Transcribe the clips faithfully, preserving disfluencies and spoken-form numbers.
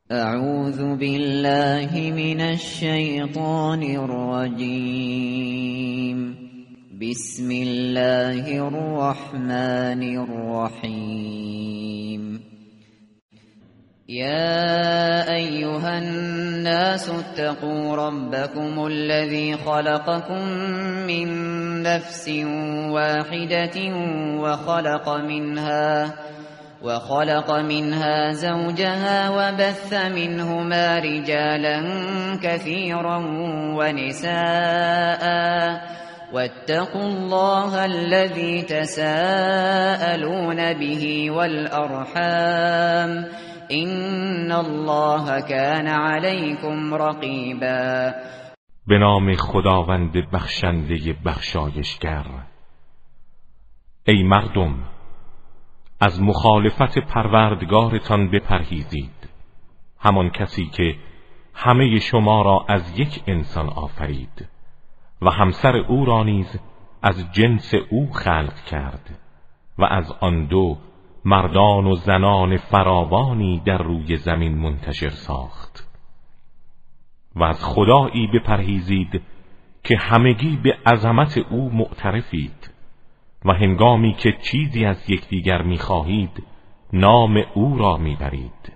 اعوذ بالله من الشیطان الرجیم. بسم الله الرحمن الرحیم. يا أيها الناس اتقوا ربكم الذي خلقكم من نفس واحدة وخلق منها وخلق منها زوجها وبث منهما رجالا كثيرا ونساء واتقوا الله الذي تساءلون به والأرحام ان الله كان عليكم رقیبا. به نام خداوند بخشنده بخشایشگر. ای مردم، از مخالفت پروردگارتان بپرهیزید، همان کسی که همه شما را از یک انسان آفرید و همسر او را نیز از جنس او خلق کرد و از آن دو مردان و زنان فراوانی در روی زمین منتشر ساخت. و از خدایی بپرهیزید که همگی به عظمت او معترفید و هنگامی که چیزی از یکدیگر می‌خواهید نام او را می‌برید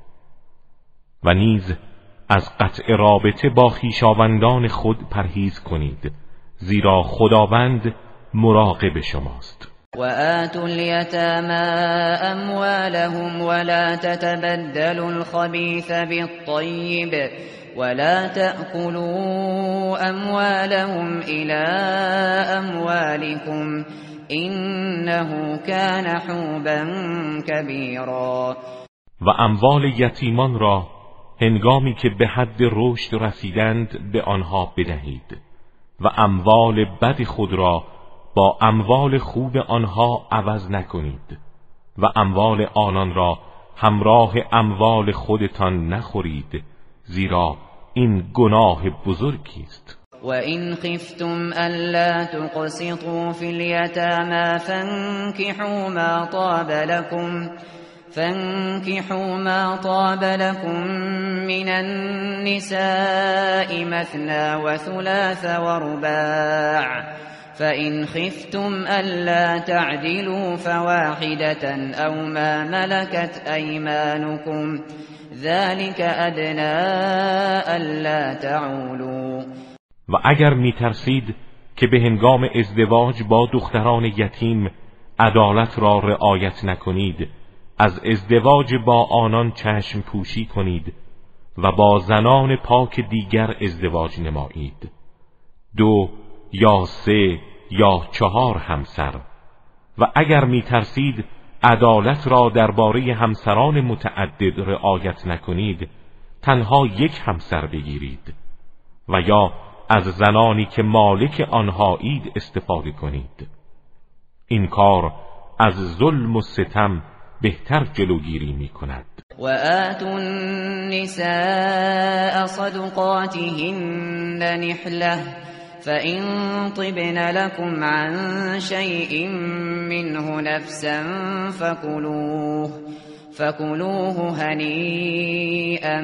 و نیز از قطع رابطه با خویشاوندان خود پرهیز کنید، زیرا خداوند مراقب شماست. وآتوا اليتامى أموالهم ولا تتبدلوا الخبيث بالطيب ولا تأكلوا أموالهم إلى أموالكم إنه كان حوبا كبيرا. و اموال یتیمان را هنگامی که به حد رشد رسیدند به آنها بدهید و اموال بد خود را با اموال خوب آنها عوض نکنید و اموال آنان را همراه اموال خودتان نخورید، زیرا این گناه بزرگی است. و این خفتم الا تقسطوا فی الیتامی فانکحوا ما طاب لكم فانكحوا ما طاب لكم من النساء مثنى وثلاث ورباع فإن خفتم ألا تعدلوا فواحدة أو ما ملكت أيمانكم ذلك أدنى ألا تعولوا. و اگر می ترسید که به هنگام ازدواج با دختران یتیم عدالت را رعایت نکنید، از ازدواج با آنان چشم پوشی کنید و با زنان پاک دیگر ازدواج نمایید، دو یا سه یا چهار همسر. و اگر می ترسید عدالت را درباره همسران متعدد رعایت نکنید، تنها یک همسر بگیرید و یا از زنانی که مالک آنهایید استفاده کنید. این کار از ظلم و ستم بهتر جلوگیری می کند. و آتوا النساء صدقاتهن نحله فإن طبن لكم عن شيء منه نفسا فكلوه فكلوه هنيئا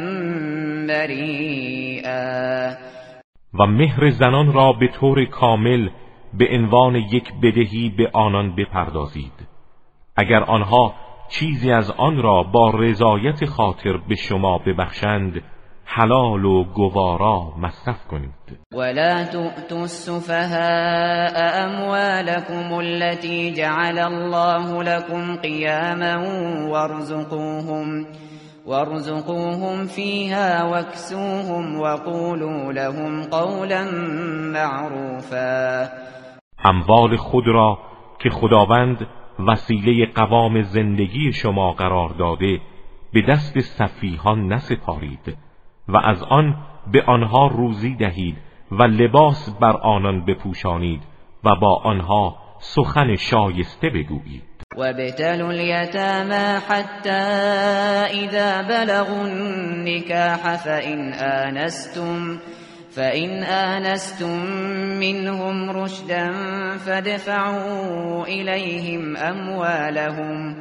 مريئا. و مهر زنان را به طور کامل به عنوان یک بدهی به آنان بپردازید. اگر آنها چیزی از آن را با رضایت خاطر به شما ببخشند، حلال و گوارا مصرف کنید. ولا تؤتوا السفهاء اموالكم التي جعل الله لكم قياما وارزقوهم وارزقوهم فيها واكسوهم وقولوا لهم قولا معروفا. اموال خود را که خداوند وسیله قوام زندگی شما قرار داده به دست سفیهان نسپارید و از آن به آنها روزی دهید و لباس بر آنان بپوشانید و با آنها سخن شایسته بگویید. وابتلوا اليتامى حتى إذا بلغوا النكاح فإن آنستم فإن آنستم منهم رشدا فادفعوا إليهم أموالهم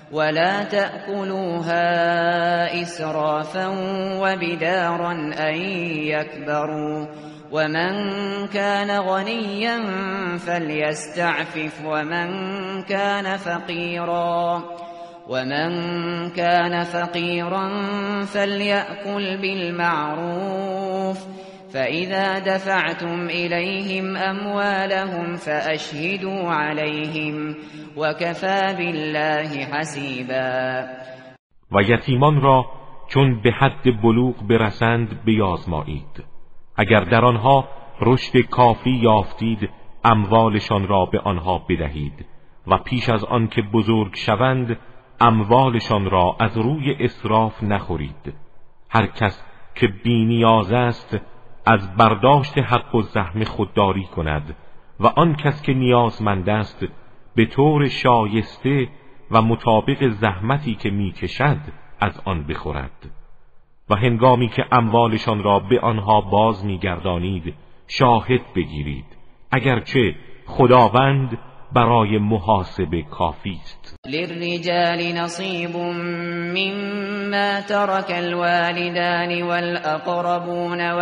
ولا تأكلوها إسرافا وبدارا أن يكبروا ومن كان غنيا فليستعفف ومن كان فقيرا ومن كان فقيرا فليأكل بالمعروف فإذا دفعتم إليهم أموالهم فأشهدوا عليهم وكفى بالله حسیبا. و یتیمان را چون به حد بلوغ برسند بیازمایید. اگر در آنها رشد کافی یافتید اموالشان را به آنها بدهید و پیش از آن که بزرگ شوند اموالشان را از روی اسراف نخورید. هر کس که بی نیاز است از برداشت حق و زحم خودداری کند و آن کس که نیازمند است به طور شایسته و مطابق زحمتی که میکشد از آن بخورد. و هنگامی که اموالشان را به آنها باز میگردانید شاهد بگیرید، اگرچه خداوند برای محاسبه کافی است. للرجال نصیب مما ترك الوالدان والاقربون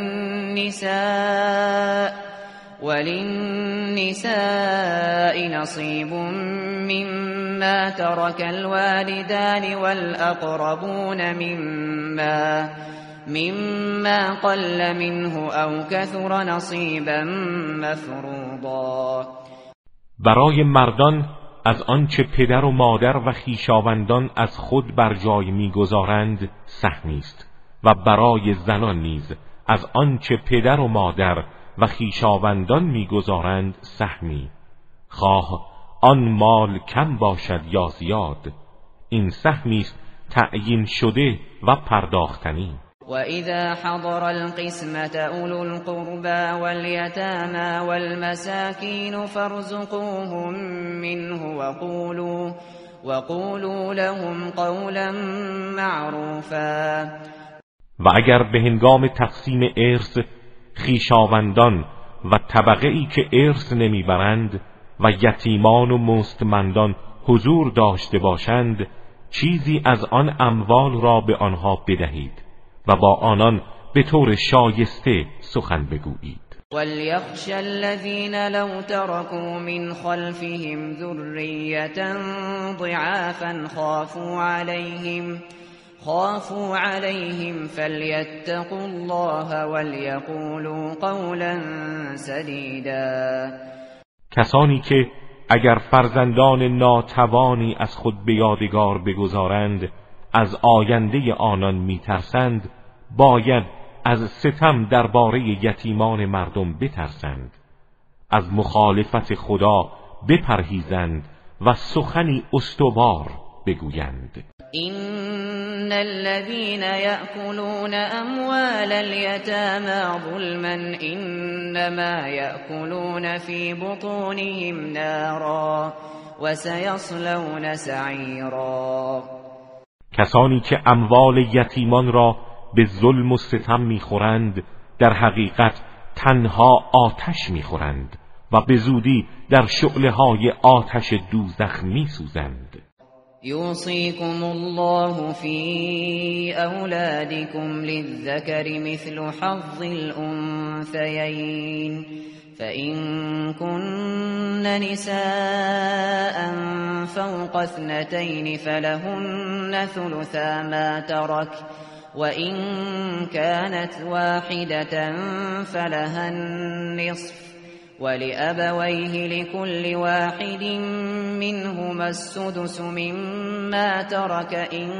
وللنساء وللنساء نصيب مما ترك الوالدان والأقربون مما مما قل منه أو كثر نصيبا مفروضا. برای مردان از آنچه پدر و مادر و خویشاوندان از خود بر جای می‌گذارند سهمی است و برای زنان نیز از آنچه پدر و مادر و خویشاوندان می‌گذارند سهمی، خواه آن مال کم باشد یا زیاد. این سهمی است تعیین شده و پرداختنی. وَإِذَا حَضَرَ الْقِسْمَةَ أُولُو الْقُرْبَى وَالْيَتَامَى وَالْمَسَاكِينُ فَارْزُقُوهُم مِّنْهُ وَقُولُوا وَقُولُوا لَهُمْ قَوْلًا مَّعْرُوفًا. و اگر به هنگام تقسیم ارث خویشاوندان و طبقه ای که ارث نمیبرند و یتیمان و مستمندان حضور داشته باشند چیزی از آن اموال را به آنها بدهید و با آنان به طور شایسته سخن بگویید. وَلْيَخْشَ الَّذِينَ لَوْ تَرَكُوا مِنْ خَلْفِهِمْ ذُرِّيَّةً ضِعَافًا خَافُوا عَلَيْهِمْ خافوا عليهم فليتقوا الله وليقولوا قولا سديدا. کسانی که اگر فرزندان ناتوانی از خود به یادگار بگذارند از آینده آنان میترسند باید از ستم درباره یتیمان مردم بترسند، از مخالفت خدا بپرهیزند و سخنی استوار بگویند. إن الذين يأكلون أموال اليتامى ظلما إنما يأكلون في بطونهم نارا وسيصلون سعيرا. کسانی که اموال یتیمان را به ظلم و ستم میخورند در حقیقت تنها آتش میخورند و به زودی در شعله‌های آتش دوزخ میسوزند. يوصيكم الله في أولادكم للذكر مثل حظ الأنثيين فإن كن نساء فوق اثنتين فلهن ثلثا ما ترك وإن كانت واحدة فلها النصف ولأبويه لكل واحد منهما السدس مما ترك إن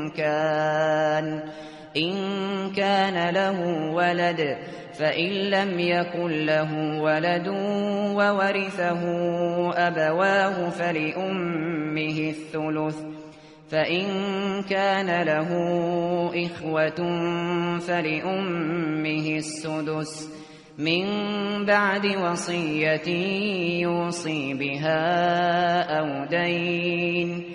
كان إن كان له ولد فإن لم يكن له ولد وورثه أبواه فلأمه الثلث فإن كان له إخوة فلأمه السدس من بعد وصية يوصي بها أو دين.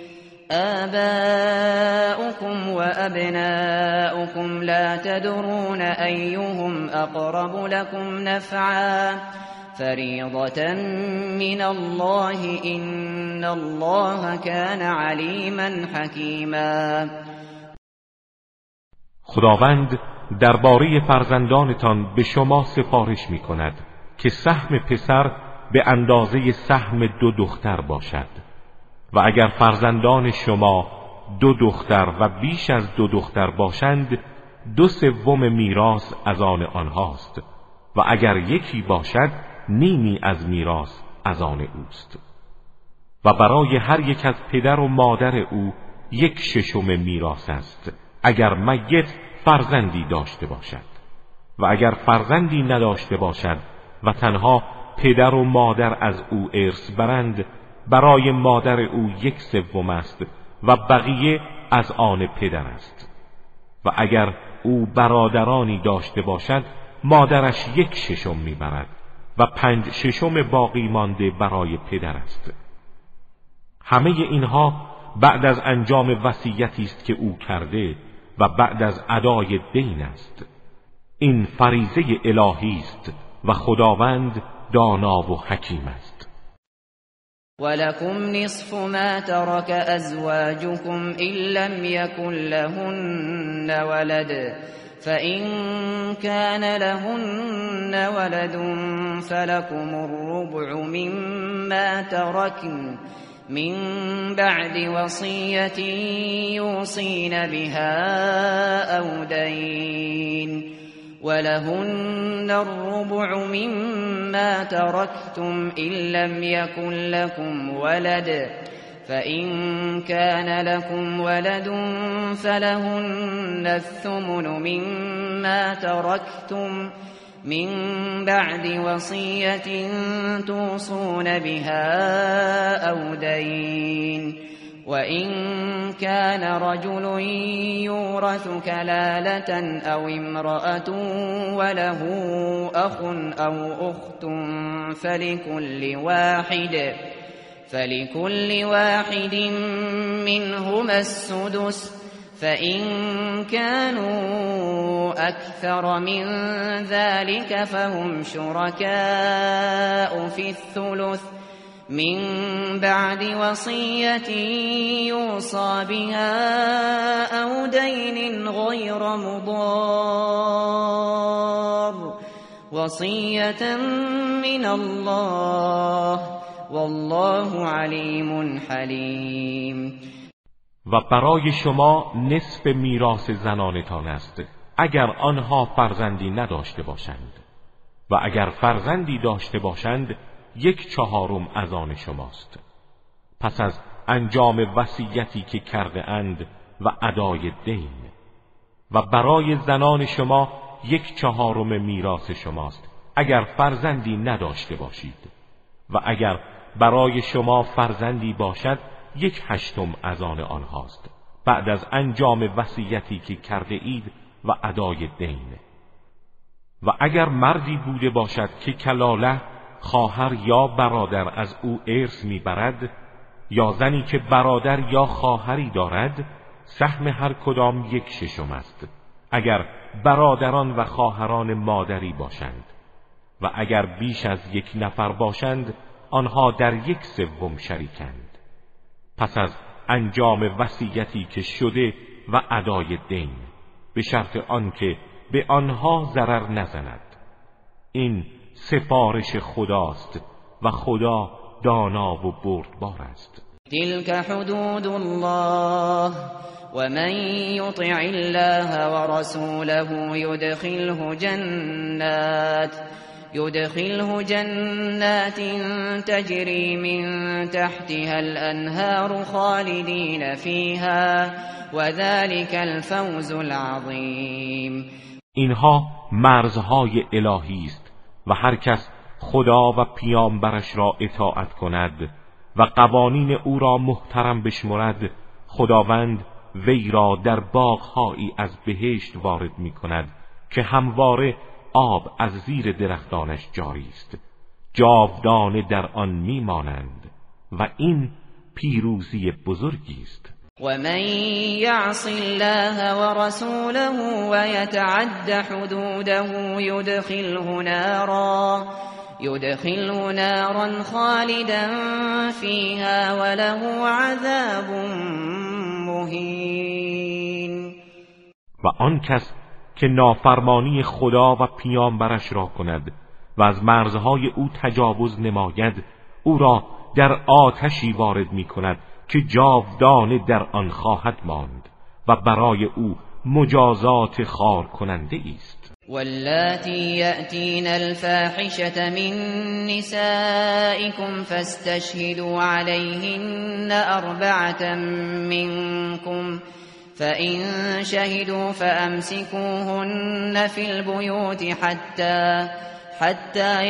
آباؤكم وأبناؤكم لا تدرون أيهم أقرب لكم نفعا فريضة من الله إن إن الله كان علیما حکیما. خداوند درباره فرزندانتان به شما سفارش می کند که سهم پسر به اندازه سهم دو دختر باشد و اگر فرزندان شما دو دختر و بیش از دو دختر باشند دو سوم میراث از آن آنهاست و اگر یکی باشد نیمی از میراث از آن اوست و برای هر یک از پدر و مادر او یک ششم میراث است اگر میت فرزندی داشته باشد و اگر فرزندی نداشته باشد و تنها پدر و مادر از او ارث برند برای مادر او یک سوم است و بقیه از آن پدر است و اگر او برادرانی داشته باشد مادرش یک ششم میبرد و پنج ششم باقی مانده برای پدر است. همه اینها بعد از انجام وصیتی است که او کرده و بعد از ادای دین است. این فریضه الهی است و خداوند دانا و حکیم است. ولكم نصف ما ترك أزواجكم إن لم يكن لهن ولد فإن كان لهن ولد فلكم الربع مما تركن من بعد وصية يوصين بها أو دين ولهن الربع مما تركتم إن لم يكن لكم ولد فإن كان لكم ولد فلهن الثمن مما تركتم من بعد وصية توصون بها أو دين وإن كان رجل يورث كلالة أو امرأة وله أخ أو أخت فلكل واحد فلكل واحد منهما السدس فإن كانوا أكثر من ذلك فهم شركاء في الثلث من بعد وصية يوصى بها أو دين غير مضار وصية من الله والله علیم حلیم. و برای شما نصف میراث زنانتان است اگر آنها فرزندی نداشته باشند و اگر فرزندی داشته باشند یک چهارم از آن شماست. پس از انجام وصیتی که کرده اند و ادای دین و برای زنان شما یک چهارم میراث شماست اگر فرزندی نداشته باشید و اگر برای شما فرزندی باشد یک هشتم از آن آنهاست بعد از انجام وصیتی که کرده اید و ادای دین. و اگر مردی بوده باشد که کلاله خواهر یا برادر از او ارث میبرد یا زنی که برادر یا خواهری دارد سهم هر کدام یک ششم است اگر برادران و خواهران مادری باشند و اگر بیش از یک نفر باشند آنها در یک سوم شریکند پس از انجام وصیتی که شده و ادای دین به شرط آنکه به آنها ضرر نزند. این سفارش خداست و خدا دانا و بردبار است. تلك حدود الله ومن يطع الله ورسوله يدخله جنات يدخله جنات تجري من تحتها الأنهار خالدين فيها وذلك الفوز العظيم. اینها مرزهای الهی است و هر کس خدا و پیامبرش را اطاعت کند و قوانین او را محترم بشمرد خداوند وی را در باغ‌هایی از بهشت وارد می کند که همواره آب از زیر درختانش جاری است جاودانه در آن میمانند و این پیروزی بزرگی است. ومن يعص الله ورسوله ويتعد حدوده يدخله نارا يدخله نارا خالدا فيها وله عذاب مهین. و آن کس که نافرمانی خدا و پیامبرش را کند و از مرزهای او تجاوز نماید، او را در آتشی وارد می کند که جاودانه در آن خواهد ماند و برای او مجازات خار کننده است. واللاتی یأتین الفاحشة من نسائکم فاستشهدوا علیهن اربعة منکم فإن شهدوا فأمسكوهن في البيوت حتى حتى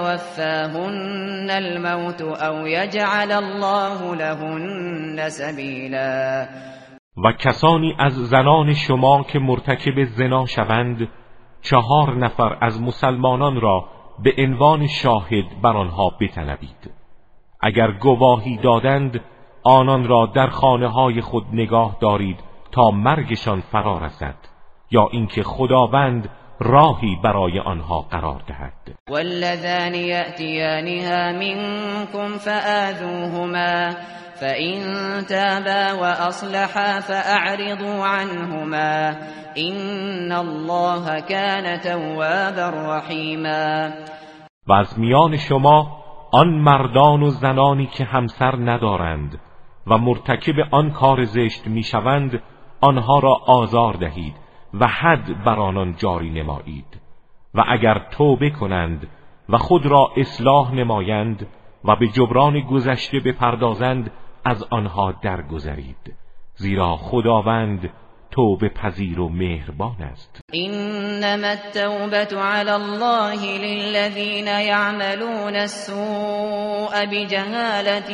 يتوفاهن الموت أو يجعل الله لهن سبیلا. و کسانی از زنان شما که مرتکب زنا شوند، چهار نفر از مسلمانان را به عنوان شاهد بر آنها بطلبید. اگر گواهی دادند، آنان را در خانه های خود نگاه دارید تا مرگشان فرا رسد، یا اینکه خداوند راهی برای آنها قرار دهد. واللذان یأتیانها منکم فآذوهما فإن تابا وأصلحا فأعرضوا عنهما إن الله كان توابا رحیما. و از میان شما آن مردان و زنانی که همسر ندارند و مرتکب آن کار زشت میشوند، آنها را آزار دهید و حد بر آنان جاری نمایید. و اگر توبه کنند و خود را اصلاح نمایند و به جبران گذشته بپردازند، از آنها درگذرید، زیرا خداوند توبه پذیر و مهربان است. انما التوبة علی الله للذین یعملون السوء بجهالة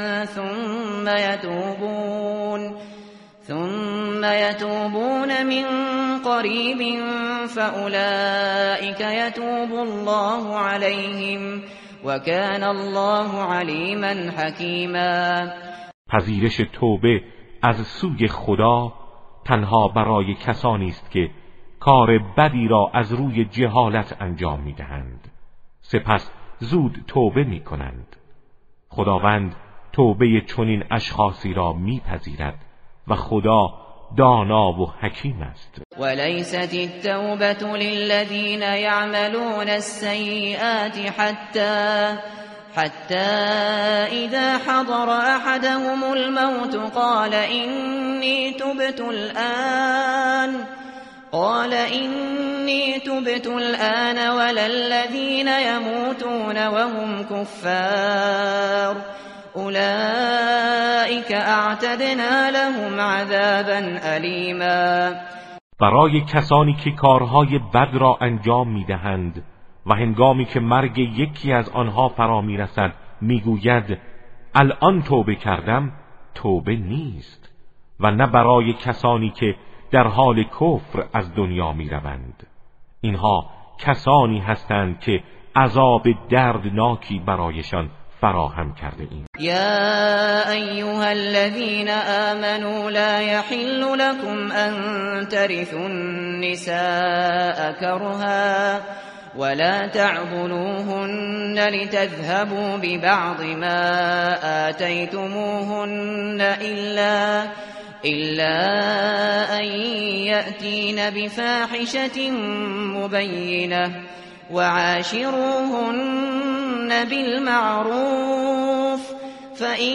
ثم یتوبون ثم يتوبون من قریب فأولئك يتوب الله عليهم وكان الله علیما حکیما. پذیرش توبه از سوی خدا تنها برای کسانی است که کار بدی را از روی جهالت انجام می‌دهند، سپس زود توبه می‌کنند. خداوند توبه چنین اشخاصی را می‌پذیرد و خدا دانا و حکیم است. وليست التوبة للذين يعملون السيئات حتى حتى إذا حضر أحدهم الموت قال إني تبت الآن قال إني تبت الآن ولا الذين يموتون وهم كفار اولئک اعتدنا لهم عذابا الیما. برای کسانی که کارهای بد را انجام میدهند و هنگامی که مرگ یکی از آنها فرا میرسد میگوید الان توبه کردم، توبه نیست. و نه برای کسانی که در حال کفر از دنیا میروند. اینها کسانی هستند که عذاب دردناکی برایشان فراهم کرده ایم. یا ایها الذین آمنوا لا یحل لكم ان ترثوا النساء کرها ولا تعضلوهن لتذهبوا ببعض ما آتيتموهن إلا إلا أن يأتين بفاحشة مبينة وعاشروهن بالمعروف فإن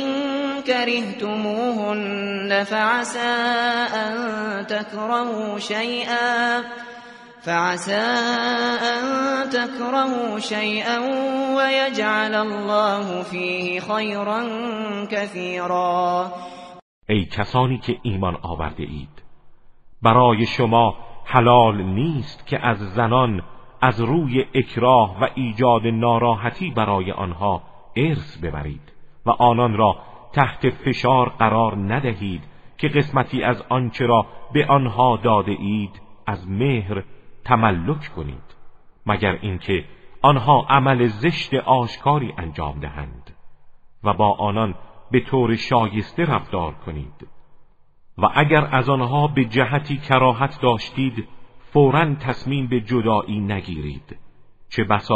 كرهتموهن فعسى أن تكرهوا شيئا فعسى أن تكرهوا شيئا ويجعل الله فيه خيرا كثيرا. ای کسانی که ایمان آورده اید، برای شما حلال نیست که از زنان از روی اکراه و ایجاد ناراحتی برای آنها ارث ببرید و آنان را تحت فشار قرار ندهید که قسمتی از آنچه را به آنها داده اید از مهر تملک کنید، مگر اینکه آنها عمل زشت آشکاری انجام دهند و با آنان به طور شایسته رفتار کنید. و اگر از آنها به جهتی کراهت داشتید فوراً تصمیم به جدایی نگیرید، چه بسا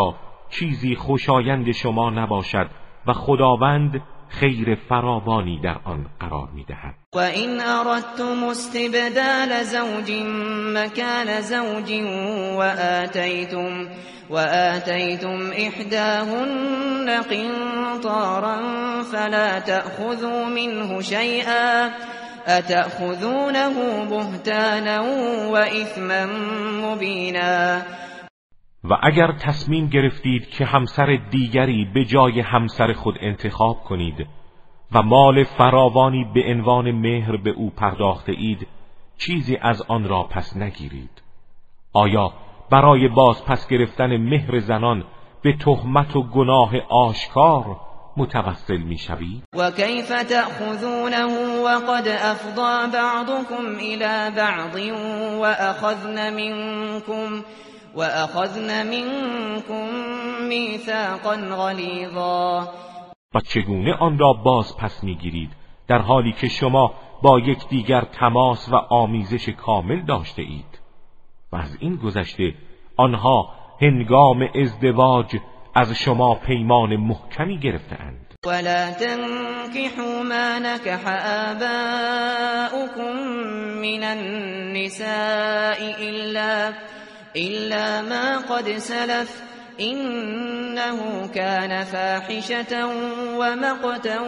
چیزی خوشایند شما نباشد و خداوند خیر فراوانی در آن قرار می‌دهد. و این اردتم استبدال زوج مکان زوج و آتیتم و آتیتم احداهن قنطارا فلا تأخذوا منه شیئا اتأخذونه بهتانا و اثما مبینا. و اگر تصمیم گرفتید که همسر دیگری به جای همسر خود انتخاب کنید و مال فراوانی به عنوان مهر به او پرداخته اید، چیزی از آن را پس نگیرید. آیا برای باز پس گرفتن مهر زنان به تهمت و گناه آشکار متوسل می شوید؟ و کیف تأخذونه وقد افضى بعضكم الى بعض و اخذن منكم وَأَخَذْنَ مِنْكُمْ مِيثَاقًا غَلِيظًا. و چگونه آن را باز پس میگیرید در حالی که شما با یکدیگر تماس و آمیزش کامل داشته اید؟ و از این گذشته آنها هنگام ازدواج از شما پیمان محکمی گرفته‌اند. ولا تنكحوا ما نكح آباؤكم من النساء إلا إلا ما قد سلف إنه كان فاحشة ومقتا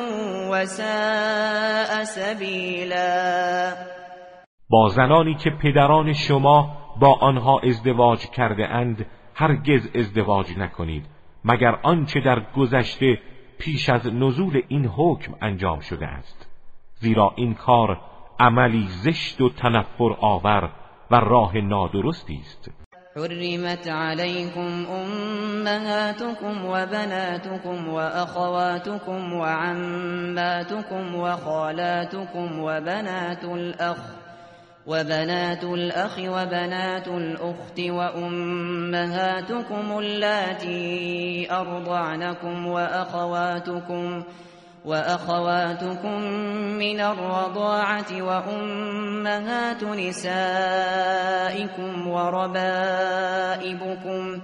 وساء سبيلا. با زنانی که پدران شما با آنها ازدواج کرده اند هرگز ازدواج نکنید مگر آنچه در گذشته پیش از نزول این حکم انجام شده است، زیرا این کار عملی زشت و تنفر آور و راه نادرستی است. حرمت عليكم أمهاتكم وبناتكم وأخواتكم وعماتكم وخالاتكم وبنات الأخ وبنات الأخ وبنات الأخت وأمهاتكم اللاتي أرضعنكم وأخواتكم وأخواتكم من الرضاعة وأمهات نسائكم وربائبكم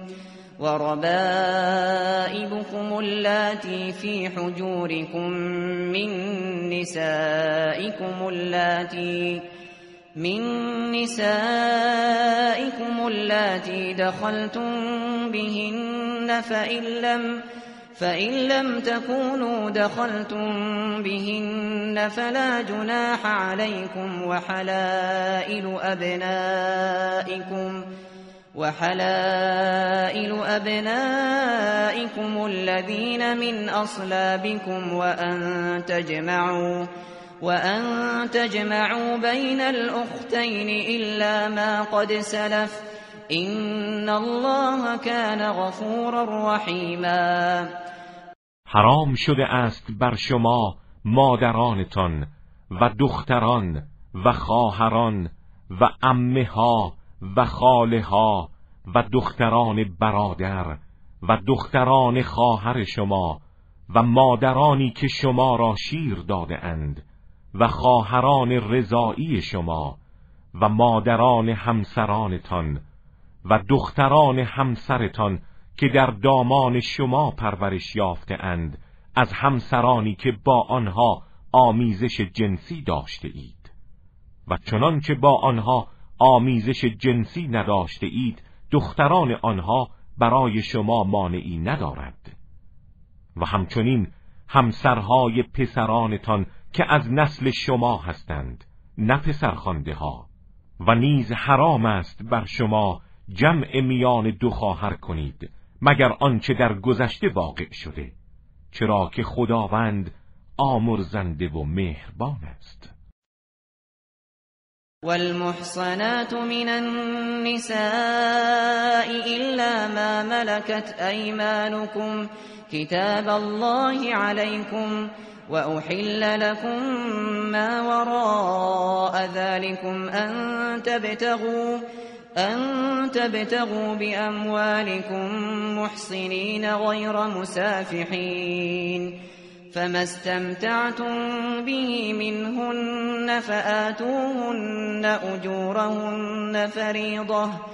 وربائبكم اللاتي في حجوركم من نسائكم اللاتي من نسائكم اللاتي دخلتم بهن فإن لم فإن لم تكونوا دخلتم بهن فلا جناح عليكم وحلائل أبنائكم وحلائل أبنائكم الذين من أصلابكم وأن تجمعوا وأن تجمعوا بين الأختين إلا ما قد سلف إن الله كان غفورا رحیما. حرام شده است بر شما مادرانتان و دختران و خواهران و عمه ها و خاله ها و دختران برادر و دختران خواهر شما و مادرانی که شما را شیر داده اند و خواهران رضاعی شما و مادران همسرانتان و دختران همسرتان که در دامان شما پرورش یافته اند از همسرانی که با آنها آمیزش جنسی داشته اید و چنان که با آنها آمیزش جنسی نداشته اید دختران آنها برای شما مانعی ندارد و همچنین همسرهای پسرانتان که از نسل شما هستند نه پسرخوانده ها و نیز حرام است بر شما جمع میان دو خواهر کنید مگر آنچه در گذشته واقع شده، چرا که خداوند آمرزنده و مهربان است. والمحصنات من النساء إلا ما ملكت أيمانكم كتاب الله عليكم وأحل لكم ما وراء ذلكم أن تبتغوا أن تبتغوا بأموالكم محصنين غير مسافحين فما استمتعتم به منهن فآتوهن أجورهن فريضة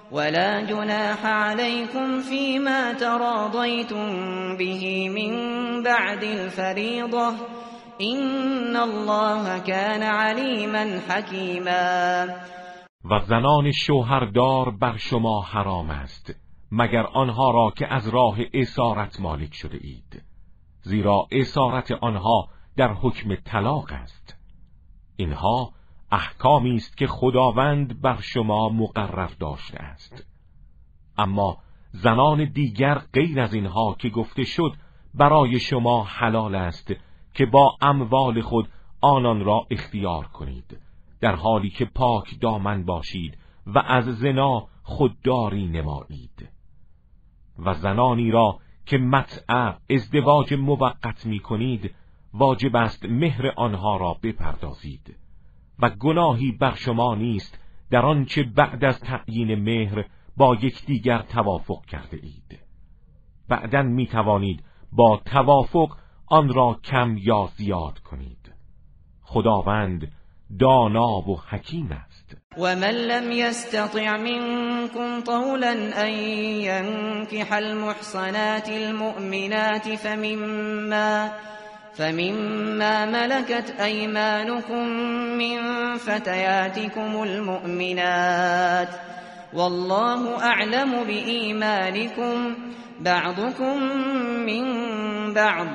ولا جناح عليكم فيما تراضيتم به من بعد الفریضة این الله کان علیما حکیما. و زنان شوهردار بر شما حرام است مگر آنها را که از راه اسارت مالک شده اید، زیرا اسارت آنها در حکم طلاق است. اینها احکامی است که خداوند بر شما مقرر داشته است. اما زنان دیگر غیر از اینها که گفته شد برای شما حلال است که با اموال خود آنان را اختیار کنید، در حالی که پاک دامن باشید و از زنا خودداری نمایید. و زنانی را که متع ازدواج موقت می کنید واجب است مهر آنها را بپردازید و گناهی بر شما نیست در آنچه بعد از تعیین مهر با یکدیگر توافق کرده اید. بعداً می توانید با توافق آن را کم یا زیاد کنید. خداوند دانا و حکیم است. و من لم یستطع منکم طولا ان ینکح المحصنات المؤمنات فمما فمما ملكت أيمانكم من فتياتكم المؤمنات والله أعلم بإيمانكم بعضكم من بعض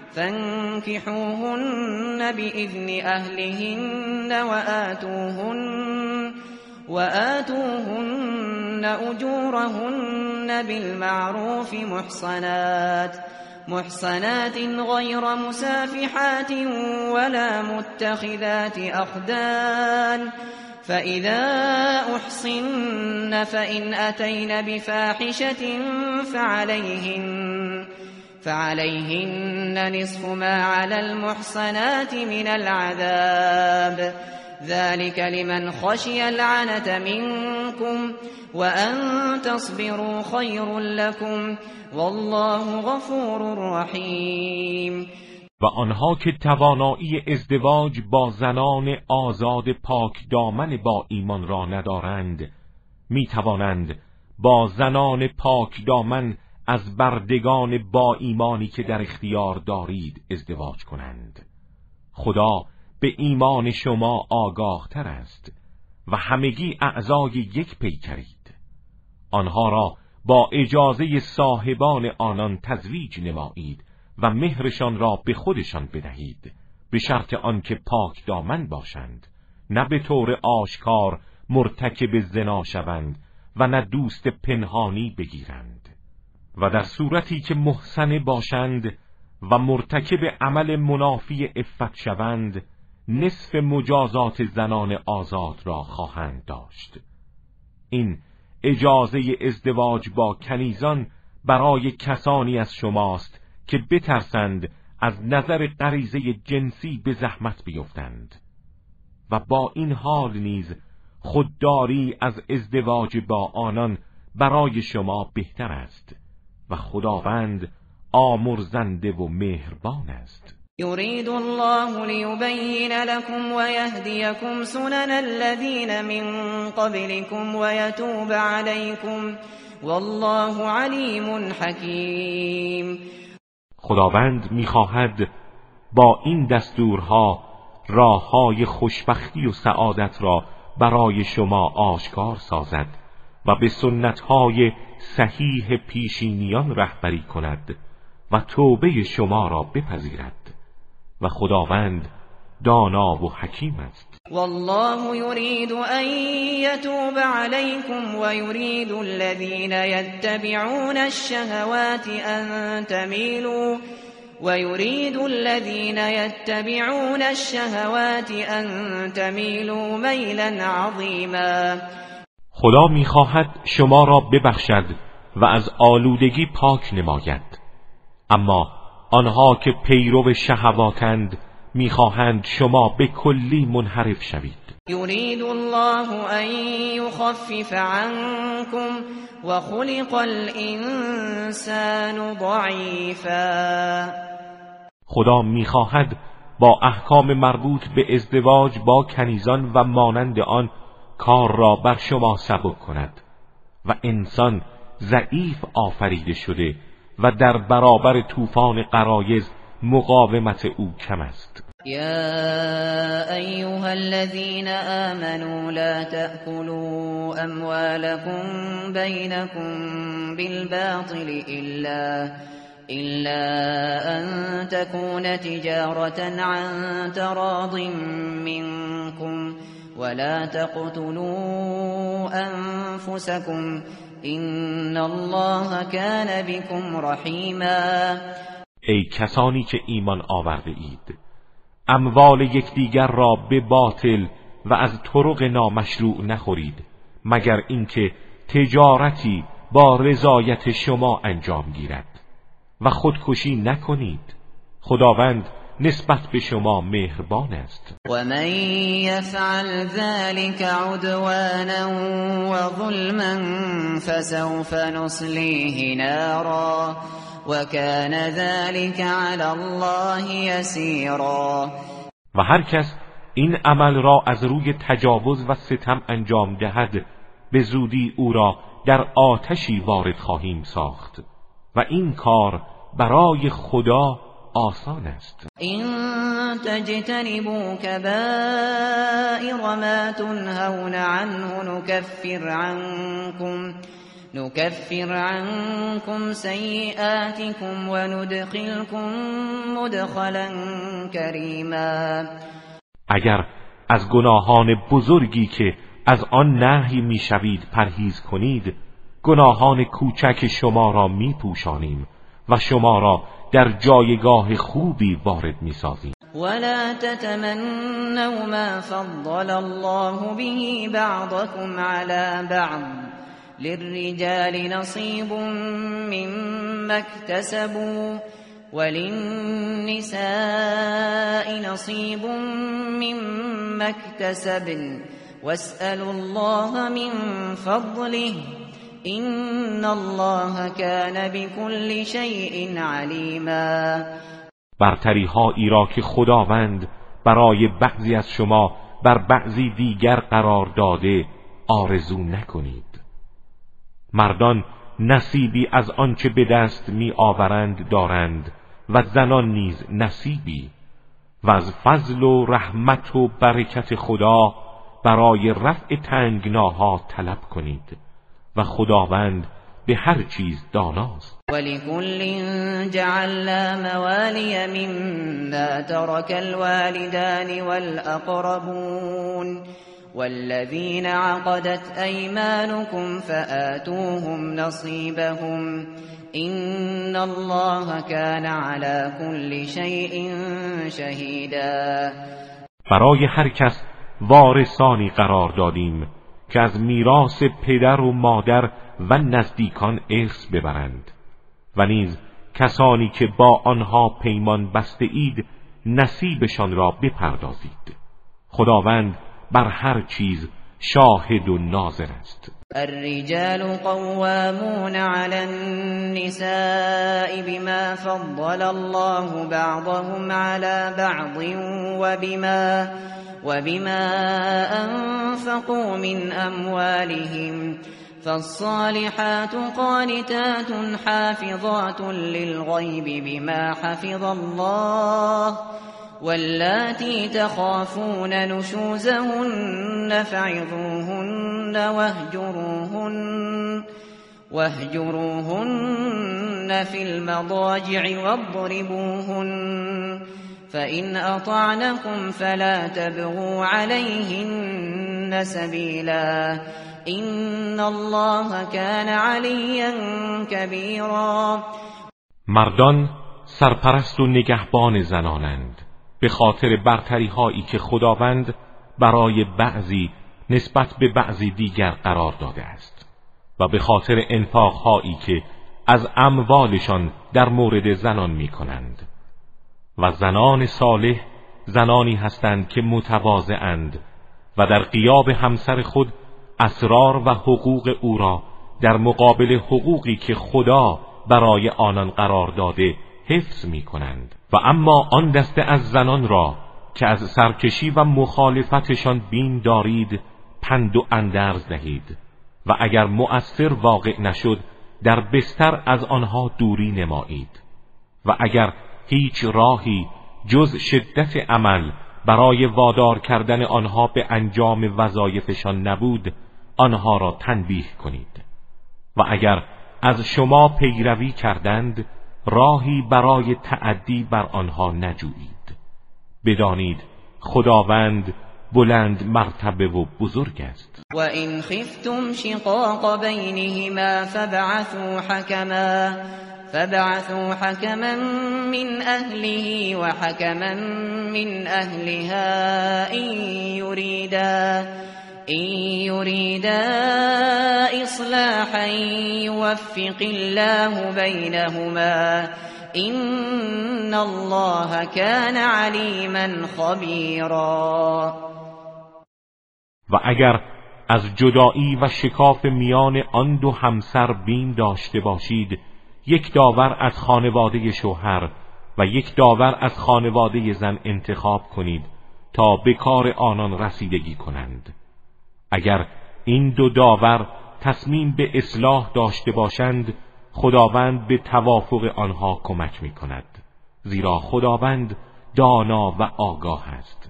فانكحوهن بإذن أهلهن وآتوهن وآتوهن أجورهن بالمعروف محصنات محصنات غير مسافحات ولا متخذات أخدان فإذا أحصن فإن أتين بفاحشة فعليهن فعليهن نصف ما على المحصنات من العذاب ذلك لمن خشي العنة منكم وأن تصبروا خير لكم والله غفور رحیم. و آنها که توانایی ازدواج با زنان آزاد پاک دامن با ایمان را ندارند می توانند با زنان پاک دامن از بردگان با ایمانی که در اختیار دارید ازدواج کنند. خدا به ایمان شما آگاه تر است و همگی اعضای یک پیکرید. آنها را با اجازه صاحبان آنان تزویج نمایید و مهرشان را به خودشان بدهید، به شرط آنکه پاک دامن باشند، نه به طور آشکار مرتکب زنا شوند و نه دوست پنهانی بگیرند. و در صورتی که محصن باشند و مرتکب عمل منافی عفت شوند، نصف مجازات زنان آزاد را خواهند داشت. این اجازه ازدواج با کنیزان برای کسانی از شماست که بترسند از نظر غریزه جنسی به زحمت بیفتند و با این حال نیز خودداری از ازدواج با آنان برای شما بهتر است و خداوند آمرزنده و مهربان است. يريد الله ليبين لكم ويهديكم سنن الذين من قبلكم ويتوب عليكم والله عليم حكيم. خداوند می‌خواهد با این دستورها راه‌های خوشبختی و سعادت را برای شما آشکار سازد و به سنت‌های صحیح پیشینیان رهبری کند و توبه شما را بپذیرد و خداوند دانا و حکیم است. والله يريد أن يتوب عليكم ويريد الذين يتبعون الشهوات أن تميلوا ويريد الذين يتبعون الشهوات أن تميلوا ميلا عظيما. خدا می‌خواهد شما را ببخشد و از آلودگی پاک نماید، اما آنها که پیرو شهواتند می‌خواهند شما به کلی منحرف شوید. یرید الله ان یخفف عنکم و خلق الانسان ضعیفا. خدا می‌خواهد با احکام مربوط به ازدواج با کنیزان و مانند آن کار را بر شما سبک کند، و انسان ضعیف آفریده شده و در برابر طوفان غرایز مقاومت او کم است. يا أيها الذين آمنوا لا تأكلوا أموالكم بينكم بالباطل إلا إلا أن تكون تجارة عن تراض منكم ولا تقتلوا أنفسكم إن الله كان بكم رحيما. ای کسانی که ایمان آورده اید، اموال یکدیگر را به باطل و از طرق نامشروع نخورید مگر اینکه تجارتی با رضایت شما انجام گیرد و خودکشی نکنید. خداوند نسبت به شما مهربان است. و من یفعل ذلك عدوانا و ظلما فسوف نصلیه نارا و کان ذلك علی الله یسیرا. و هر کس این عمل را از روی تجاوز و ستم انجام دهد، به زودی او را در آتشی وارد خواهیم ساخت و این کار برای خدا آسان است. این تجتنبوا کبائر ما تنهون عنه نكفر عنكم نكفر عنكم سیئاتكم و ندخلكم مدخلا کریما. اگر از گناهان بزرگی که از آن نهی میشوید پرهیز کنید، گناهان کوچک شما را میپوشانیم و شما را در جایگاه خوبی وارد میسازیم. ولا تتمنوا ما فضل الله به بعضكم على بعض للرجال نصيب مما اكتسبوا وللنساء نصيب مما اكتسبن واسألوا الله من فضله این الله کان بكل شیء علیما. برتری هایی را که خداوند برای بعضی از شما بر بعضی دیگر قرار داده آرزو نکنید. مردان نصیبی از آنچه به دست می آورند دارند و زنان نیز نصیبی، و از فضل و رحمت و برکت خدا برای رفع تنگناها طلب کنید و خداوند به هر چیز داناست. ولكل جعلنا موالي مما ترك الوالدان والأقربون والذين عقدت أيمانكم فآتوهم نصيبهم إن الله كان على كل شيء شهيدا. برای هر کس وارثانی قرار دادیم که از میراث پدر و مادر و نزدیکان ارث ببرند و نیز کسانی که با آنها پیمان بسته اید نصیبشان را بپردازید. خداوند بر هر چیز شاهد و ناظر است. الرجال قوامون على النساء بما فضل الله بعضهم على بعض وبما وبما أنفقوا من أموالهم فالصالحات قانتات حافظات للغيب بما حفظ الله واللاتي تخافون نشوزهن فعظوهن واهجروهن واهجروهن في المضاجع واضربوهن فإن أطعنكم فلا تبغوا عليهن سبيلا إن الله كان عليا كبيرا. مردان سرپرست و نگهبان زنانند به خاطر برتری هایی که خداوند برای بعضی نسبت به بعضی دیگر قرار داده است و به خاطر انفاق هایی که از اموالشان در مورد زنان می کنند. و زنان صالح زنانی هستند که متواضعند و در غیاب همسر خود اسرار و حقوق او را در مقابل حقوقی که خدا برای آنان قرار داده حفظ می کنند. و اما آن دسته از زنان را که از سرکشی و مخالفتشان بیم دارید پند و اندرز دهید و اگر مؤثر واقع نشد در بستر از آنها دوری نمایید و اگر هیچ راهی جز شدت عمل برای وادار کردن آنها به انجام وظایفشان نبود آنها را تنبیه کنید و اگر از شما پیروی کردند راهی برای تعدی بر آنها نجویید. بدانید خداوند بلند مرتبه و بزرگ است. و این خفتم شقاق بینهما فبعثوا حکما فبعثوا حكما من أهله وحكما من أهلها إن يريدا إن يريدا إصلاحا يوفق الله بينهما إن الله كان عليما خبيرا. و اگر از جدایی و شکاف میان آن دو همسر بین داشته باشید یک داور از خانواده شوهر و یک داور از خانواده زن انتخاب کنید تا به کار آنان رسیدگی کنند. اگر این دو داور تصمیم به اصلاح داشته باشند خداوند به توافق آنها کمک می کند، زیرا خداوند دانا و آگاه است.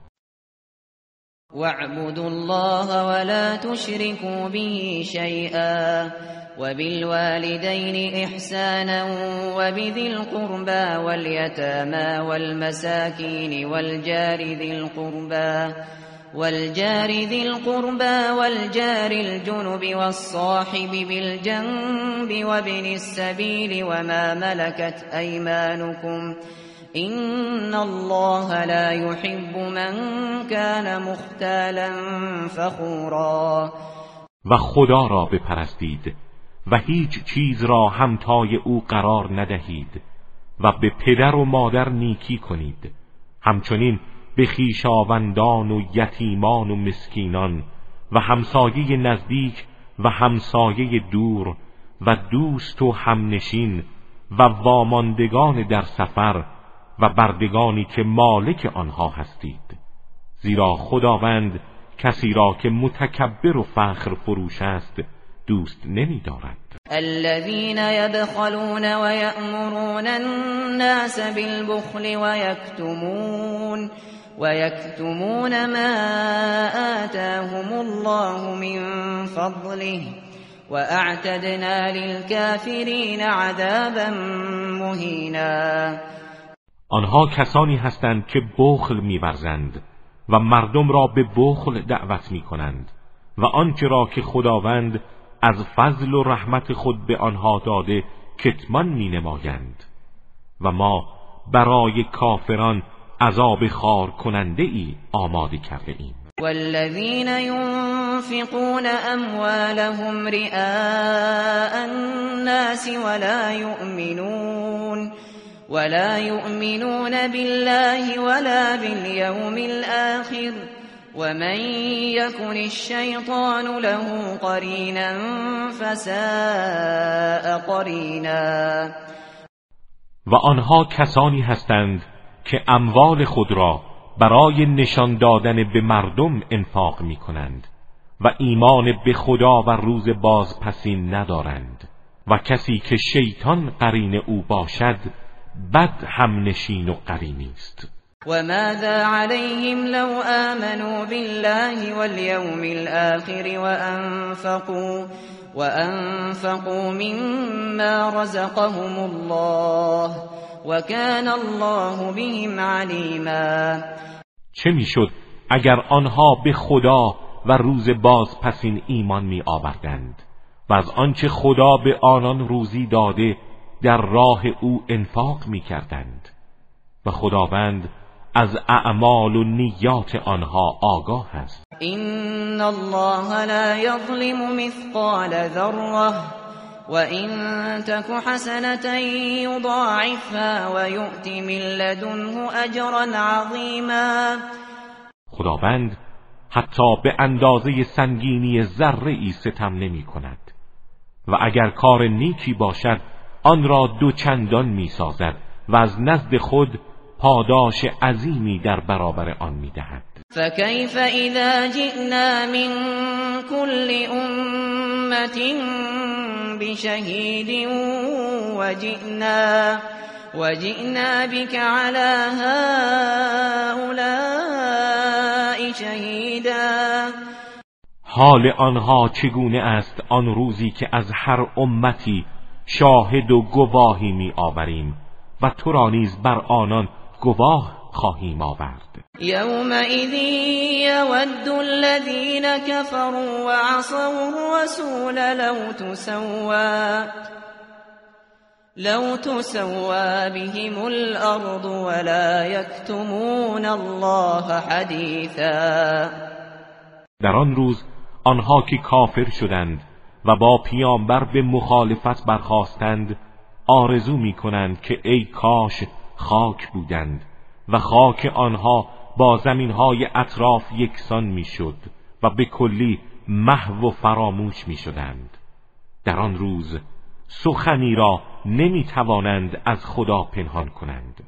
واعبدوا الله ولا تشركوا به شيئا وبالوالدين إحسانا وبذي القربى واليتامى والمساكين والجار ذي القربى والجار ذي القربى والجار الجنب والصاحب بالجنب وابن السبيل وما ملكت أيمانكم إن الله لا يحب من كان مختالا فخورا. و خدا را بپرستید و هیچ چیز را همتای او قرار ندهید و به پدر و مادر نیکی کنید، همچنین به خویشاوندان و یتیمان و مسکینان و همسایه نزدیک و همسایه دور و دوست و همنشین و واماندگان در سفر و بردگانی که مالک آنها هستید، زیرا خداوند کسی را که متکبر و فخر فروش است دوست نمی دارد. الذين يبخلون ويأمرون الناس بالبخل ويكتمون ويكتمون ما آتاهم الله من فضله وأعتدنا للكافرين عذابا مهینا. آنها کسانی هستند که بخل می‌ورزند و مردم را به بخل دعوت می‌کنند و آنچه را که خداوند از فضل و رحمت خود به آنها داده کتمان می‌نمایند و ما برای کافران عذاب خار کننده ای آماده کرده ایم. والذین ينفقون اموالهم رئاء الناس ولا يؤمنون ولا يؤمنون بالله ولا باليوم الآخر ومن يكن الشيطان له قرينا فساء قرینا. و آنها کسانی هستند که اموال خود را برای نشان دادن به مردم انفاق می کنند و ایمان به خدا و روز بازپسین ندارند و کسی که شیطان قرین او باشد بد هم نشین و قرینی است. و ماذا علیهم لو آمنوا بالله واليوم الآخر وانفقوا وانفقوا مما رزقهم الله وكان الله بهم علیما. چه میشد اگر آنها به خدا و روز بازپسین ایمان می آوردند و از آنچه خدا به آنان روزی داده در راه او انفاق می کردند و خداوند از اعمال و نیات آنها آگاه است. این الله لا یظلم مثقال ذره وَإِن تَكُ حَسَنَةً يُضَاعِفْهَا وَيُؤْتِ مِن لَّدُنْهُ أَجْرًا عَظِيمًا. خداوند حتی به اندازه سنگینی ذره ای ستم نمی کند و اگر کار نیکی باشد آن را دو چندان می سازد و از نزد خود پاداش عظیمی در برابر آن می دهد. فَكَيْفَ إِذَا جِئْنَا مِن كُلِّ أُمَّةٍ أمة بشهيد وجئنا وجئنا بك على هؤلاء شهیدا. حال آنها چگونه است آن روزی که از هر امتی شاهد و گواهی می آوریم و تو را نیز بر آنان گواه خواهیم آورد. یومئذ یود الذین کفروا وعصوا الرسول لو تسوى لو تسوى بهم الأرض ولا يكتمون الله حدیثا. در آن روز آنها که کافر شدند و با پیامبر به مخالفت برخاستند آرزو می کنند که ای کاش خاک بودند و خاک آنها با زمینهای اطراف یکسان می شد و به کلی محو و فراموش می شدند. در آن روز سخنی را نمی توانند از خدا پنهان کنند.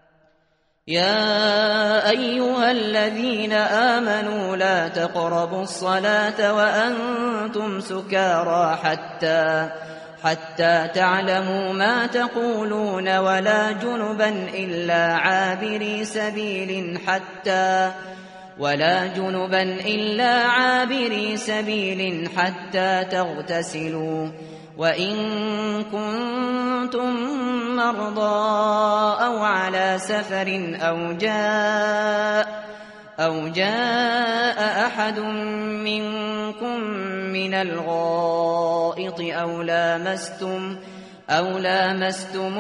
يا أيها الذين آمنوا لا تقربوا الصلاة وأنتم سكارى حتى حتى تعلموا ما تقولون ولا جنبا إلا عابري سبيل حتى ولا جنبا إلا عابري سبيل حتى تغتسلوا وإن كنتم مرضى أو على سفر أو جاء أو جاء أحد منكم من الغائط أو لامستم أو لامستم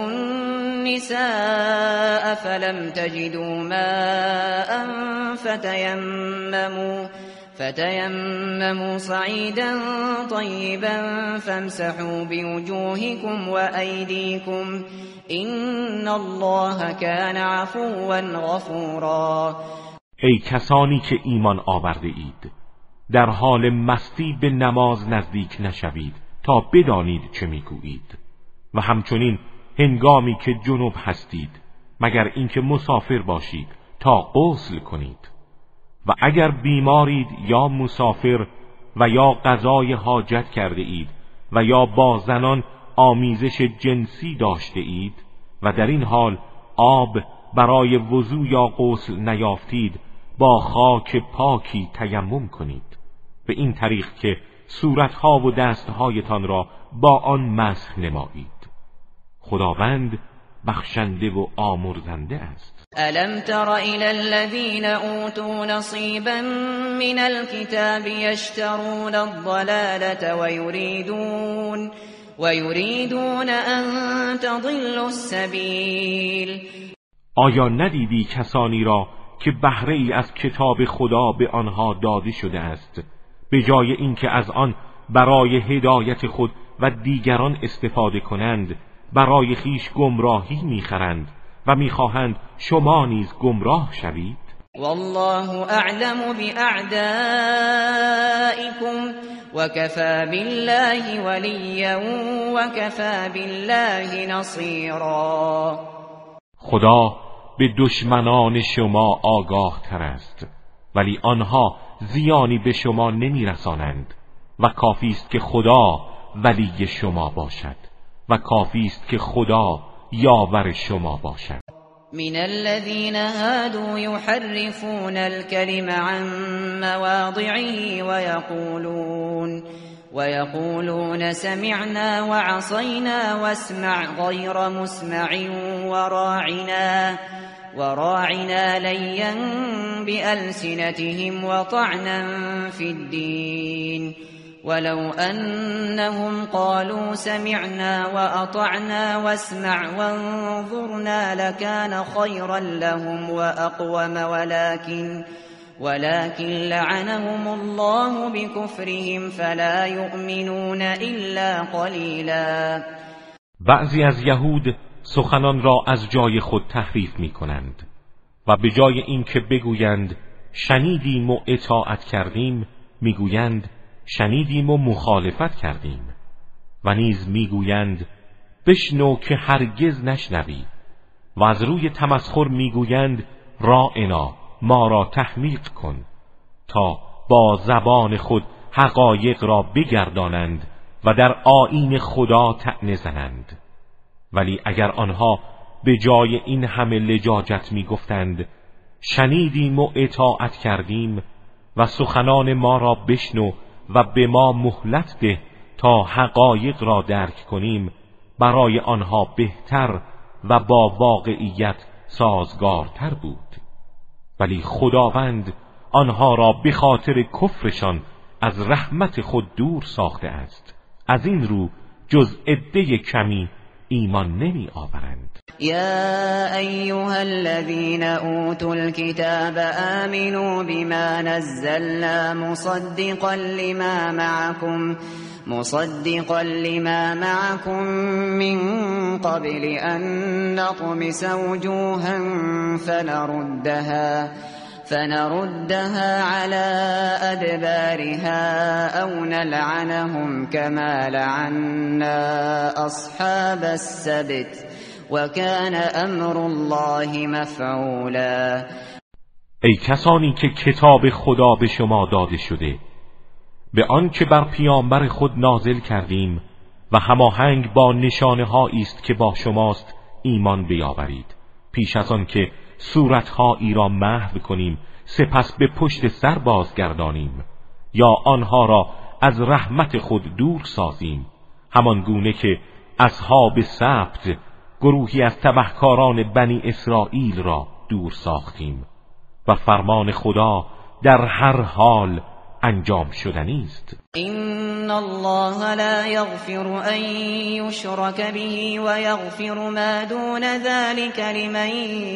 النساء فلم تجدوا ماء فتيمموا فتيمموا صعيدا طيبا فامسحوا بوجوهكم وأيديكم إن الله كان عفوا غفورا. ای کسانی که ایمان آورده اید در حال مستی به نماز نزدیک نشوید تا بدانید چه میگویید و همچنین هنگامی که جنوب هستید مگر اینکه مسافر باشید تا غسل کنید و اگر بیمارید یا مسافر و یا قضای حاجت کرده اید و یا با زنان آمیزش جنسی داشته اید و در این حال آب برای وضو یا غسل نیافتید با خاک پاکی تیمم کنید به این طریق که صورتها و دستهایتان را با آن مسح نمایید. خداوند بخشنده و آمرزنده است. ألم تر إلى الذين أوتوا نصيبا من الكتاب يشترون الضلالة ويريدون ويريدون أن تضلوا السبيل. آیا ندیدی کسانی را که بهره ای از کتاب خدا به آنها داده شده است به جای اینکه از آن برای هدایت خود و دیگران استفاده کنند برای خیش گمراهی میخرند و میخواهند شما نیز گمراه شوید؟ والله اعلم باعدائكم وكفى بالله وليا وكفى بالله نصيرا. خدا به دشمنان شما آگاه تر است ولی آنها زیانی به شما نمیرسانند و کافی است که خدا ولی شما باشد و کافی است که خدا یاور شما باشد. من الذين هادوا يحرفون الكلم عن مواضعه ويقولون ويقولون سمعنا وعصينا واسمع غير مسمع وراعنا وراعنا ليا بألسنتهم وطعنا في الدين ولو أنهم قالوا سمعنا وأطعنا واسمع وانظرنا لكان خيرا لهم وأقوم ولكن ولكن لعنهم الله بكفرهم فلا يؤمنون إلا قليلا. بعضی از یهود سخنان را از جای خود تحریف می کنند و به جای اینکه بگویند شنیدیم و اطاعت کردیم میگویند شنیدیم و مخالفت کردیم و نیز میگویند بشنو که هرگز نشنوی و از روی تمسخر میگویند راعنا ما را تحمیق کن تا با زبان خود حقایق را بگردانند و در آیین خدا طعنه زنند. ولی اگر آنها به جای این همه لجاجت می گفتند شنیدیم و اطاعت کردیم و سخنان ما را بشنو و به ما مهلت ده تا حقایق را درک کنیم، برای آنها بهتر و با واقعیت سازگارتر بود. ولی خداوند آنها را به خاطر کفرشان از رحمت خود دور ساخته است. از این رو جز عده کمی ایمان نمی آورند. یا ایها الذین اوتوا الكتاب آمنوا بما نزلنا مصدقا لما معكم مصدقا لما معكم من قبل أن نطمس وجوها فنردها فنردها على أدبارها أو نلعنهم كما لعنا أصحاب السبت وكان أمر الله مفعولا. ای کسانی که کتاب خدا به شما داده شده، به آن که بر پیامبر خود نازل کردیم و هماهنگ با نشانه هایی است که با شماست ایمان بیاورید، پیش از آن که صورتهایی را محو کنیم سپس به پشت سر بازگردانیم یا آنها را از رحمت خود دور سازیم، همان گونه که اصحاب سبت گروهی از تبهکاران بنی اسرائیل را دور ساختیم و فرمان خدا در هر حال انجام شدنی است. این الله لا یغفر ان یشرک به و یغفر ما دون ذلك لمن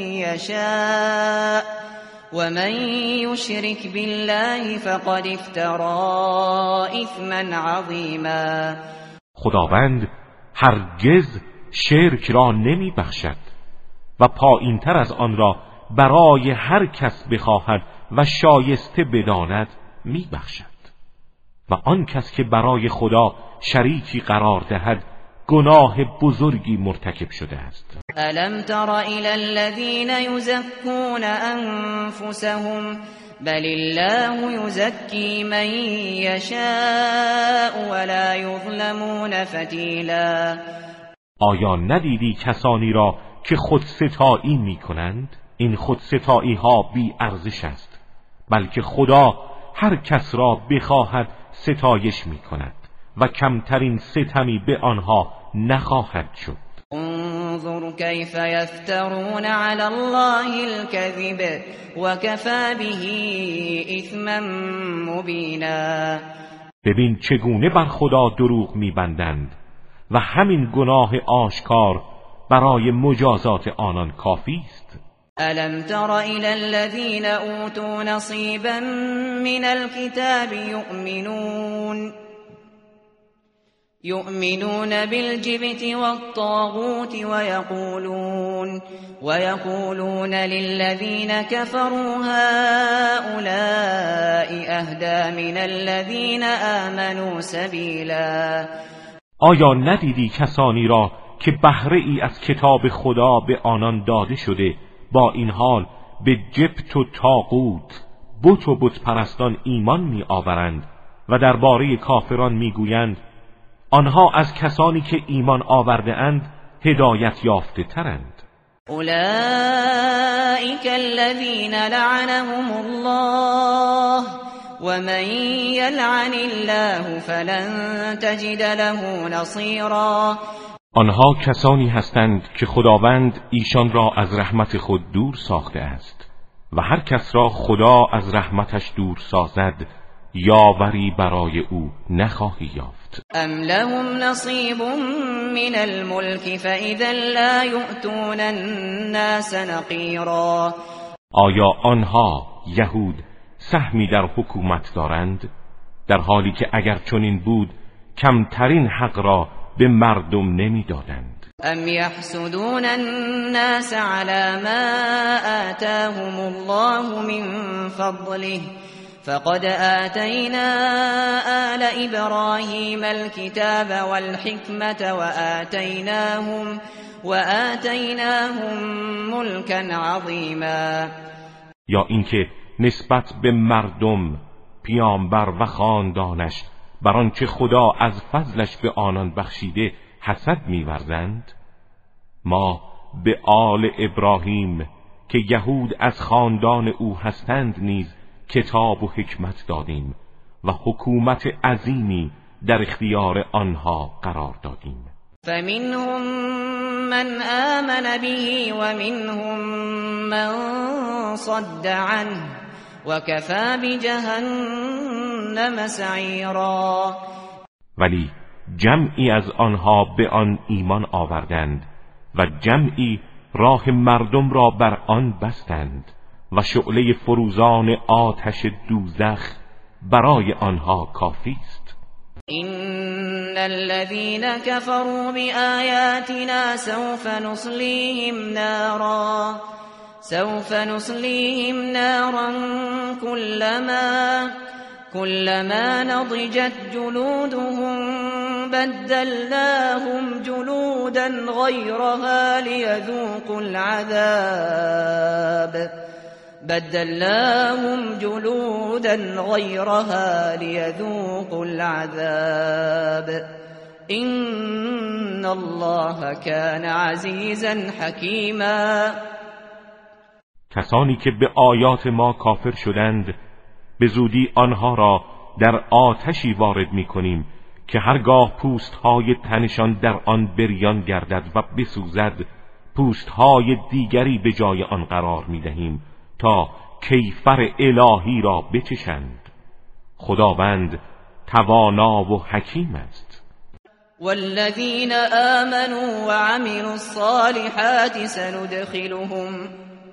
یشاء و من یشرک بالله فقد افترى اثما عظیما. خداوند هرگز شرک را نمی بخشد و پایین تر از آن را برای هر کس بخواهد و شایسته بداند می بخشد. و آن کس که برای خدا شریکی قرار دهد گناه بزرگی مرتکب شده است. الم تر الی الذین یزکون انفسهم بل الله یزکی من یشاء ولا یظلمون فتیلا. آیا ندیدی کسانی را که خودستایی می کنند؟ این خودستایی ها بی ارزش است، بلکه خدا هر کس را بخواهد ستایش می کند و کمترین ستمی به آنها نخواهد شد. انظر کیف یفترون علی الله الكذب و کفی به اثما مبینا. ببین چگونه بر خدا دروغ می بندند و همین گناه آشکار برای مجازات آنان کافی است. الم تر الی الذین اوتوا نصیبا من الكتاب یؤمنون یؤمنون بالجبت والطاغوت ويقولون ويقولون للذين كفروا هؤلاء اهدى من الذين آمنوا سبیلا. آیا ندیدی کسانی را که بهره ای از کتاب خدا به آنان داده شده با این حال به جبت و طاغوت بت و بت پرستان ایمان می آورند و درباره کافران می گویند آنها از کسانی که ایمان آورده اند هدایت یافته ترند. اولئک الذین لعنهم الله ومن یلعن الله فلن تجد له نصیرا. آنها کسانی هستند که خداوند ایشان را از رحمت خود دور ساخته است و هر کس را خدا از رحمتش دور سازد یاوری برای او نخواهی یافت. ام لهم نصیب من الملک فاذا لا یؤتون الناس نقیرا. آیا آنها یهود سهمی در حکومت دارند، در حالی که اگر چنین بود کمترین حق را به مردم نمیدادند. ام یحسدون الناس على ما آتاهم الله من فضله فقد آتینا آل ابراهیم الكتاب والحکمة وآتیناهم وآتیناهم ملکا عظیما. یا اینکه نسبت به مردم پیامبر و خاندانش بر آنچه خدا از فضلش به آنان بخشیده حسد می‌ورزند؟ ما به آل ابراهیم که یهود از خاندان او هستند نیز کتاب و حکمت دادیم و حکومت عظیمی در اختیار آنها قرار دادیم. فمنهم من آمن به ومنهم من صد عنه وكفى بجهنم سعیرا. ولی جمعی از آنها به آن ایمان آوردند و جمعی راه مردم را بر آن بستند و شعله فروزان آتش دوزخ برای آنها کافی است. إن الذين كفروا بآياتنا سوف نصليهم نارا سوف نصليهم نارا كلما كلما نضجت جلودهم بدلناهم جلودا غيرها ليذوقوا العذاب بدلناهم جلودا غيرها ليذوقوا العذاب إن الله كان عزيزا حكيما. کسانی که به آیات ما کافر شدند به زودی آنها را در آتشی وارد می کنیم که هرگاه پوستهای تنشان در آن بریان گردد و بسوزد پوستهای دیگری به جای آن قرار می دهیم تا کیفر الهی را بچشند. خداوند توانا و حکیم است. والذین آمنوا وعملوا الصالحات سندخلهم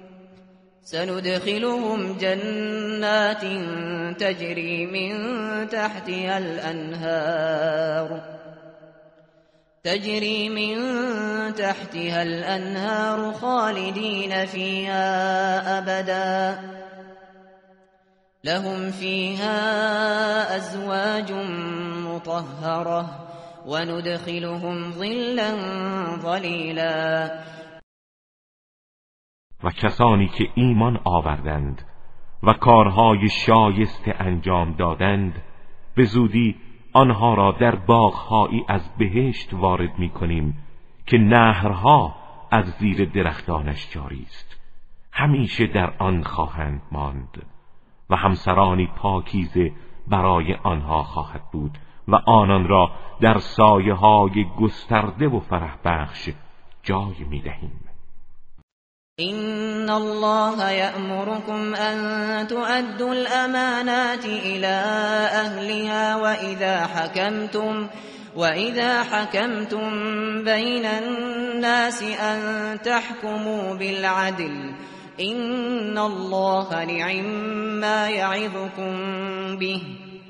سندخلهم جنات تجري من تحتها الأنهار تجري من تحتها الأنهار خالدين فيها أبدا لهم فيها أزواج مطهرة وندخلهم ظلا ظليلا. و کسانی که ایمان آوردند و کارهای شایسته انجام دادند به زودی آنها را در باغهایی از بهشت وارد می کنیم که نهرها از زیر درختانش جاری است، همیشه در آن خواهند ماند و همسرانی پاکیزه برای آنها خواهد بود و آنان را در سایه های گسترده و فرح بخش جای می دهیم. إن الله يأمركم أن تؤدوا الأمانات إلى أهلها وإذا حكمتم وإذا حكمتم بين الناس أن تحكموا بالعدل إن الله نعما يعظكم به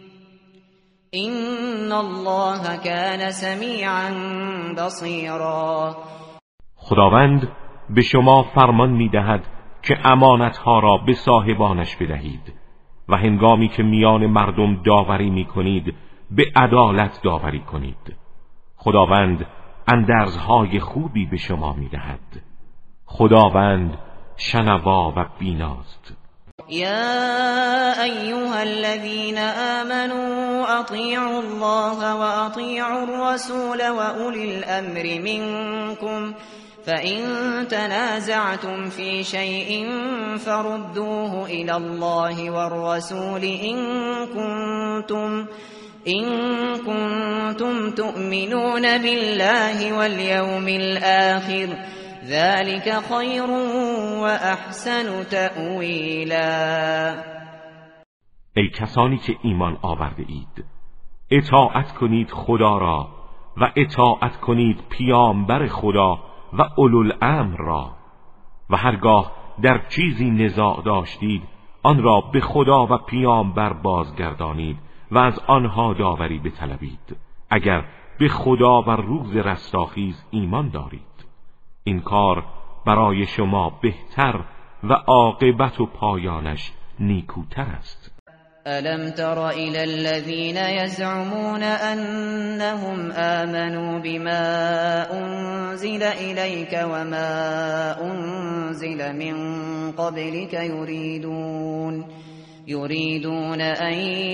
إن الله كان سميعا بصيرا. خداوند به شما فرمان می‌دهد که امانت‌ها را به صاحبانش بدهید و هنگامی که میان مردم داوری می‌کنید به عدالت داوری کنید. خداوند اندرزهای خوبی به شما می‌دهد. خداوند شنوا و بیناست. يا أيها الذين آمنوا أطيعوا الله وأطيعوا الرسول وأولي الأمر منكم فإن تنازعتم في شيء فردوه إلى الله والرسول إن كنتم إن كنتم تؤمنون بالله واليوم الآخر ذلك خير وأحسن تأویلا. ای کسانی که ایمان آورده اید اطاعت کنید خدا را و اطاعت کنید پیامبر خدا و اولوالامر را و هرگاه در چیزی نزاع داشتید آن را به خدا و پیامبر بازگردانید و از آنها داوری بطلبید اگر به خدا و روز رستاخیز ایمان دارید. این کار برای شما بهتر و عاقبت و پایانش نیکوتر است. ألم تر إلى الذين يزعمون أنهم آمنوا بما أنزل إليك وما أنزل من قبلك يريدون يريدون أن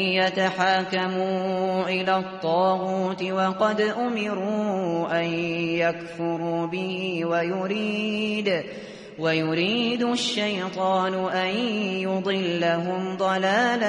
يتحاكموا إلى الطاغوت وقد أمروا أن يكفروا به ويريد ويريد الشيطان أن يضلهم ضلالا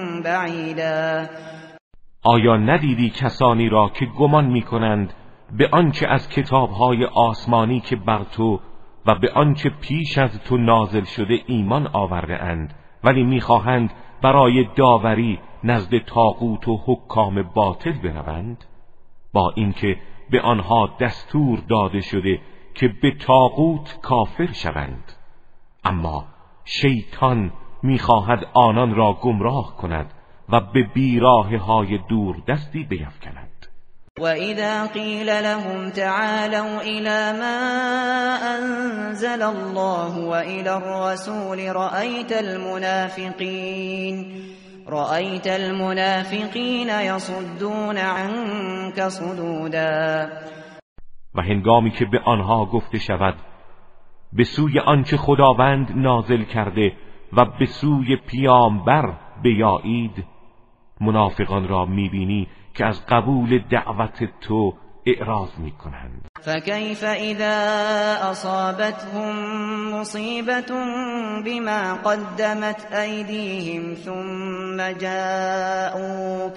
بعیدا. آیا ندیدی کسانی را که گمان می‌کنند به آنچه از کتاب‌های آسمانی که بر تو و به آنچه پیش از تو نازل شده ایمان آورده اند، ولی می‌خواهند برای داوری نزد طاغوت و حکام باطل بروند؟ با اینکه به آنها دستور داده شده که به طاغوت کافر شوند، اما شیطان می‌خواهد آنان را گمراه کند و به بیراهه‌های دور دستی بیفکند. وَإِذَا قِيلَ لَهُمْ تَعَالَوْا إِلَى مَا أَنزَلَ اللَّهُ وَإِلَى الرَّسُولِ رَأَيْتَ الْمُنَافِقِينَ رَأَيْتَ الْمُنَافِقِينَ يَصُدُّونَ عَنكَ صُدُودًا. و هنگامی که به آنها گفته شود به سوی آنچه خداوند نازل کرده و به سوی پیامبر بیایید، منافقان را میبینی که از قبول دعوت تو اعراض میکنند. فكيف اذا اصابتهم مصيبة بما قدمت ايديهم ثم جاءوك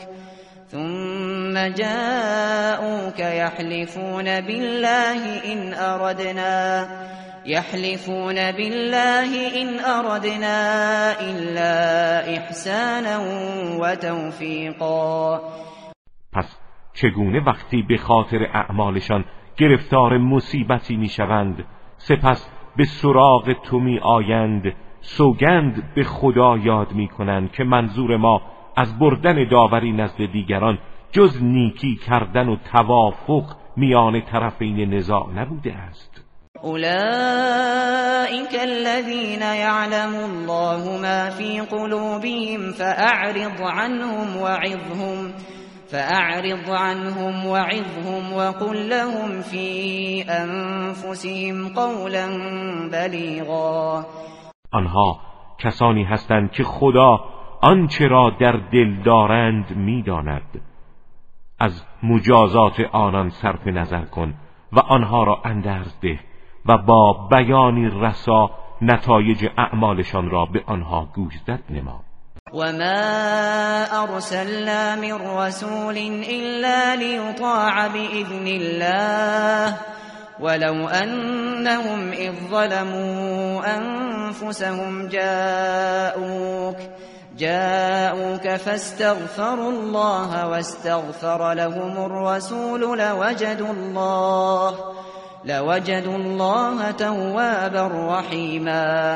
ثم جاءوك يحلفون بالله ان اردنا يحلفون بالله إن أردنا إلا إحسانا وتوفیقا. پس چگونه وقتی به خاطر اعمالشان گرفتار مصیبتی میشوند سپس به سراغ تو می آیند سوگند به خدا یاد می کنند که منظور ما از بردن داوری نزد دیگران جز نیکی کردن و توافق میان طرفین نزاع نبوده است. أولئك الذين يعلم الله ما في قلوبهم فأعرض عنهم وعظهم فأعرض عنهم وعظهم وقل لهم في أنفسهم قولا بلیغا. آنها کسانی هستند که خدا آنچه را در دل دارند می‌داند. از مجازات آنان صرف نظر کن و آنها را اندرز ده و با بیانی رسا نتایج اعمالشان را به آنها گوشزد نما. وما ارسلنا من رسول الا ليطاع باذن الله ولو انهم اذ ظلموا انفسهم جاءوك جاءوك فاستغفروا الله واستغفر لهم الرسول لوجدوا الله لوجدوا الله توابا رحیما.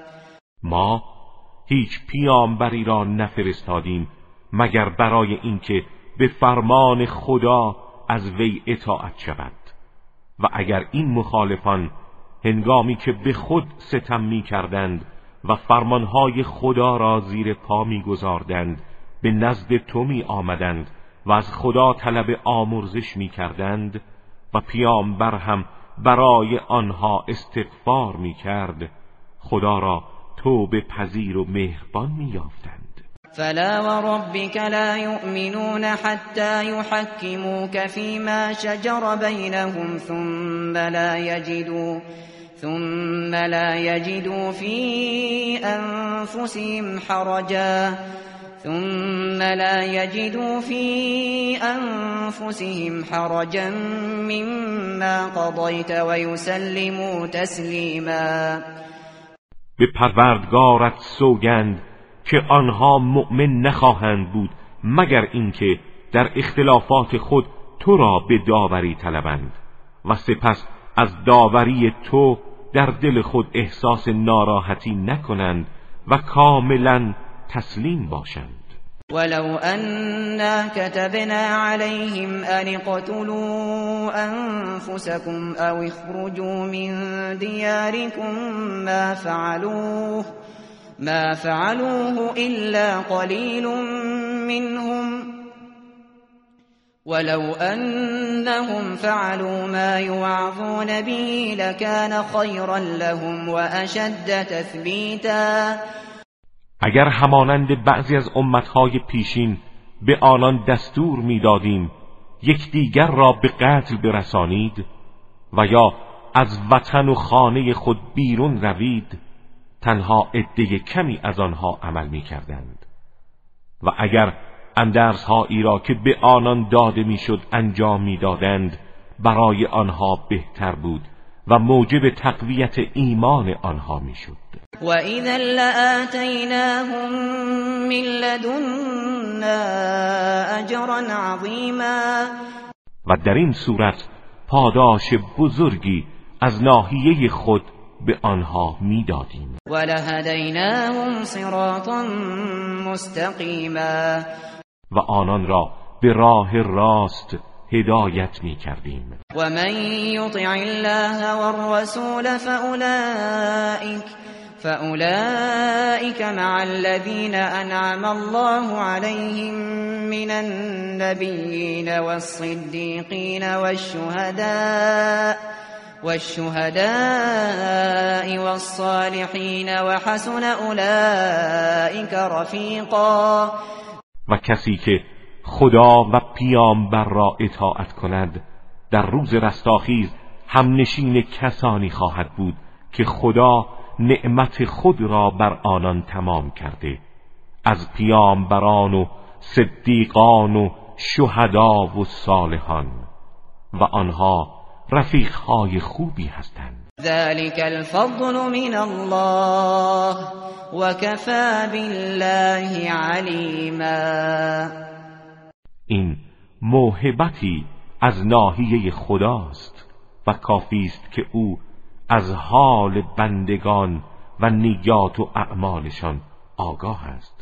ما هیچ پیامبری را نفرستادیم مگر برای اینکه به فرمان خدا از وی اطاعت شود و اگر این مخالفان هنگامی که به خود ستم می کردند و فرمانهای خدا را زیر پا می گذاردند به نزد تو می آمدند و از خدا طلب آمرزش می کردند و پیامبر هم برای آنها استغفار می کرد، خدا را توبه پذیر و مهربان می یافتند. فلا وربك لا يؤمنون حتى يحكموك فيما شجر بينهم ثم لا يجدوا ثم لا يجدوا في أنفسهم حرجا ثم لا يجدوا في أنفسهم حرجا مما قضيت ويسلموا تسلیما. به پروردگارت سوگند که آنها مؤمن نخواهند بود مگر اینکه در اختلافات خود تو را به داوری طلبند و سپس از داوری تو در دل خود احساس ناراحتی نکنند و کاملا تسلیم باشند. ولو أنا كتبنا عليهم أن اقتلوا أنفسكم أو اخرجوا من دياركم ما فعلوه ما فعلوه إلا قليل منهم ولو أنهم فعلوا ما يوعظون به لكان خيرا لهم وأشد تثبيتا. اگر همانند بعضی از امتهای پیشین به آنان دستور میدادیم یکدیگر را به قتل برسانید و یا از وطن و خانه خود بیرون روید، تنها عده کمی از آنها عمل میکردند. و اگر اندرزهایی را که به آنان داده میشد انجام میدادند برای آنها بهتر بود و موجب تقویت ایمان آنها میشد. و اذا لآتیناهم من لدنا اجرا عظیما، و در این صورت پاداش بزرگی از ناحیه خود به آنها میدادیم. و لهدیناهم صراطا مستقیما، و آنان را به راه راست هدایت می کردیم. و من یطع الله والرسول فاولئک فاولئک مع الذین انعم الله علیهم من النبیین والصدیقین والشهداء والشهداء والصالحین وحسن اولئک رفیقا، و کسی که خدا و پیامبر را اطاعت کند در روز رستاخیز همنشین کسانی خواهد بود که خدا نعمت خود را بر آنان تمام کرده، از پیامبران و صدیقان و شهدا و صالحان، و آنها رفیقهای خوبی هستند. ذلك الفضل من الله وكفى بالله علیما، این موهبتی از ناحیه خداست و کافی است که او از حال بندگان و نیات و اعمالشان آگاه است.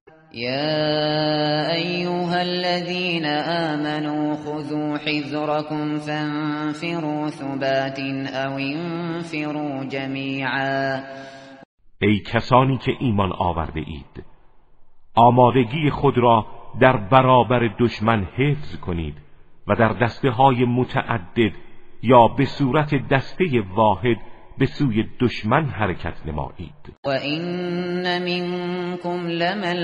یا ایها الذین آمنوا خذوا حذرکم فانفروا ثبات او انفروا جمیعا، ای کسانی که ایمان آورده اید، آمادگی خود را در برابر دشمن حفظ کنید و در دسته های متعدد یا به صورت دسته واحد به سوی دشمن حرکت نمایید. و این منکم لمن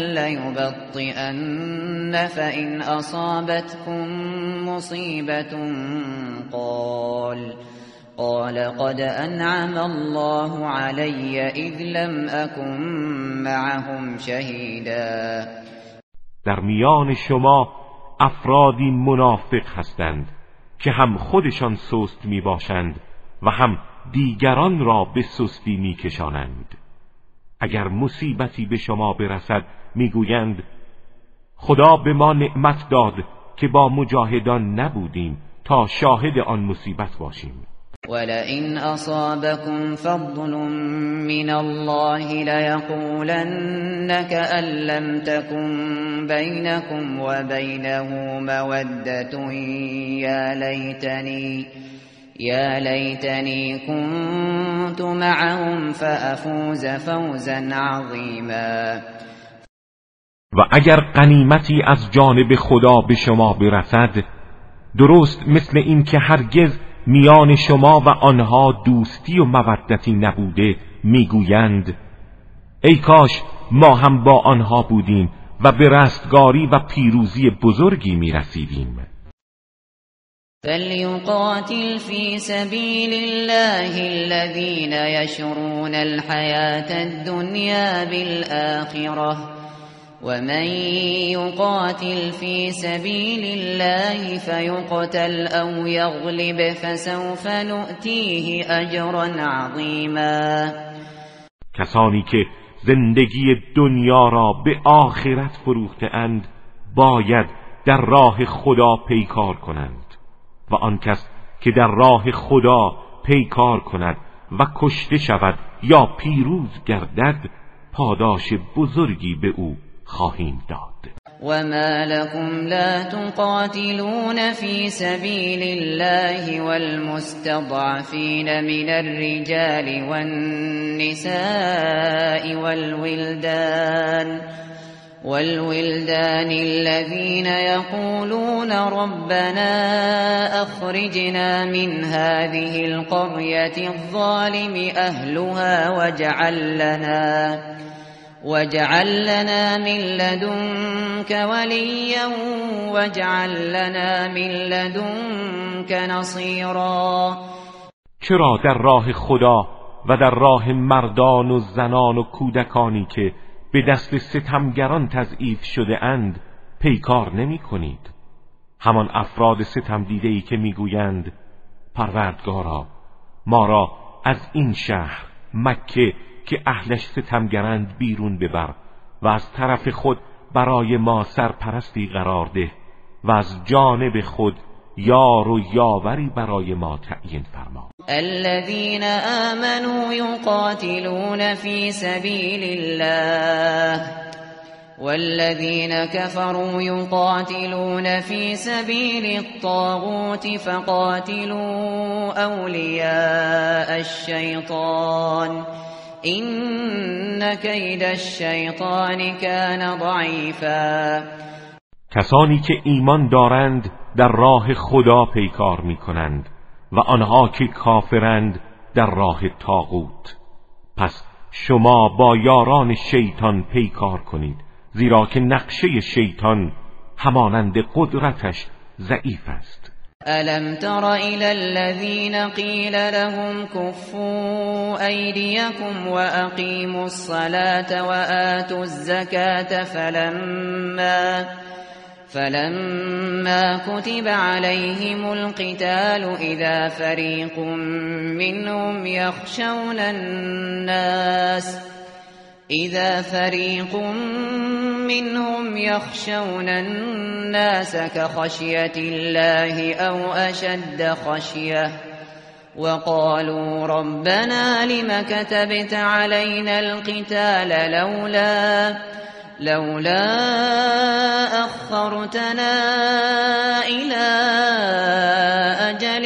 لیبطئن فإن اصابتكم مصیبت قال قال قد انعم الله علی اذ لم اکن معهم شهیدا، در میان شما افرادی منافق هستند که هم خودشان سست می باشند و هم دیگران را به سستی می کشانند. اگر مصیبتی به شما برسد می گویند خدا به ما نعمت داد که با مجاهدان نبودیم تا شاهد آن مصیبت باشیم. ولئن أصابكم فضل من الله ليقولن كأن لم تكن بينكم وبينه مودة يا ليتني يا ليتني كنت معهم فأفوز فوزا عظيما. و اگر غنیمتی از جانب خدا به شما برسد، درست مثل این که هرگز میان شما و آنها دوستی و مودتی نبوده، میگویند ای کاش ما هم با آنها بودیم و به رستگاری و پیروزی بزرگی میرسیدیم. فلیقاتل فی سبیل الله الذین یشرون الحیاة الدنیا بالآخرة ومن يقاتل في سبيل الله فيقتل أو يغلب فسوف نؤتيه أجرا عظيما. کسانی که زندگی دنیا را به آخرت فروخته اند باید در راه خدا پیکار کنند و آن کس که در راه خدا پیکار کند و کشته شود یا پیروز گردد پاداش بزرگی به او خواهیم داد. وما لكم لا تقاتلون في سبيل الله والمستضعفين من الرجال والنساء والولدان والولدان الذين يقولون ربنا أخرجنا من هذه القرية الظالم أهلها واجعل لنا واجعل لنا من لدنك وليا واجعل لنا من لدنك نصيرا. چرا در راه خدا و در راه مردان و زنان و کودکانی که به دست ستمگران تضعیف شده اند پیکار نمی کنید؟ همان افراد ستم دیده‌ای که میگویند پروردگارا ما را از این شهر مکه که اهلش ستمگرند بیرون ببر و از طرف خود برای ما سرپرستی قرار ده و از جانب خود یار و یاوری برای ما تعیین فرما. الذين آمنوا يقاتلون في سبيل الله والذين كفروا يقاتلون في سبيل الطاغوت فقاتلوا أولياء الشيطان إن كيد الشيطان كان ضعيفا. کسانی که ایمان دارند در راه خدا پیکار می کنند و آنها که کافرند در راه طاغوت، پس شما با یاران شیطان پیکار کنید، زیرا که نقشه شیطان همانند قدرتش ضعیف است. ألم تر إلى الذين قيل لهم كفوا أيديكم وأقيموا الصلاة وآتوا الزكاة فلما فلما كتب عليهم القتال إذا فريق منهم يخشون الناس إذا فريق منهم يخشون الناس كخشية الله أو أشد خشية وقالوا ربنا لم كتبت علينا القتال لولا لولا أخرتنا إلى أجل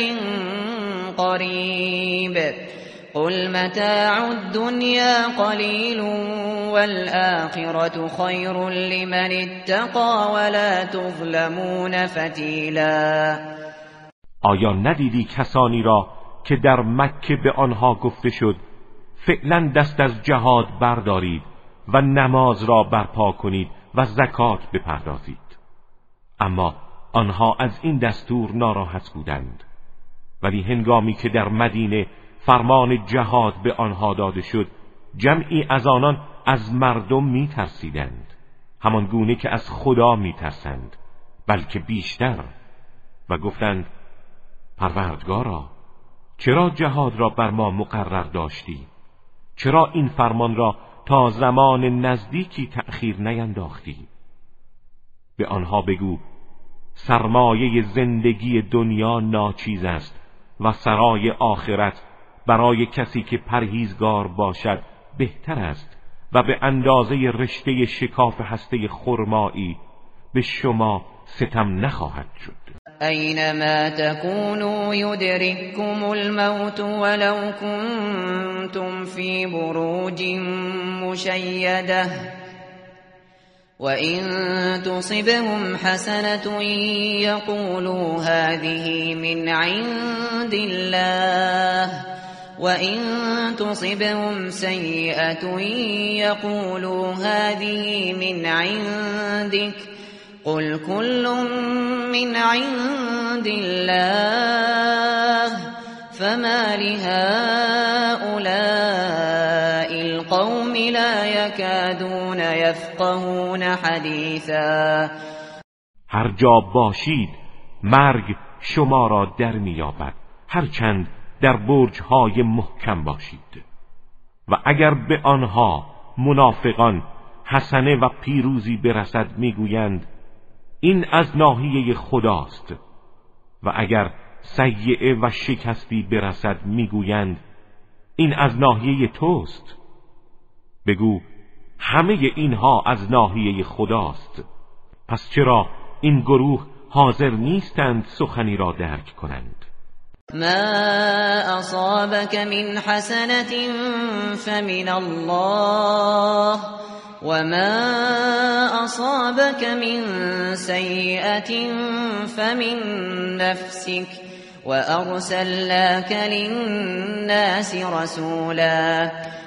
قريب قل متاع الدنيا قليل والآخرة خير لمن اتقى ولا تظلمون فتیلا. آیا ندیدی کسانی را که در مکه به آنها گفته شد فعلا دست از جهاد بردارید و نماز را برپا کنید و زکات بپردازید؟ اما آنها از این دستور ناراحت بودند. ولی هنگامی که در مدینه فرمان جهاد به آنها داده شد، جمعی از آنان از مردم می ترسیدند، همان گونه که از خدا می ترسند، بلکه بیشتر، و گفتند پروردگارا چرا جهاد را بر ما مقرر داشتی؟ چرا این فرمان را تا زمان نزدیکی تأخیر نینداختی؟ به آنها بگو سرمایه زندگی دنیا ناچیز است و سرای آخرت برای کسی که پرهیزگار باشد بهتر است و به اندازه رشته شکاف هسته خرمایی به شما ستم نخواهد شد. اینما تکونوا یدرککم الموت ولو کنتم فی بروج مشیده وَإِن تُصِبْهُمْ حَسَنَةٌ يَقُولُوا هَذِهِ مِنْ عِندِ اللَّهِ وَإِن تُصِبْهُمْ سَيِّئَةٌ يَقُولُوا هَذِهِ مِنْ عِندِكَ قُلْ كُلٌّ مِنْ عِندِ اللَّهِ فَمَا لِهَؤُلَاءِ الْقَوْمِ لَا يَكَادُونَ يَفْقَهُونَ حَدِيثًا. هر جا باشید مرگ شما را در می‌یابد، هرچند در برج‌های محکم باشید. و اگر به آنها منافقان حسنه و پیروزی برسد میگویند این از ناحیه خداست، و اگر سیئه و شکستی برسد میگویند این از ناحیه توست. بگو همه اینها از ناحیه خداست، پس چرا این گروه حاضر نیستند سخنی را درک کنند؟ ما اصابك من حسنة فمن الله وما اصابك من سيئة فمن نفسك وأرسلناك للناس رسولا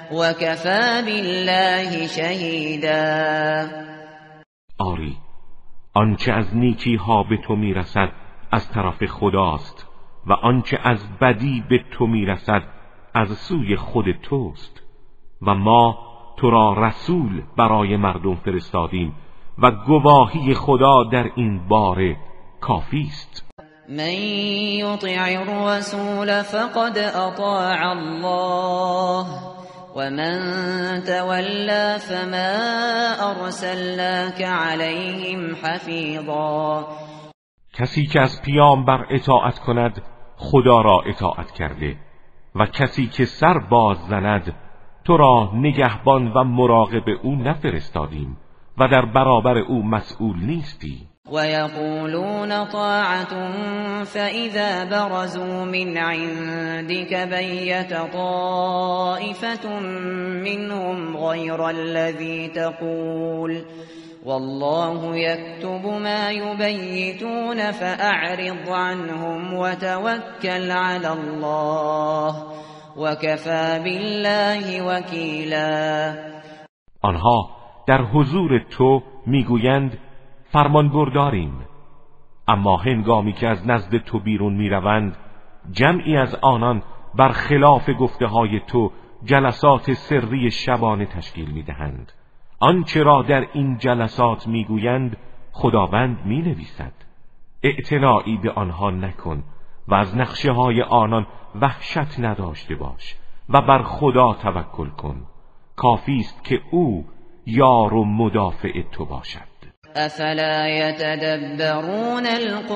وكفى بالله شهیدا. آری، آنچه از نیکی ها به تو میرسد از طرف خداست و آنچه از بدی به تو میرسد از سوی خود توست و ما تو را رسول برای مردم فرستادیم و گواهی خدا در این باره کافی است. من یطع الرسول فقد اطاع الله ومن تولى فما ارسلناك عليهم حفیظا. کسی که از پیامبر اطاعت کند خدا را اطاعت کرده و کسی که سر باز زند تو را نگهبان و مراقب او نفرستادیم و در برابر او مسئول نیستی. وَيَقُولُونَ طَاعَةٌ فَإِذَا بَرَزُوا مِنْ عِنْدِكَ بَيَّتَ طَائِفَةٌ مِّنْهُمْ غَيْرَ الَّذِي تَقُولُ وَاللَّهُ يَكْتُبُ مَا يُبَيِّتُونَ فَأَعْرِضْ عَنْهُمْ وَتَوَكَّلْ عَلَى اللَّهِ وَكَفَى بِاللَّهِ وَكِيلًا. آنها در حضور تو میگویند فرمان برداریم، اما هنگامی که از نزد تو بیرون میروند جمعی از آنان برخلاف گفته های تو جلسات سری شبانه تشکیل میدهند. آنچه را در این جلسات میگویند خداوند مینویسد. اعتنایی به آنها نکن و از نقشه های آنان وحشت نداشته باش و بر خدا توکل کن. کافی است که او یار و مدافع تو باشد. افلا يتدبرون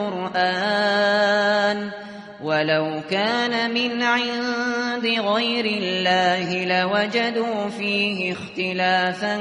القرآن ولو كان من عند غير الله لوجدوا فيه اختلافا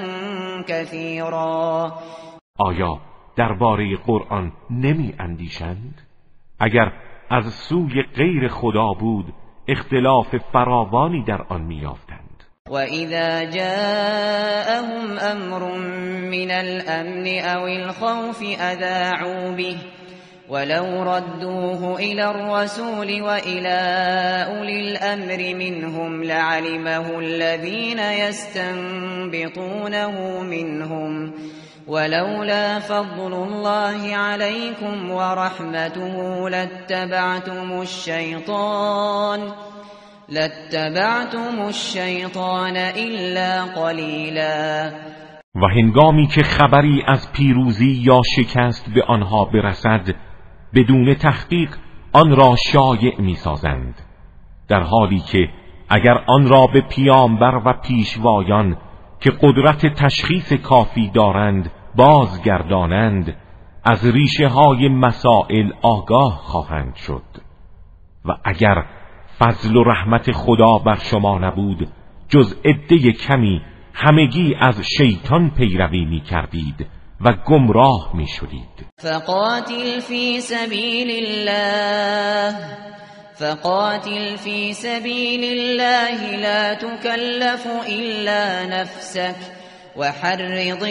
كثيرا. آیا درباره قرآن نمی اندیشند؟ اگر از سوی غیر خدا بود اختلاف فراوانی در آن می یافتند. وَإِذَا جَاءَهُمْ أَمْرٌ مِّنَ الْأَمْنِ أَوِ الْخَوْفِ أَذَاعُوا بِهِ وَلَوْ رَدُّوهُ إِلَى الرَّسُولِ وَإِلَى أُولِي الْأَمْرِ مِنْهُمْ لَعَلِمَهُ الَّذِينَ يَسْتَنبِطُونَهُ مِنْهُمْ وَلَوْلَا فَضْلُ اللَّهِ عَلَيْكُمْ وَرَحْمَتُهُ لَاتَّبَعْتُمُ الشَّيْطَانَ لَاتَّبَعْتُمُ الشَّيْطَانَ إِلَّا قَلِيلًا. و هنگامی که خبری از پیروزی یا شکست به آنها برسد بدون تحقیق آن را شایع می‌سازند، در حالی که اگر آن را به پیامبر و پیشوایان که قدرت تشخیص کافی دارند بازگردانند از ریشه های مسائل آگاه خواهند شد. و اگر فضل و رحمت خدا بر شما نبود جز عده کمی همگی از شیطان پیروی می کردید و گمراه می شدید. فقاتل فی سبیل الله فقاتل فی سبیل الله لا تکلف الا نفسك وحرض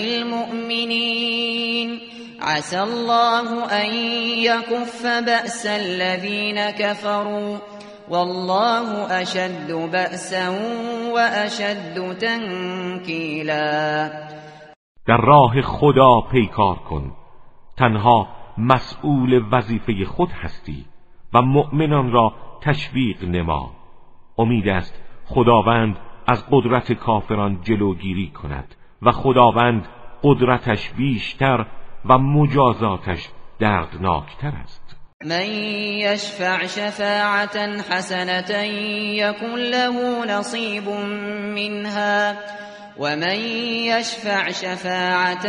المؤمنین عسى الله ان يكف بأس الذين كفروا والله اشد بأسا و اشد تنکیلا. در راه خدا پیکار کن، تنها مسئول وظیفه خود هستی و مؤمنان را تشویق نما. امید است خداوند از قدرت کافران جلوگیری کند و خداوند قدرتش بیشتر و مجازاتش دردناکتر است. من يشفع شفاعة حسنة يكن له نصيب منها ومن يشفع شفاعة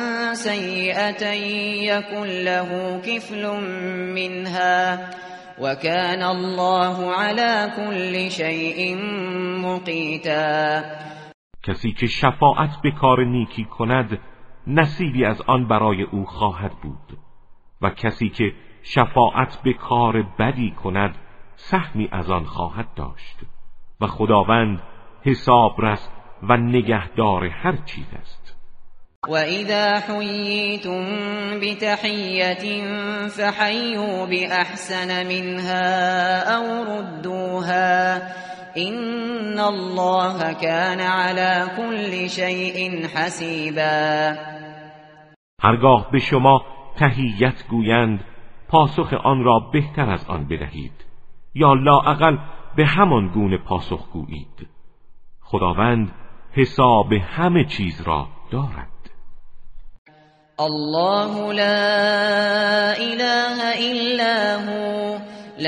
سيئة يكن له كفل منها وكان الله على كل شيء مقيتا. کسی که شفاعت به کار نیکی کند نصیبی از آن برای او خواهد بود و کسی که شفاعت به کار بدی کند سهمی از آن خواهد داشت و خداوند حسابرس و نگهدار هر چیز است. و اذا حییتم بتحیة فحیوا باحسن منها او ردوها إن الله كان على كل شيء حسیبا. هرگاه به شما تحیت گویند پاسخ آن را بهتر از آن بدهید یا لااقل به همان گونه پاسخ گویید. خداوند حساب همه چیز را دارد. الله لا اله الا هو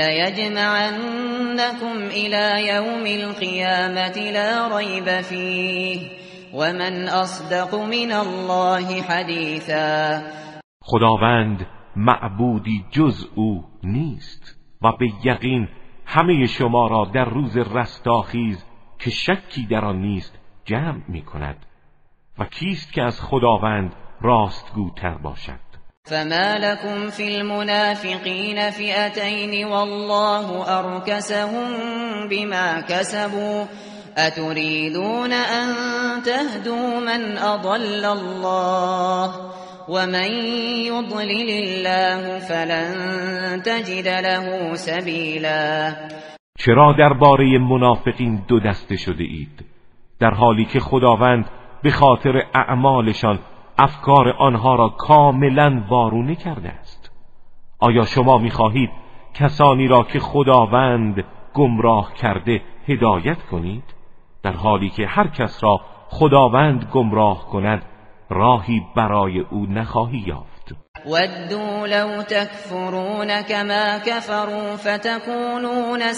ليجمعنكم الى يوم القيامة لا ريب فيه ومن اصدق من الله حدیثا. خداوند معبودی جز او نیست و به یقین همه شما را در روز رستاخیز که شکی در آن نیست جمع می کند. و کیست که از خداوند راستگوتر باشد؟ فما لكم في المنافقين فئتين والله أركسهم بما كسبوا أتريدون أن تهدوا من أضل الله ومن يضلل الله فلن تجد له سبيلا. چرا درباره منافقین دو دسته شده اید در حالی که خداوند به خاطر اعمالشان افکار آنها را کاملا وارونه کرده است؟ آیا شما می‌خواهید کسانی را که خداوند گمراه کرده هدایت کنید در حالی که هر کس را خداوند گمراه کند راهی برای او نخواهی یافت؟ ودوا لو تكفرون كما كفروا فتكونون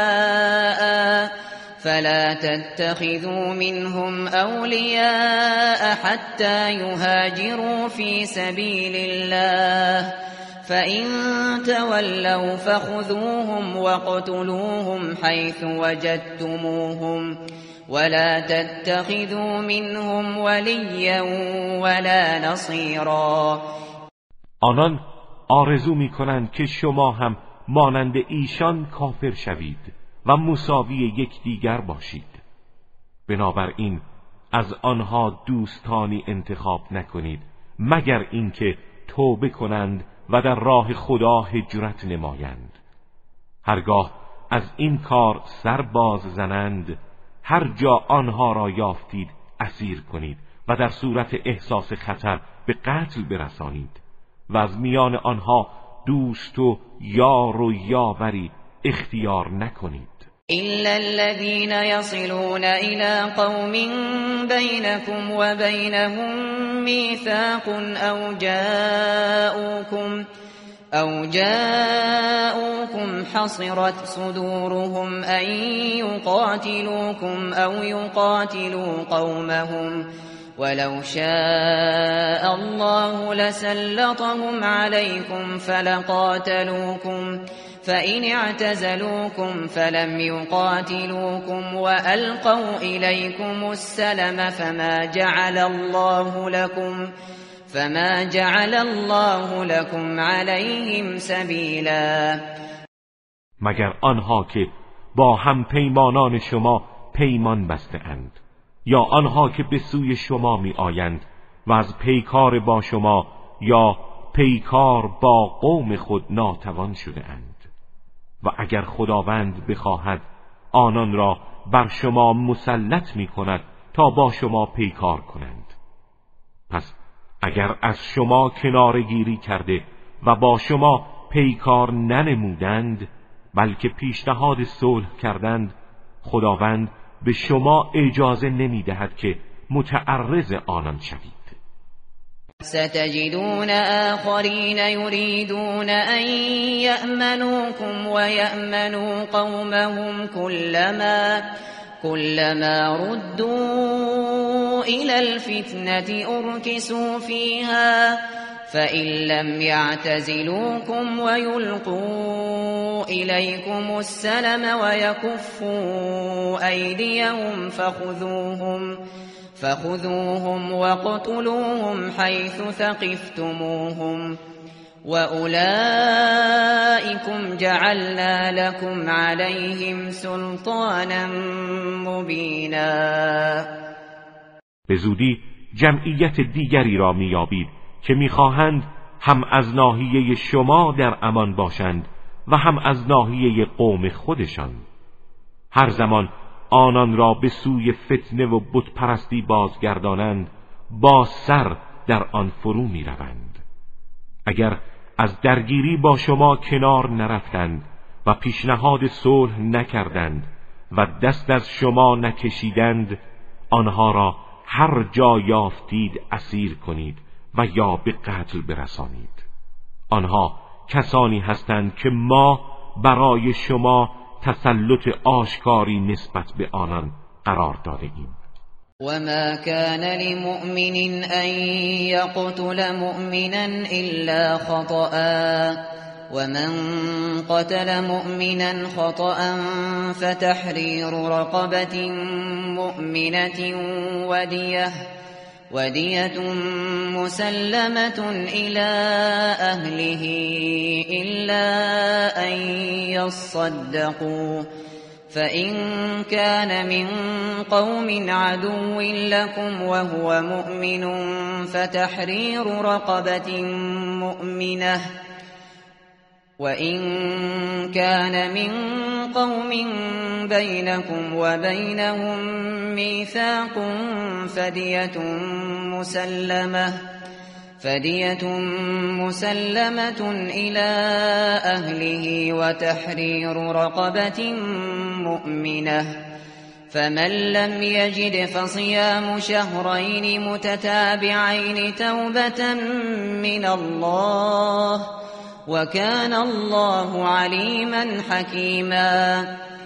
سواء فلا تتخذوا منهم أولياء حتى يهاجروا في سبيل الله فإن تولوا فخذوهم واقتلوهم حيث وجدتموهم ولا تتخذوا منهم وليا ولا نصيرا. آنان آرزو می‌کنند که شما هم مانند ایشان کافر شوید و مساوی یکدیگر باشید. بنابراین از آنها دوستانی انتخاب نکنید مگر اینکه توبه کنند و در راه خدا هجرت نمایند. هرگاه از این کار سر باز زنند هر جا آنها را یافتید اسیر کنید و در صورت احساس خطر به قتل برسانید و از میان آنها دوست و یار و یاوری اختیار نکنید. إلا الذين يصلون إلى قوم بينكم وبينهم ميثاق أو جاءوكم أو جاءوكم حصرت صدورهم أن يقاتلوكم أو يقاتلوا قومهم ولو شاء الله لسلطهم عليكم فلقاتلوكم فإن اعتزلوكم فلم يقاتلوكم وألقوا إليكم السلم فما جعل الله لكم فما جعل الله لكم عليهم سبيلا. مگر آنها که با هم پیمانان شما پیمان بسته اند یا آنها که به سوی شما می آیند و از پیکار با شما یا پیکار با قوم خود ناتوان شده اند و اگر خداوند بخواهد آنان را بر شما مسلط می کند تا با شما پیکار کنند. پس اگر از شما کنارگیری کرده و با شما پیکار ننمودند بلکه پیشنهاد صلح کردند خداوند به شما اجازه نمی دهد که متعرض آنان شوید. ستجدون آخرین یریدون ان یأمنوکم و یأمنوا قومهم كلما كلما ردوا الى الفتنة اركسوا فيها فإن لم يعتزلوكم ويلقوا إليكم السلم ويكفوا أيديهم فخذوهم فخذوهم واقتلوهم حيث ثقفتموهم وأولئكم جعلنا لكم عليهم سلطانا مبینا. به زودی جمعیت دیگری را میابید که میخواهند هم از ناحیه شما در امان باشند و هم از ناحیه قوم خودشان. هر زمان آنان را به سوی فتنه و بت پرستی بازگردانند با سر در آن فرو می روند. اگر از درگیری با شما کنار نرفتند و پیشنهاد صلح نکردند و دست از شما نکشیدند، آنها را هر جا یافتید اسیر کنید و یا به قتل برسانید. آنها کسانی هستند که ما برای شما تسلط آشکاری نسبت به آنان قرار داده ایم. وما كان لمؤمن أن يقتل مؤمنا إلا خطأ ومن قتل مؤمنا خطأ فتحرير رقبة مؤمنة ودية ودية مسلمة إلى أهله إلا أن يصدقوا فإن كان من قوم عدو لكم وهو مؤمن فتحرير رقبة مؤمنة وإن كان من قوم بينكم وبينهم ميثاق فدية مسلمة فدية مسلمة إلى أهله وتحرير رقبة مؤمنة فمن لم يجد فصيام شهرين متتابعين توبة من الله وكان الله عليما حكيما.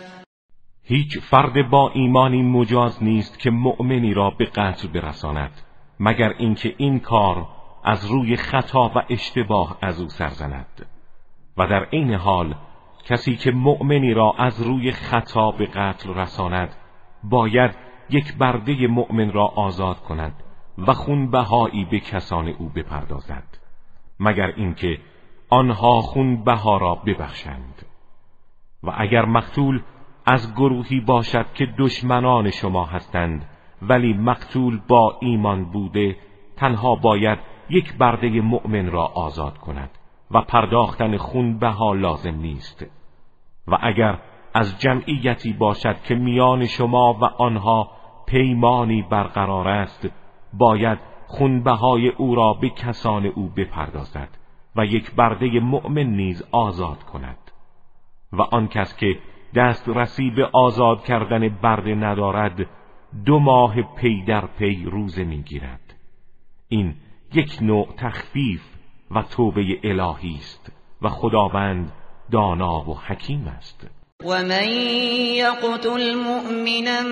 هیچ فرد با ایمانی مجاز نیست که مؤمنی را به قتل برساند مگر اینکه این کار از روی خطا و اشتباه از او سرزند، و در این حال کسی که مؤمنی را از روی خطا به قتل رساند باید یک برده مؤمن را آزاد کند و خونبهایی به کسان او بپردازد مگر اینکه آنها خونبها را ببخشند. و اگر مقتول از گروهی باشد که دشمنان شما هستند ولی مقتول با ایمان بوده، تنها باید یک برده مؤمن را آزاد کند و پرداختن خونبها لازم نیست. و اگر از جمعیتی باشد که میان شما و آنها پیمانی برقرار است، باید خونبهای او را به کسان او بپردازد و یک برده مؤمن نیز آزاد کند. و آن کس که دسترسی به آزاد کردن برده ندارد دو ماه پی در پی روزه میگیرد. این یک نوع تخفیف و توبه الهی است و خداوند دانا و حکیم است. ومن يقتل مؤمنا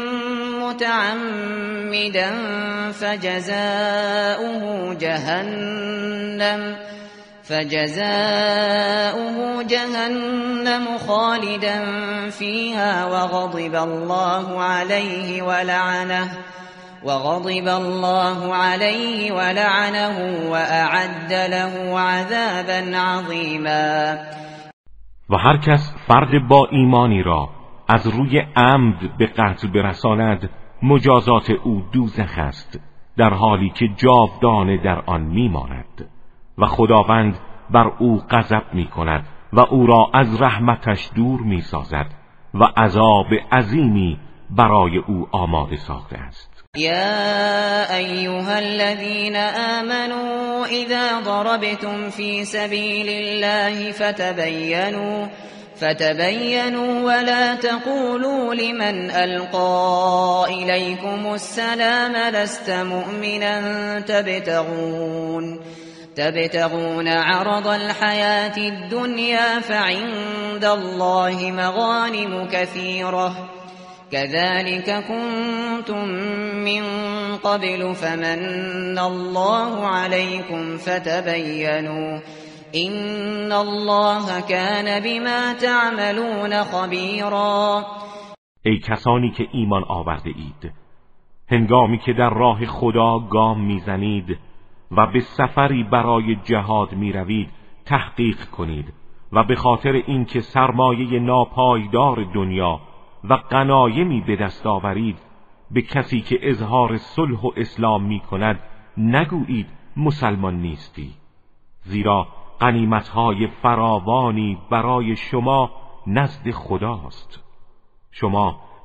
متعمدا فجزاؤه جهنم فجزاؤه جهنم خالدا فيها وغضب الله عليه ولعنه وغضب الله عليه ولعنه وأعد له عذابا عظيما. و هر کس فرد با ایمانی را از روی عمد به قتل برساند، مجازات او دوزخ است، در حالی که جاودانه در آن میماند و خداوند بر او غضب میکند و او را از رحمتش دور میسازد و عذاب عظیمی برای او آماده ساخته است. يا أيها الذين آمنوا إذا ضربتم في سبيل الله فتبينوا فتبينوا ولا تقولوا لمن ألقى إليكم السلام لست مؤمنا تبتغون تبتغون عرض الحياة الدنيا فعند الله مغانم كثيرة كذلك كنتم من قبل فمن الله عليكم فتبينوا إن الله كان بما تعملون خبيرا. ای کسانی که ایمان آورده اید، هنگامی که در راه خدا گام میزنید و به سفری برای جهاد میروید تحقیق کنید و به خاطر اینکه سرمایه ناپایدار دنیا و غنایمی به دست آورید به کسی که اظهار صلح و اسلام می کند نگویید مسلمان نیستی، زیرا غنیمت‌های فراوانی برای شما نزد خداست. شما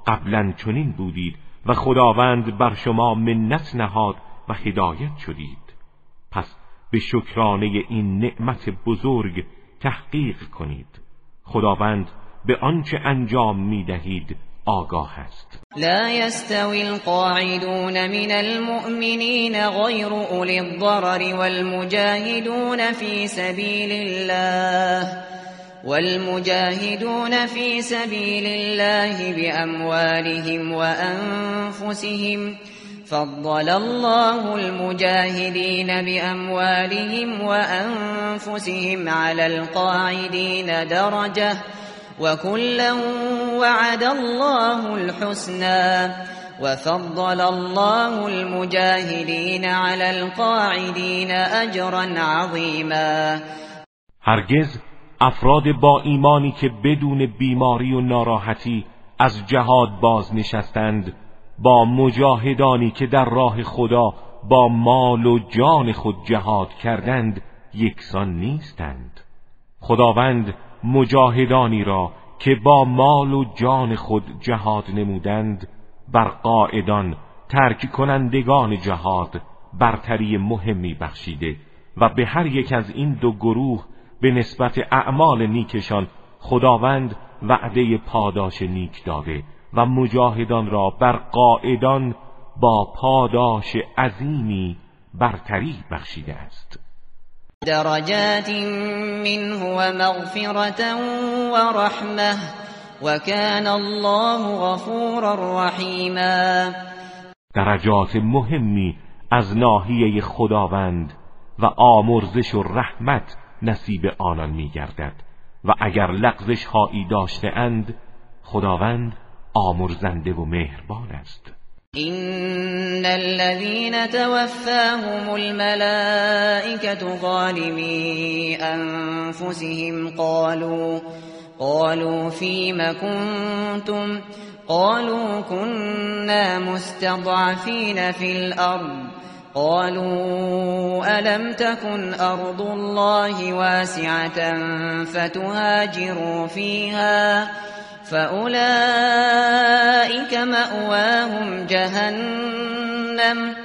قبلا چنین بودید و خداوند بر شما منت نهاد و هدایت شدید. پس به شکرانه این نعمت بزرگ تحقیق کنید. خداوند به آنچه انجام می‌دهید آگاه است. لا يستوي القاعدون من المؤمنين غير أولي الضرر والمجاهدون في سبيل الله والمجاهدون في سبيل الله بأموالهم وأنفسهم فضل الله المجاهدين بأموالهم وأنفسهم على القاعدين درجة وكلا وعد الله الحسنى وفضل الله المجاهدين على القاعدين أجرا عظيما. هرگز افراد با ایمانی که بدون بیماری و ناراحتی از جهاد باز نشستند با مجاهدانی که در راه خدا با مال و جان خود جهاد کردند یکسان نیستند. خداوند مجاهدانی را که با مال و جان خود جهاد نمودند بر قاعدان ترک کنندگان جهاد برتری مهمی بخشیده و به هر یک از این دو گروه به نسبت اعمال نیکشان خداوند وعده پاداش نیک داده و مجاهدان را بر قاعدان با پاداش عظیمی برتری بخشیده است. درجات منه ومغفرة ورحمة وكان الله غفورا رحیما. درجات مهمی از ناحیه خداوند و آمرزش و رحمت نصیب آنان می‌گردد و اگر لغزش هایی داشته اند خداوند آمرزنده و مهربان است. إن الذين توفاهم الملائكة ظالمي أنفسهم قالوا قالوا فيم كنتم قالوا كنا مستضعفين في الأرض قالوا ألم تكن أرض الله واسعة فتهاجروا فيها فأولئك مأواهم جهنم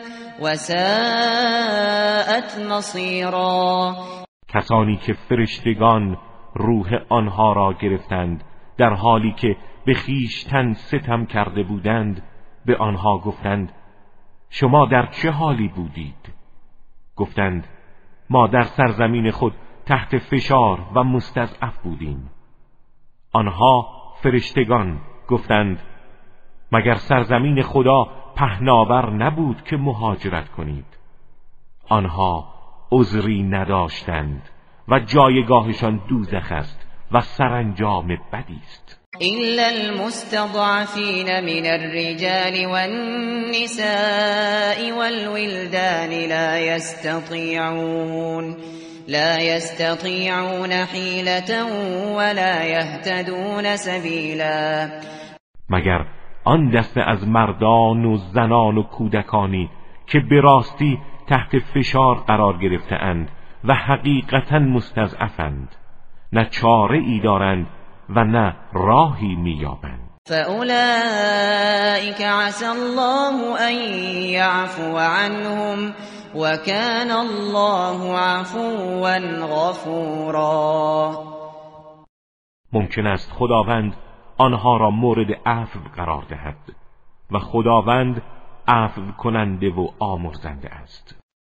وساءت مصيرا. کسانی که فرشتگان روح آنها را گرفتند در حالی که به خویشتن ستم کرده بودند به آنها گفتند شما در چه حالی بودید؟ گفتند ما در سرزمین خود تحت فشار و مستضعف بودیم. آنها فرشتگان گفتند مگر سرزمین خدا پهناور نبود که مهاجرت کنید؟ آنها عذری نداشتند و جایگاهشان دوزخ است و سرانجام بدی است. إلا المستضعفين من الرجال والنساء والولدان لا يستطيعون لا يستطيعون حيلة ولا يهتدون سبيلا. مگر آن دسته از مردان و زنان و کودکانی که به راستی تحت فشار قرار گرفته اند و حقیقتا مستضعفند نه چاره ای دارند و نه راهی میابند. فأولئك عسى الله أن يعفو عنهم وكان الله عفوا غفورا. ممکن است خداوند آنها را مورد عفو قرار دهد و خداوند عفو کننده و آمرزنده است.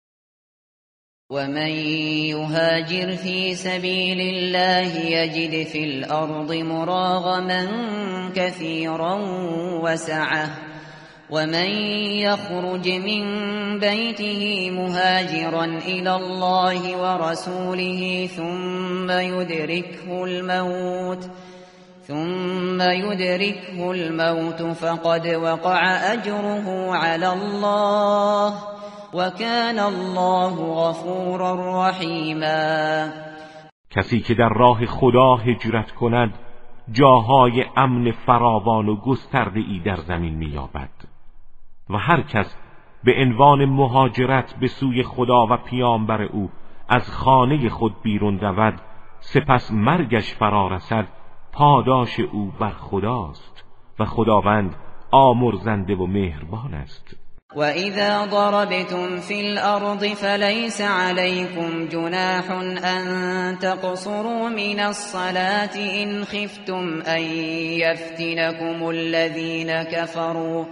ومن يهاجر في سبيل الله يجد في الأرض مراغما كثيرا وسعة ومن يخرج من بيته مهاجرا إلى الله ورسوله ثم يدركه الموت ثم يدركه الموت فقد وقع أجره على الله وكان الله غفورا رحیما. کسی که در راه خدا هجرت کند جاهای امن فراوان و گسترده ای در زمین می‌یابد و هر کس به عنوان مهاجرت به سوی خدا و پیامبر او از خانه خود بیرون رود سپس مرگش فرا رسد پاداش او بر خداست و خداوند آمرزنده و مهربان است. وَإِذَا ضَرَبْتُمْ فِي الْأَرْضِ فَلَيْسَ عَلَيْكُمْ جُنَاحٌ أَن تَقْصُرُوا مِنَ الصَّلَاةِ إِنْ خِفْتُمْ أَن يَفْتِنَكُمُ الَّذِينَ كَفَرُوا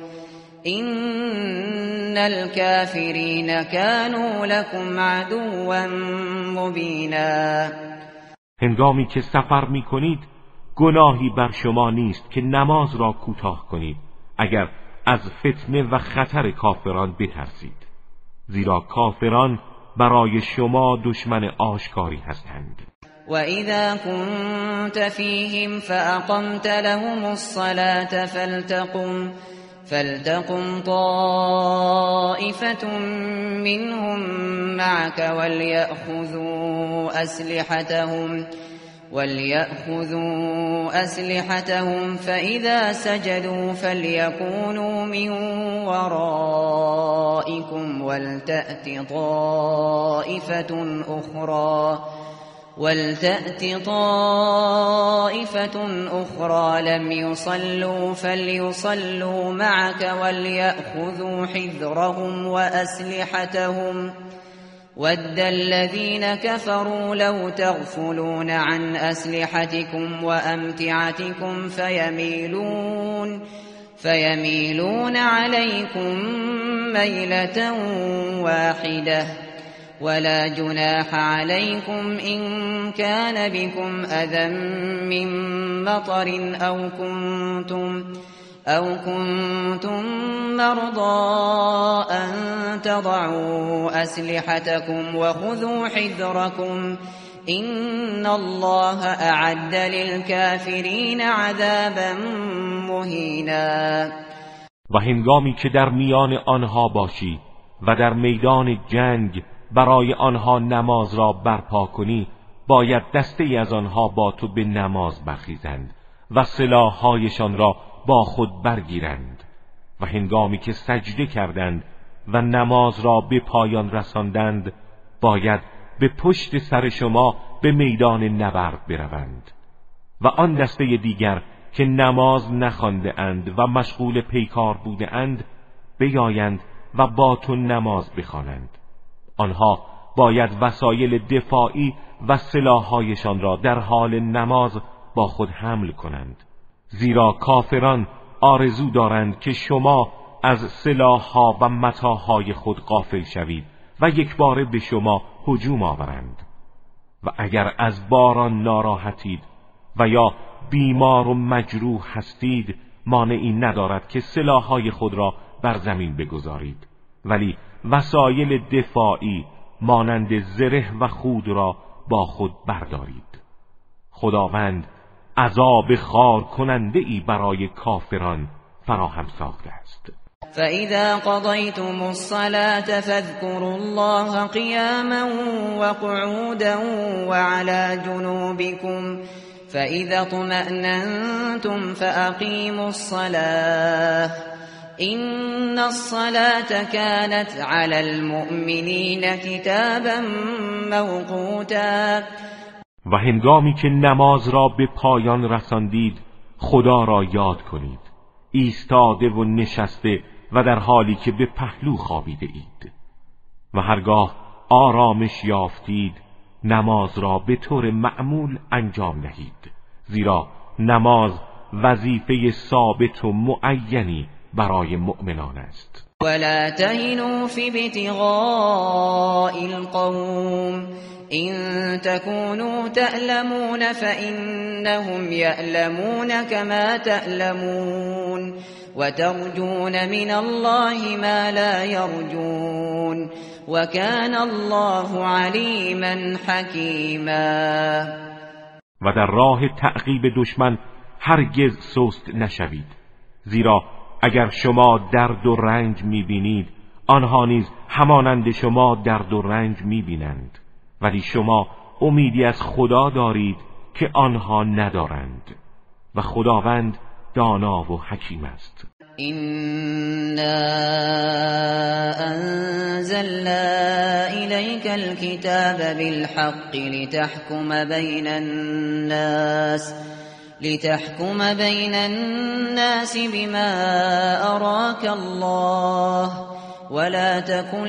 إِنَّ الْكَافِرِينَ كَانُوا لَكُمْ عَدُوًّا مُبِينًا. هنگامی که سفر می کنید گناهی بر شما نیست که نماز را کوتاه کنید اگر از فتنه و خطر کافران بترسید، زیرا کافران برای شما دشمن آشکاری هستند. وَإِذَا كُنْتَ فِيهِمْ فَأَقَمْتَ لَهُمُ الصَّلَاةَ فَلْتَقُمْ فَلْتَقُمْ طَائِفَةٌ مِّنْهُمْ مَعَكَ وَلْيَأْخُذُوا أَسْلِحَتَهُمْ وَلْيَأْخُذُوا أَسْلِحَتَهُمْ فَإِذَا سَجَدُوا فَلْيَكُونُوا مِنْ وَرَائِكُمْ وَلْتَأْتِ طَائِفَةٌ أُخْرَى وَلْتَأْتِ طَائِفَةٌ أُخْرَى لَمْ يُصَلُّوا فَلْيُصَلُّوا مَعَكَ وَلْيَأْخُذُوا حِذْرَهُمْ وَأَسْلِحَتَهُمْ وَدَّ الَّذِينَ كَفَرُوا لَوْ تَغْفُلُونَ عَنْ أَسْلِحَتِكُمْ وَأَمْتِعَتِكُمْ فَيَمِيلُونَ فَيَمِيلُونَ عَلَيْكُمْ مَيْلَةً وَاحِدَةً وَلَا جُنَاحَ عَلَيْكُمْ إِن كَانَ بِكُمْ أَذًى مِّن مَّطَرٍ أَوْ كُنتُمْ أَوْ كُنتُم مَّرْضَىٰ أَن تَضَعُوا أَسْلِحَتَكُمْ وَخُذُوا حِذْرَكُمْ إِنَّ اللَّهَ أَعَدَّ لِلْكَافِرِينَ عَذَابًا مُهِینًا. و هنگامی که در میان آنها باشی و در میدان جنگ برای آنها نماز را برپا کنی، باید دسته از آنها با تو به نماز برخیزند و سلاح‌هایشان را با خود برگیرند و هنگامی که سجده کردند و نماز را به پایان رساندند باید به پشت سر شما به میدان نبرد بروند و آن دسته دیگر که نماز نخوانده اند و مشغول پیکار بوده اند بیایند و با تو نماز بخوانند. آنها باید وسایل دفاعی و سلاح‌هایشان را در حال نماز با خود حمل کنند، زیرا کافران آرزو دارند که شما از سلاح‌ها و متاعهای خود غافل شوید و یکباره به شما هجوم آورند. و اگر از باران ناراحتید و یا بیمار و مجروح هستید مانعی ندارد که سلاح‌های خود را بر زمین بگذارید، ولی وسایل دفاعی مانند زره و خود را با خود بردارید. خداوند عذاب خار کننده ای برای کافران فراهم ساخته است. فَإِذَا قَضَيْتُمُ الصَّلَاةَ فَاذْكُرُوا اللَّهَ قِيَامًا وَقُعُودًا وَعَلَى جُنُوبِكُمْ فَإِذَا اطْمَأْنَنْتُمْ فَأَقِيمُوا الصَّلَاةَ إِنَّ الصَّلَاةَ كَانَتْ عَلَى الْمُؤْمِنِينَ كِتَابًا مَوْقُوتًا. و هنگامی که نماز را به پایان رساندید خدا را یاد کنید، ایستاده و نشسته و در حالی که به پهلو خوابیده اید، و هرگاه آرامش یافتید نماز را به طور معمول انجام دهید، زیرا نماز وظیفه ثابت و معینی برای مؤمنان است. ولا تهنوا في ابتغاء القوم إن تكونوا تألمون فإنهم يألمون كما تألمون وترجون من الله ما لا يرجون وكان الله عليما حكيما. و در راه تعقیب دشمن هرگز سست نشوید، زیرا اگر شما درد و رنج می‌بینید آنها نیز همانند شما درد و رنج می‌بینند، ولی شما امیدی از خدا دارید که آنها ندارند و خداوند دانا و حکیم است. إنا أنزلنا إليك الكتاب بالحق لتحكم بين الناس لتحكم بین الناس بما اراك الله ولا تكن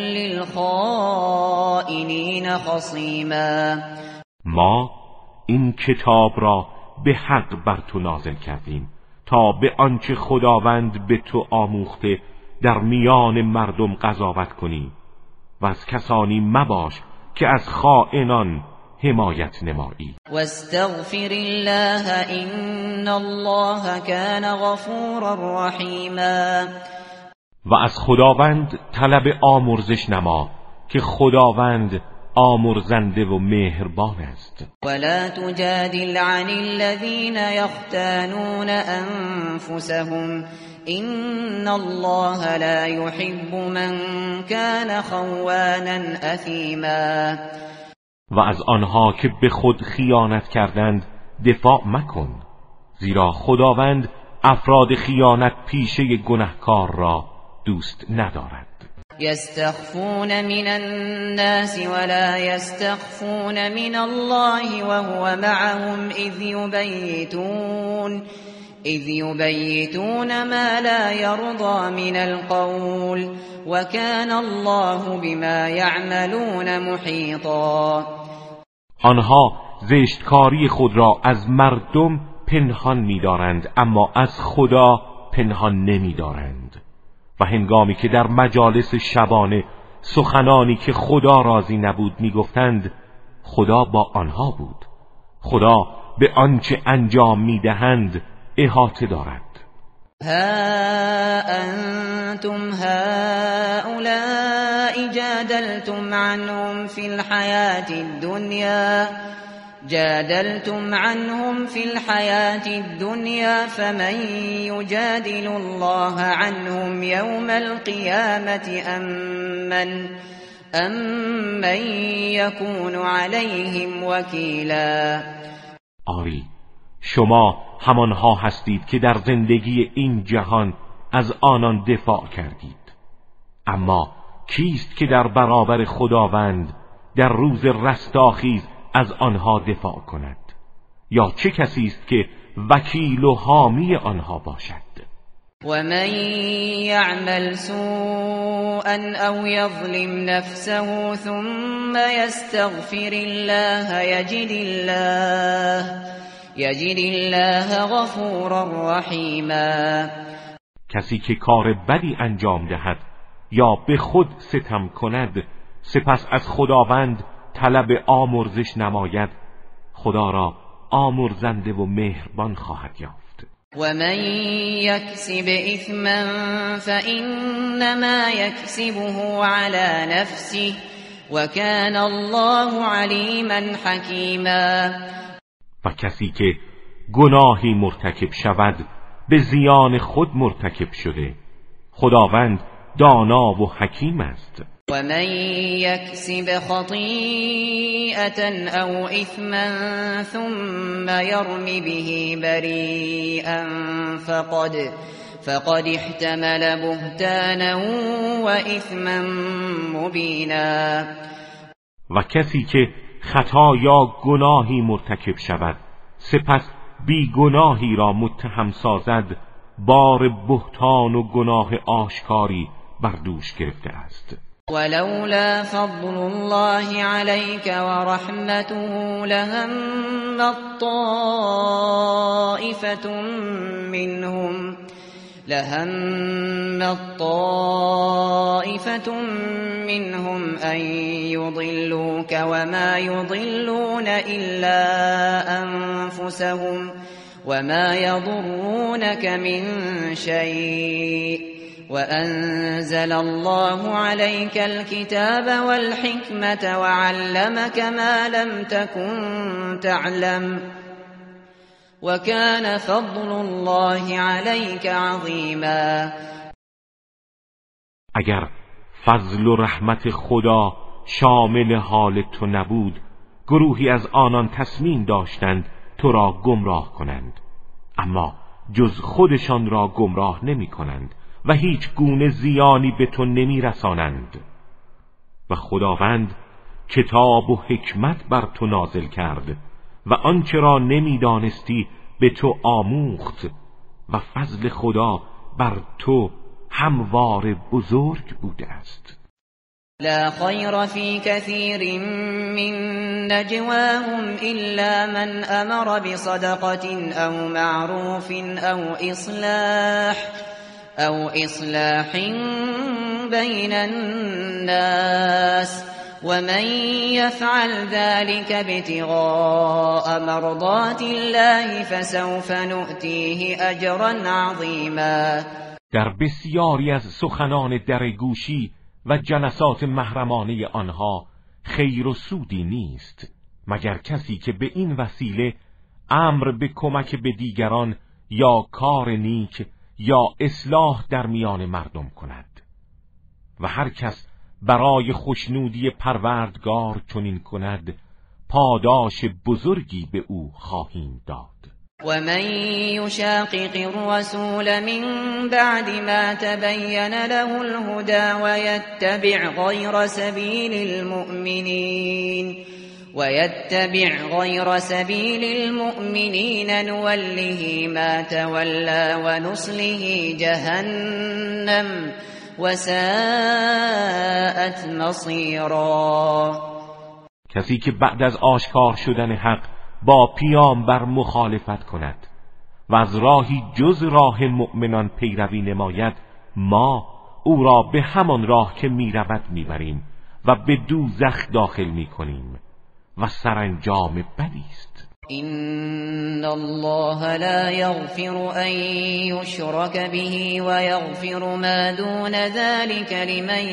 للخائنین خصیما. ما این کتاب را به حق بر تو نازل کردیم تا به آنچه خداوند به تو آموخته در میان مردم قضاوت کنی و از کسانی مباش که از خائنان حمایت نمایی. واستغفر الله ان الله کان غفورا رحیما. و از خداوند طلب آمرزش نما که خداوند آمرزنده و مهربان است. ولا تجادل عن الذين يختانون انفسهم ان الله لا يحب من كان خوانا اثیما. و از آنها که به خود خیانت کردند دفاع مکن، زیرا خداوند افراد خیانت پیشه گناهکار را دوست ندارد. یستخفون من الناس ولا یستخفون من الله وهو معهم اذ یبیتون اذ یبیتون ما لا یرضى من القول وكان الله بما یعملون محیطا. آنها زشتکاری خود را از مردم پنهان می‌دارند اما از خدا پنهان نمی‌دارند. و هنگامی که در مجالس شبانه سخنانی که خدا راضی نبود میگفتند، خدا با آنها بود. خدا به آنچه انجام میدهند احاطه دارد. ها انتم هؤلاء جادلتم عنهم فی الحیاة الدنیا جادلتم عنهم في الحياة الدنيا فمن يجادل الله عنهم يوم القيامة أم من, أم من يكون عليهم وكيلا. آری شما همانها هستید که در زندگی این جهان از آنان دفاع کردید، اما کیست که در برابر خداوند در روز رستاخیز از آنها دفاع کند؟ یا چه کسی است که وکیل و حامی آنها باشد؟ و من یعمل سوءا او یظلم نفسه ثم یستغفر الله یجد الله یجد الله غفورا رحیما. کسی که کار بدی انجام دهد یا به خود ستم کند سپس از خداوند طلب آمرزش نماید، خدا را آمرزنده و مهربان خواهد یافت. و من یکسب اثما فانما یکسبه علی نفسه و کان الله علیما حکیما. و کسی که گناهی مرتکب شود به زیان خود مرتکب شده، خداوند دانا و حکیم است. و من یکسب خطیئة او اثما ثم یرم به بریئا فقد فقد احتمل بهتانا و اثما مبینا. و کسی که خطا یا گناهی مرتکب شود سپس بی گناهی را متهم سازد، بار بهتان و گناه آشکاری بر دوش گرفته است. ولولا فضل الله عليك ورحمته لهم طائفة منهم لهم طائفة منهم أن يضلوك وما يضلون إلا أنفسهم وما يضرونك من شيء وأنزل الله عليك الكتاب والحكمة وعلمك ما لم تكن تعلم وكان فضل الله عليك عظيما. اگر فضل و رحمت خدا شامل حال تو نبود، گروهی از آنان تصمیم داشتند تو را گمراه کنند، اما جز خودشان را گمراه نمی کنند و هیچ گونه زیانی به تو نمی رسانند. و خداوند کتاب و حکمت بر تو نازل کرد و آنچه را نمی دانستی به تو آموخت و فضل خدا بر تو هموار بزرگ بوده است. لا خير في كثير من نجواهم إلا من أمر بصدقة أو معروف أو إصلاح أو إصلاح بين الناس ومن يفعل ذلك ابتغاء مرضات الله فسوف نؤتيه أجرا عظيما. در بسیاری از سخنان درگوشی و جلسات محرمانه آنها خیر و سودی نیست مگر کسی که به این وسیله امر به کمک به دیگران یا کار نیک یا اصلاح در میان مردم کند و هر کس برای خوشنودی پروردگار چنین کند پاداش بزرگی به او خواهیم داد. ومن يشاقق الرسول من بعد ما تبين له الهدى ويتبع غير سبيل المؤمنين ويتبع غير سبيل المؤمنين نوله ما تولى ونصله جهنم وساءت مصيرا. کسی که بعد از آشکار شدن حق با پیامبر مخالفت کند و از راهی جز راه مؤمنان پیروی نماید ما او را به همان راه که میرود میبریم و به دوزخ داخل میکنیم و سرانجام بدی است. إن الله لا يغفر أن يشرك به ويغفر ما دون ذلك لمن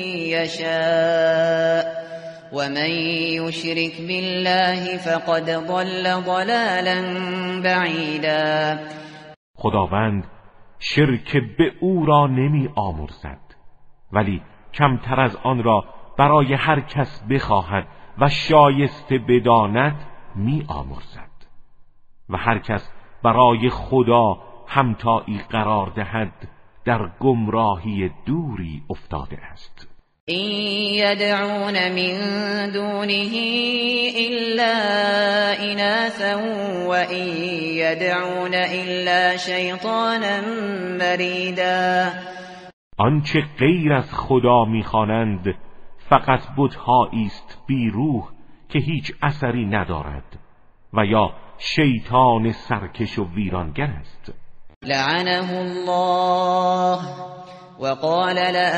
يشاء ومن يشرك بالله فقد ضل ضلالا بعیدا. خداوند شرک به او را نمی آمرزد ولی کمتر از آن را برای هر کس بخواهد و شایسته بداند می آمرزد و هر کس برای خدا همتایی قرار دهد در گمراهی دوری افتاده است. إن يدعون من دونه إلا إناثا وإن يدعون إلا شيطانا مريدا. آنچه غیر از خدا میخوانند فقط بت‌هایی است بی روح که هیچ اثری ندارد و یا شیطان سرکش و ویرانگر است. لعنه الله وقال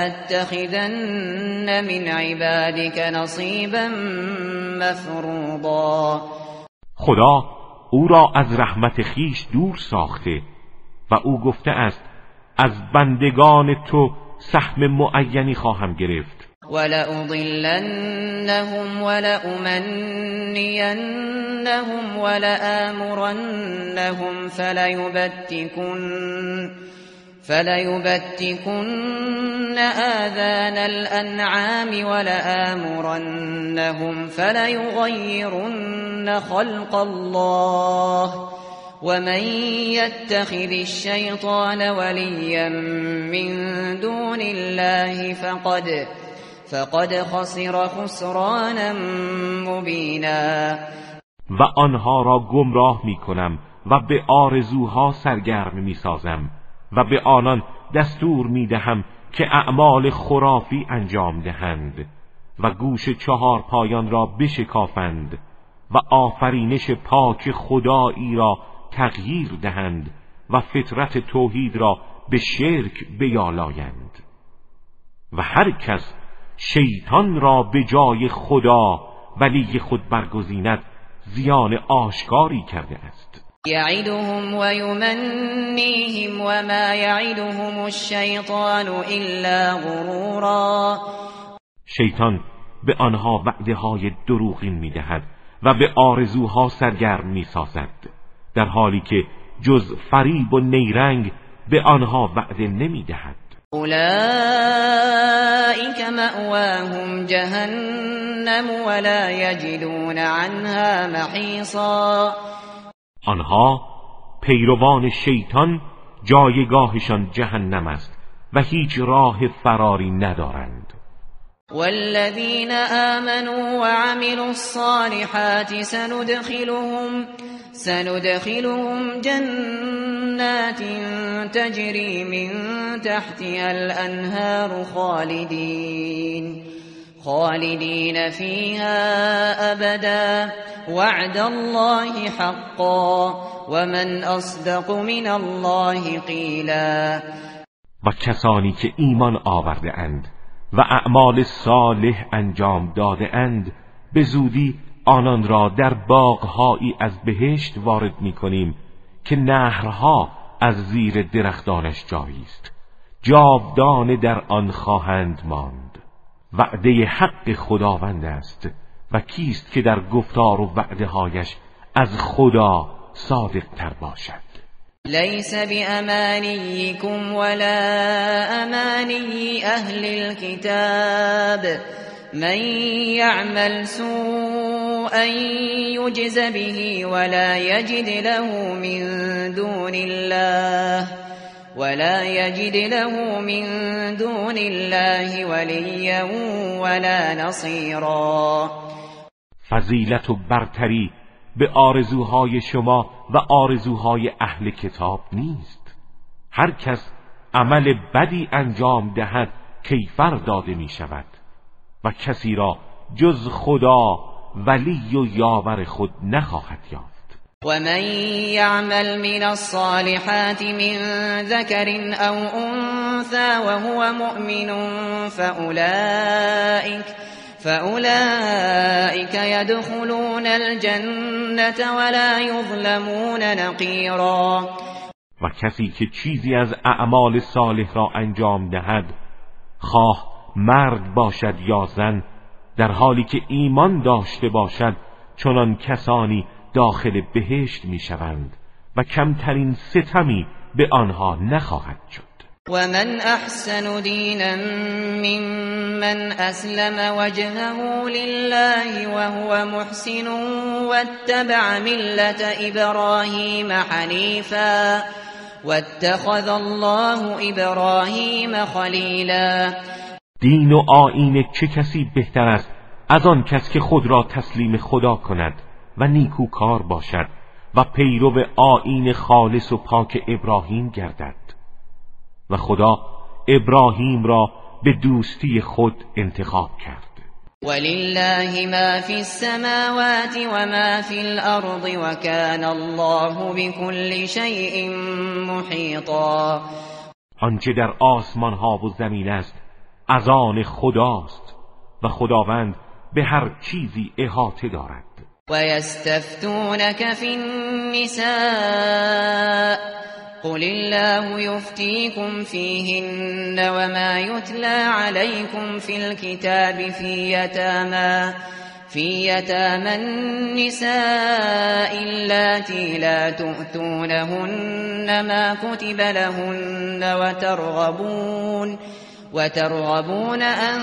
لأتخذن من عبادك نصيبا مفروضا. خدا او را از رحمت خیش دور ساخته و او گفته است از بندگان تو سهم معینی خواهم گرفت. ولأضلنهم ولأمنينهم ولآمرنهم فليبتكن فليبتكن آذان الأنعام ولآمرنهم فليغيرن خلق الله ومن يتخذ الشيطان وليا من دون الله فقد فقد خسر خسرانا مبینا. و آنها را گمراه می کنم و به آرزوها سرگرم می سازم و به آنان دستور می دهم که اعمال خرافی انجام دهند و گوش چهار پایان را بشکافند و آفرینش پاک خدایی را تغییر دهند و فطرت توحید را به شرک بیالایند و هر کس شیطان را به جای خدا ولی خود برگزیند زیان آشکاری کرده است. یعدهم و یمنیهم و ما یعدهم الشیطان الا غرورا. شیطان به آنها وعده های دروغین میدهد و به آرزوها سرگرم میسازد در حالی که جز فریب و نیرنگ به آنها وعده نمیدهد. اولئک مأواهم جهنم ولا یجدون عنها محیصا. آنها پیروان شیطان جایگاهشان جهنم است و هیچ راه فراری ندارند. والذين آمنوا وعملوا الصالحات سندخلهم سندخلهم جنات تجري من تحتها الأنهار خالدين خالدين فيها أبدا وعد الله حقا ومن أصدق من الله قیلا. و کسانی که ایمان آورده اند و اعمال صالح انجام داده اند به زودی آنان را در باغهایی از بهشت وارد می کنیم که نهرها از زیر درختانش جاری است، جاودانه در آن خواهند ماند. وعده حق خداوند است و کیست که در گفتار و وعده هایش از خدا صادق تر باشد. ليس بأمانيكم ولا أماني أهل الكتاب من يعمل سوءا يجز به ولا يجد له من دون الله ولا يجد له من دون الله وليا ولا نصيرا. فضیلت و برتری به آرزوهای شما و آرزوهای اهل کتاب نیست. هر کس عمل بدی انجام دهد کیفر داده می شود و کسی را جز خدا ولی و یاور خود نخواهد یافت. و من یعمل من الصالحات من ذکر او انثى وهو مؤمن فأولئک فأولئك يدخلون الجنة ولا يظلمون نقیرا. و کسی که چیزی از اعمال صالح را انجام دهد، خواه مرد باشد یا زن، در حالی که ایمان داشته باشد، چنان کسانی داخل بهشت میشوند و کمترین ستمی به آنها نخواهد شد. ومن احسن دینا ممن اسلم وجهه لله وهو محسن واتبع ملت ابراهیم حنیفا واتخذ الله ابراهیم خلیلا. دین و آیین چه کسی بهتر است از آن کس که خود را تسلیم خدا کند و نیکوکار باشد و پیرو آیین خالص و پاک ابراهیم گردد. و خدا ابراهیم را به دوستی خود انتخاب کرد. ولله ما فی السماوات و ما فی الارض و کان الله بكل شیء محیطا. آنچه در آسمان ها و زمین است از آن خداست و خداوند به هر چیزی احاطه دارد. و یستفتونک فی النساء قل الله يفتيكم فيهن وما يتلى عليكم في الكتاب في يتامى في يتامى النساء اللاتي لا تؤتونهن ما كتب لهن وترغبون وترغبون أن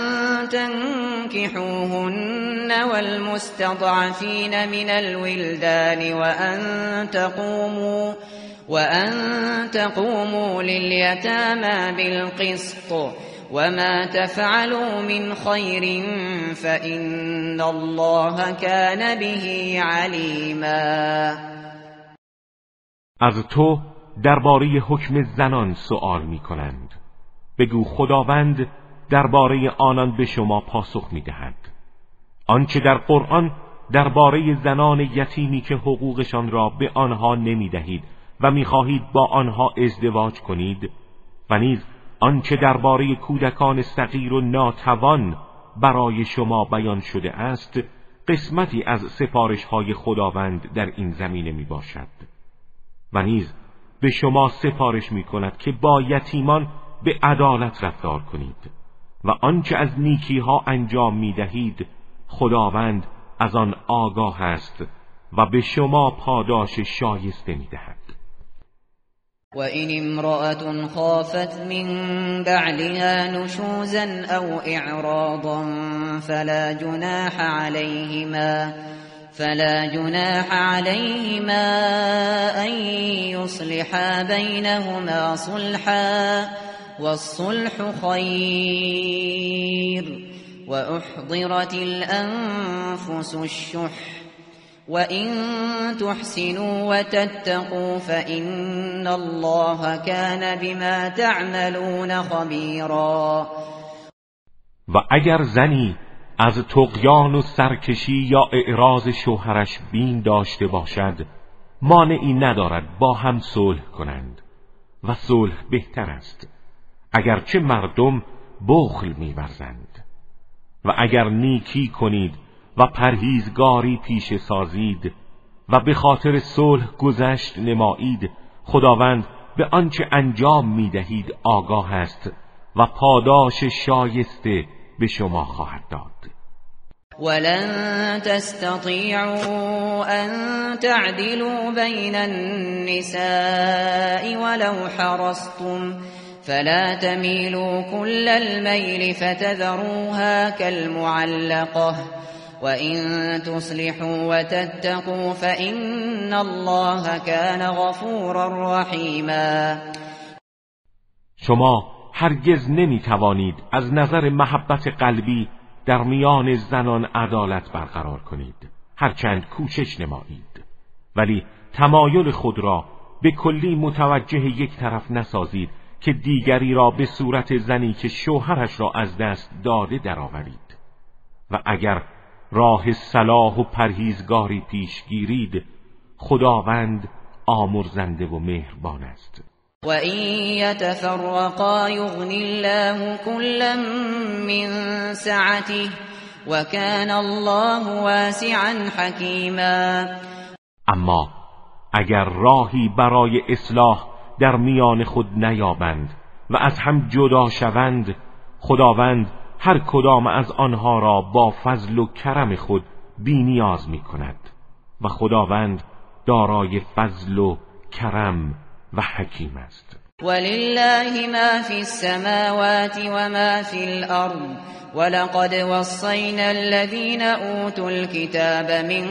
تنكحوهن والمستضعفين من الولدان وأن تقوموا وأن تقوموا لليتامى بالقسط وما تفعلوا من خير فإن الله كان به عليما. از تو درباره حکم زنان سؤال می کنند. بگو خداوند درباره آنان به شما پاسخ می دهد. آنچه در قرآن درباره زنان یتیمی که حقوقشان را به آنها نمی دهید و می‌خواهید با آنها ازدواج کنید و نیز آنچه درباره کودکان صغیر و ناتوان برای شما بیان شده است قسمتی از سفارش‌های خداوند در این زمینه میباشد. و نیز به شما سفارش می‌کند که با یتیمان به عدالت رفتار کنید و آنچه از نیکی‌ها انجام می‌دهید خداوند از آن آگاه است و به شما پاداش شایسته می‌دهد. وَإِنِ امْرَأَةٌ خَافَتْ مِنْ بَعْلِهَا نُشُوزًا أَوْ إِعْرَاضًا فَلَا جُنَاحَ عَلَيْهِمَا فَلَا جُنَاحَ عَلَيْهِمَا أَنْ يُصْلِحَا بَيْنَهُمَا صُلْحًا وَالصُّلْحُ خَيْرٌ وأحضرت الأنفس الشح وإن تحسنوا وتتقوا فإن الله كان بما تعملون خبيرا. و اگر زنی از طغیان و سرکشی یا اعراض شوهرش بین داشته باشد، مانعی ندارد با هم صلح کنند و صلح بهتر است، اگرچه مردم بخل می‌ورزند. و اگر نیکی کنید و پرهیزگاری پیش سازید و به خاطر صلح گذشت نمایید، خداوند به آنچه انجام می‌دهید آگاه است و پاداش شایسته به شما خواهد داد. ولن تستطيعوا أن تعدلوا بين النساء ولو حرصتم فلا تميلوا كل الميل فتذروها كالمعلقة وإن تصلحوا وتتقوا فإن الله كان غفورا رحيما. شما هرگز نمی توانید از نظر محبت قلبی در میان زنان عدالت برقرار کنید، هرچند کوشش نمایید، ولی تمایل خود را به کلی متوجه یک طرف نسازید که دیگری را به صورت زنی که شوهرش را از دست داده درآورید. و اگر راه صلاح و پرهیزگاری پیش گیرید، خداوند آمرزنده و مهربان است. وَإِن يَتَفَرَّقَا يُغْنِ اللَّهُ كُلًّا مِّن سَعَتِهِ وَكَانَ اللَّهُ وَاسِعًا حَكِیمًا. اما اگر راهی برای اصلاح در میان خود نیابند و از هم جدا شوند، خداوند هر کدام از آنها را با فضل و کرم خود بی نیاز می کند و خداوند دارای فضل و کرم و حکیم است. ولله ما فی السماوات و ما فی الارض ولقد وصینا الذین اوتوا الكتاب من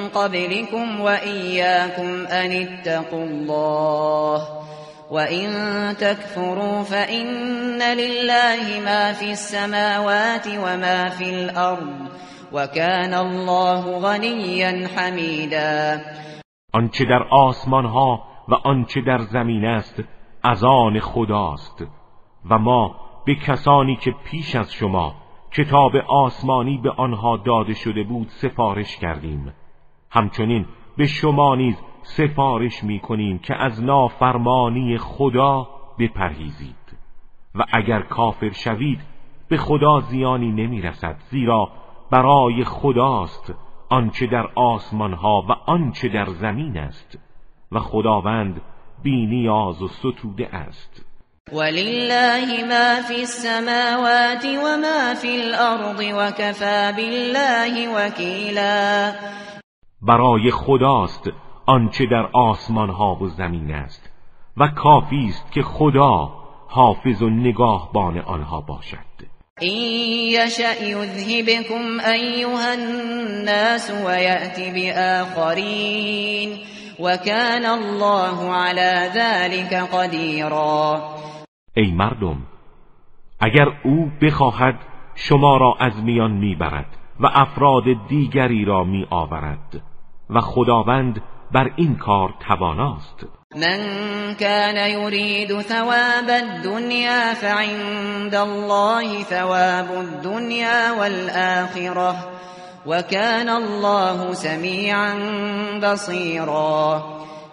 قبلكم وإياكم ان اتقوا الله وإن تكفروا فإن لله ما في السماوات وما في الأرض وكان الله غنيا حمیدا. آنچه در آسمان ها و آنچه در زمین است از آن خداست و ما به کسانی که پیش از شما کتاب آسمانی به آنها داده شده بود سفارش کردیم، همچنین به شما نیز سفارش می کنیم که از نافرمانی خدا بپرهیزید و اگر کافر شوید به خدا زیانی نمی رسد، زیرا برای خداست آنچه در آسمان ها و آنچه در زمین است و خداوند بی نیاز و ستوده است. ولله ما فی السماوات و ما فی الارض و کفی بالله وکیلا. برای خداست آنچه در آسمان ها و زمین است و کافی است که خدا حافظ و نگاهبان آنها باشد. این یشأ یذهبکم ایها الناس و یأتی بآخرین و کان الله علی ذلک قدیرا. ای مردم، اگر او بخواهد شما را از میان میبرد و افراد دیگری را می آورد و خداوند بر این کار تواناست. من كان يريد ثواب الدنيا فعند الله ثواب الدنيا والآخرة وكان الله سميعا بصيرا.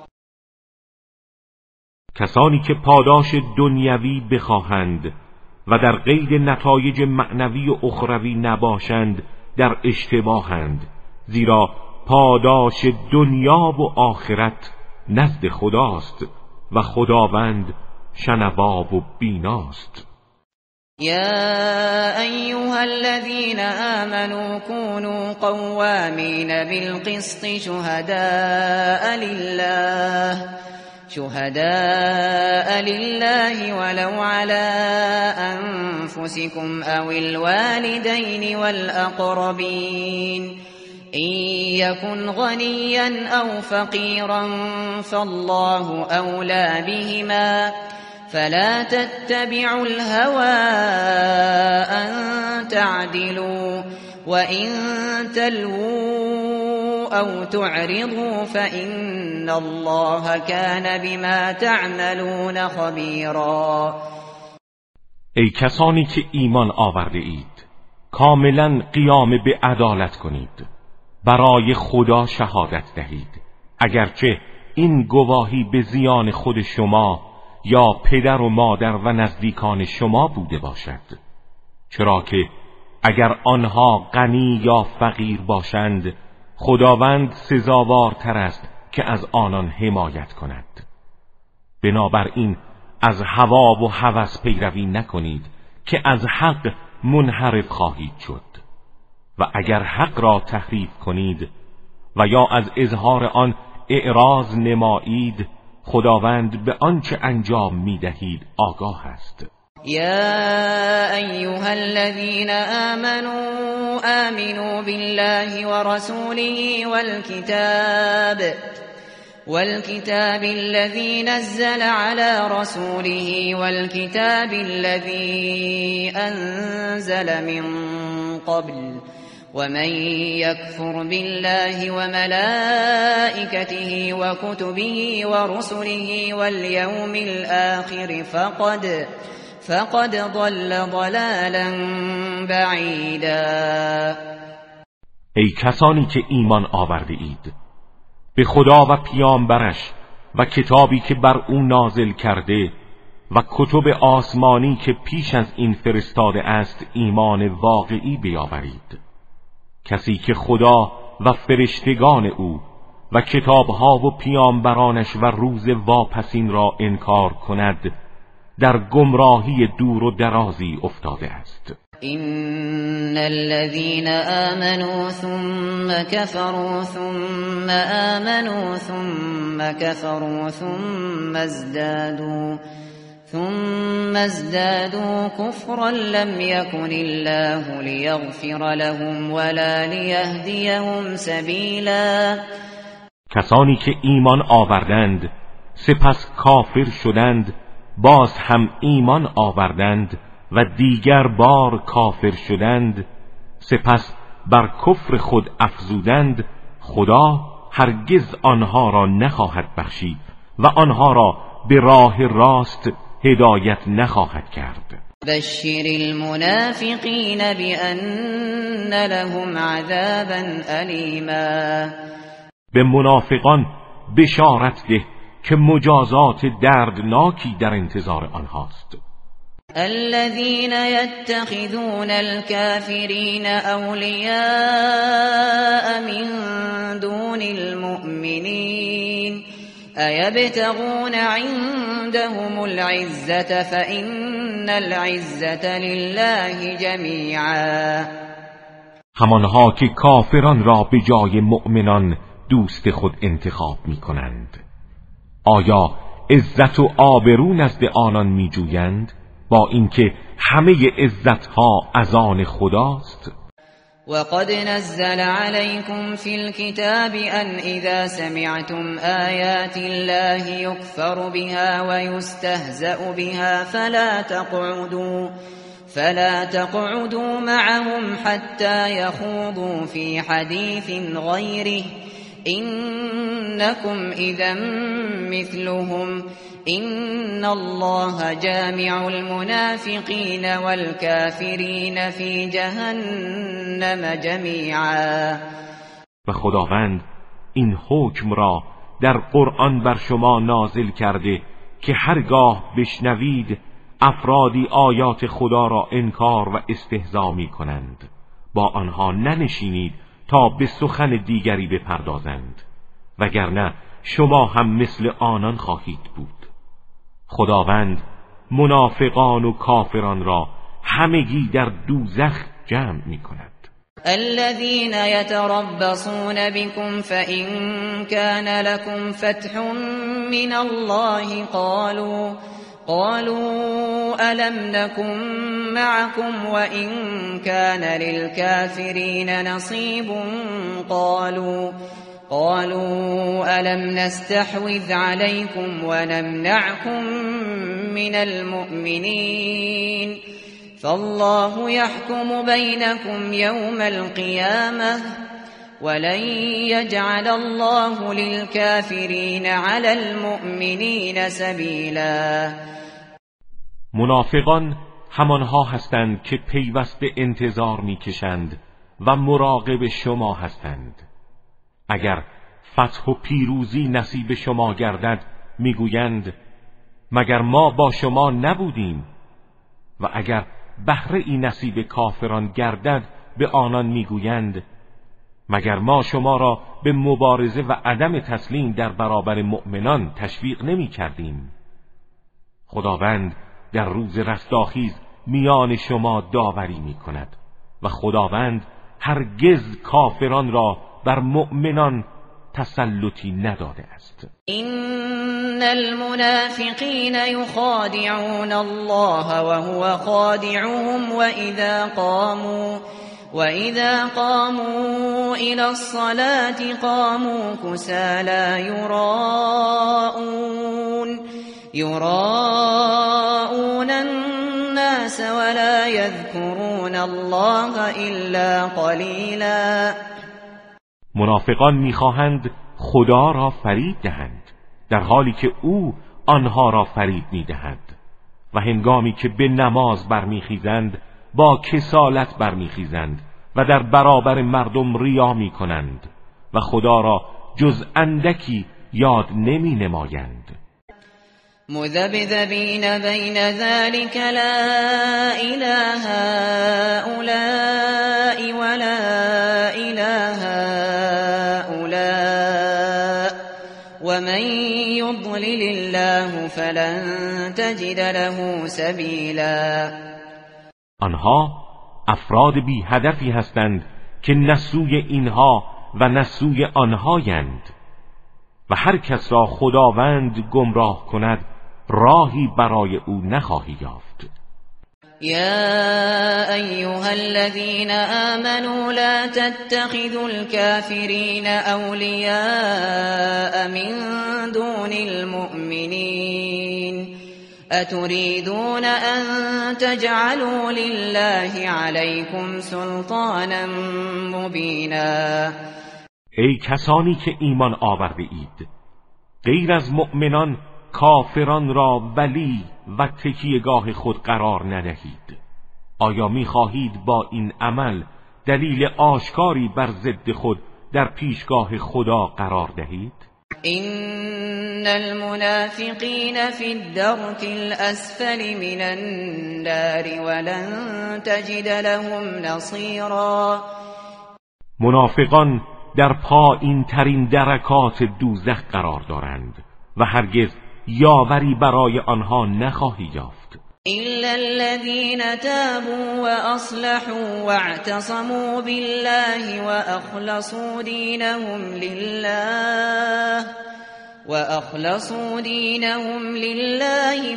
کسانی که پاداش دنیوی بخواهند و در قید نتایج معنوی و اخروی نباشند در اشتباهند، زیرا پاداش دنیا و آخرت نزد خداست و خداوند شنوا و بیناست. یا ایها الذین آمنوا كونوا قوامین بالقسط شهداء لله شهداء لله ولو على أنفسكم أو الوالدين والأقربين إن يكن غنيا أو فقيرا فالله أولى بهما فلا تتبعوا الهوى أن تعدلوا وإن تلووا أو تعرضوا فإن الله كان بما تعملون خبیرا. ای کسانی که ایمان آورده اید، کاملا قیام به عدالت کنید، برای خدا شهادت دهید، اگرچه این گواهی به زیان خود شما یا پدر و مادر و نزدیکان شما بوده باشد، چرا که اگر آنها غنی یا فقیر باشند خداوند سزاوارتر است که از آنان حمایت کند. بنابراین از هوا و هوس پیروی نکنید که از حق منحرف خواهید شد، و اگر حق را تحریف کنید و یا از اظهار آن اعراض نمایید، خداوند به آنچه انجام می‌دهید آگاه است. یا ایها الذین آمنوا آمنوا بالله ورسوله والكتاب والكتاب الذي نزل على رسوله والكتاب الذي أنزل من قبل ومن يكفر بالله وملائكته وكتبه ورسله واليوم الآخر فقد فقد ضل ضلالا بعیدا. ای کسانی که ایمان آورده اید، به خدا و پیامبرش و کتابی که بر او نازل کرده و کتب آسمانی که پیش از این فرستاده است ایمان واقعی بیاورید. کسی که خدا و فرشتگان او و کتابها و پیامبرانش و روز واپسین را انکار کند در گمراهی دور و درازی افتاده است. إن الذين آمنوا ثم كفروا ثم آمنوا ثم كفروا ثم ازدادوا ثم ازدادوا كفرا لم يكن الله ليغفر لهم ولا ليهديهم سبيلا. کسانی که ایمان آوردند سپس کافر شدند، باز هم ایمان آوردند و دیگر بار کافر شدند، سپس بر کفر خود افزودند، خدا هرگز آنها را نخواهد بخشید و آنها را به راه راست هدایت نخواهد کرد. بشر المنافقین بأن لهم عذابا ألیما. به منافقان بشارت ده که مجازات دردناکی در انتظار آنهاست. الذين يتخذون الكافرين أولياء من دون المؤمنين أيبتغون عندهم العزة فإن العزة لله جميعا. همانها که کافران را به جای مؤمنان دوست خود انتخاب می کنند، آیا عزت و آبرو نزد آنان می جویند با اینکه همه عزتها از آن خداست؟ وقد نزل عليكم في الكتاب أن إذا سمعتم آيات الله يكفر بها ويستهزأ بها فلا تقعدوا فلا تقعدوا معهم حتى يخوضوا في حديث غيره إنكم إذا مثلهم إن الله جامع المنافقين والكافرين في جهنم جميعا. و خداوند این حکم را در قرآن بر شما نازل کرده که هرگاه بشنوید افرادی آیات خدا را انکار و استهزا می کنند، با آنها ننشینید تا به سخن دیگری بپردازند، وگرنه شما هم مثل آنان خواهید بود. خداوند منافقان و کافران را همگی در دوزخ جمع می کند. الذين يتربصون بكم فإن كان لكم فتح من الله قالوا قالوا ألم نكن معكم وإن كان للكافرين نصيب قالوا قالوا ألم نستحوذ عليكم ونمنعكم من المؤمنين فالله يحكم بينكم يوم القيامة ولن يجعل الله للكافرين على المؤمنين سبیلا. منافقان همانها هستند که پیوسته انتظار میکشند و مراقب شما هستند. اگر فتح و پیروزی نصیب شما گردد میگویند مگر ما با شما نبودیم، و اگر بهره ای نصیب کافران گردد به آنان میگویند مگر ما شما را به مبارزه و عدم تسلیم در برابر مؤمنان تشویق نمی کردیم. خداوند در روز رستاخیز میان شما داوری می کند و خداوند هرگز کافران را بر مؤمنان تسلطی نداده است. این المنافقین یخادعون الله وهو خادعهم وإذا قاموا وإذا قاموا إلى الصلاة قاموا كسالى يراءون يراءون الناس ولا يذكرون الله إلا قليلا. منافقان میخواهند خدا را فریب دهند در حالی که او آنها را فریب میدهد و هنگامی که به نماز برمیخیزند با کسالت برمیخیزند و در برابر مردم ریا میکنند و خدا را جز اندکی یاد نمی نمایند. مذبذبین بین ذلك لا اله هؤلاء ولا اله هؤلاء ومن يضلل الله فلن تجد له سبیلا. آنها افراد بی هدفی هستند که نه سوی اینها و نه سوی آنهایند و هر کس را خداوند گمراه کند راهی برای او نخواهی یافت. یا ایها الذین آمنوا لا تتخذوا الكافرین اولیاء من دون المؤمنین اتريدون ان تجعلوا لله عليكم سلطانا مبینا. ای کسانی که ایمان آورده اید، غیر از مؤمنان کافران را ولی و تکیهگاه خود قرار ندهید. آیا می‌خواهید با این عمل دلیل آشکاری بر ضد خود در پیشگاه خدا قرار دهید؟ این المنافقین فی الدرک الاسفل من النار ولن تجد لهم نصیرا. منافقان در پایین ترین درکات دوزخ قرار دارند و هرگز یاوری برای آنها نخواهی یافت. إلا الذين تابوا وأصلحوا واعتصموا بالله وأخلصوا دينهم لله وأخلصوا دينهم لله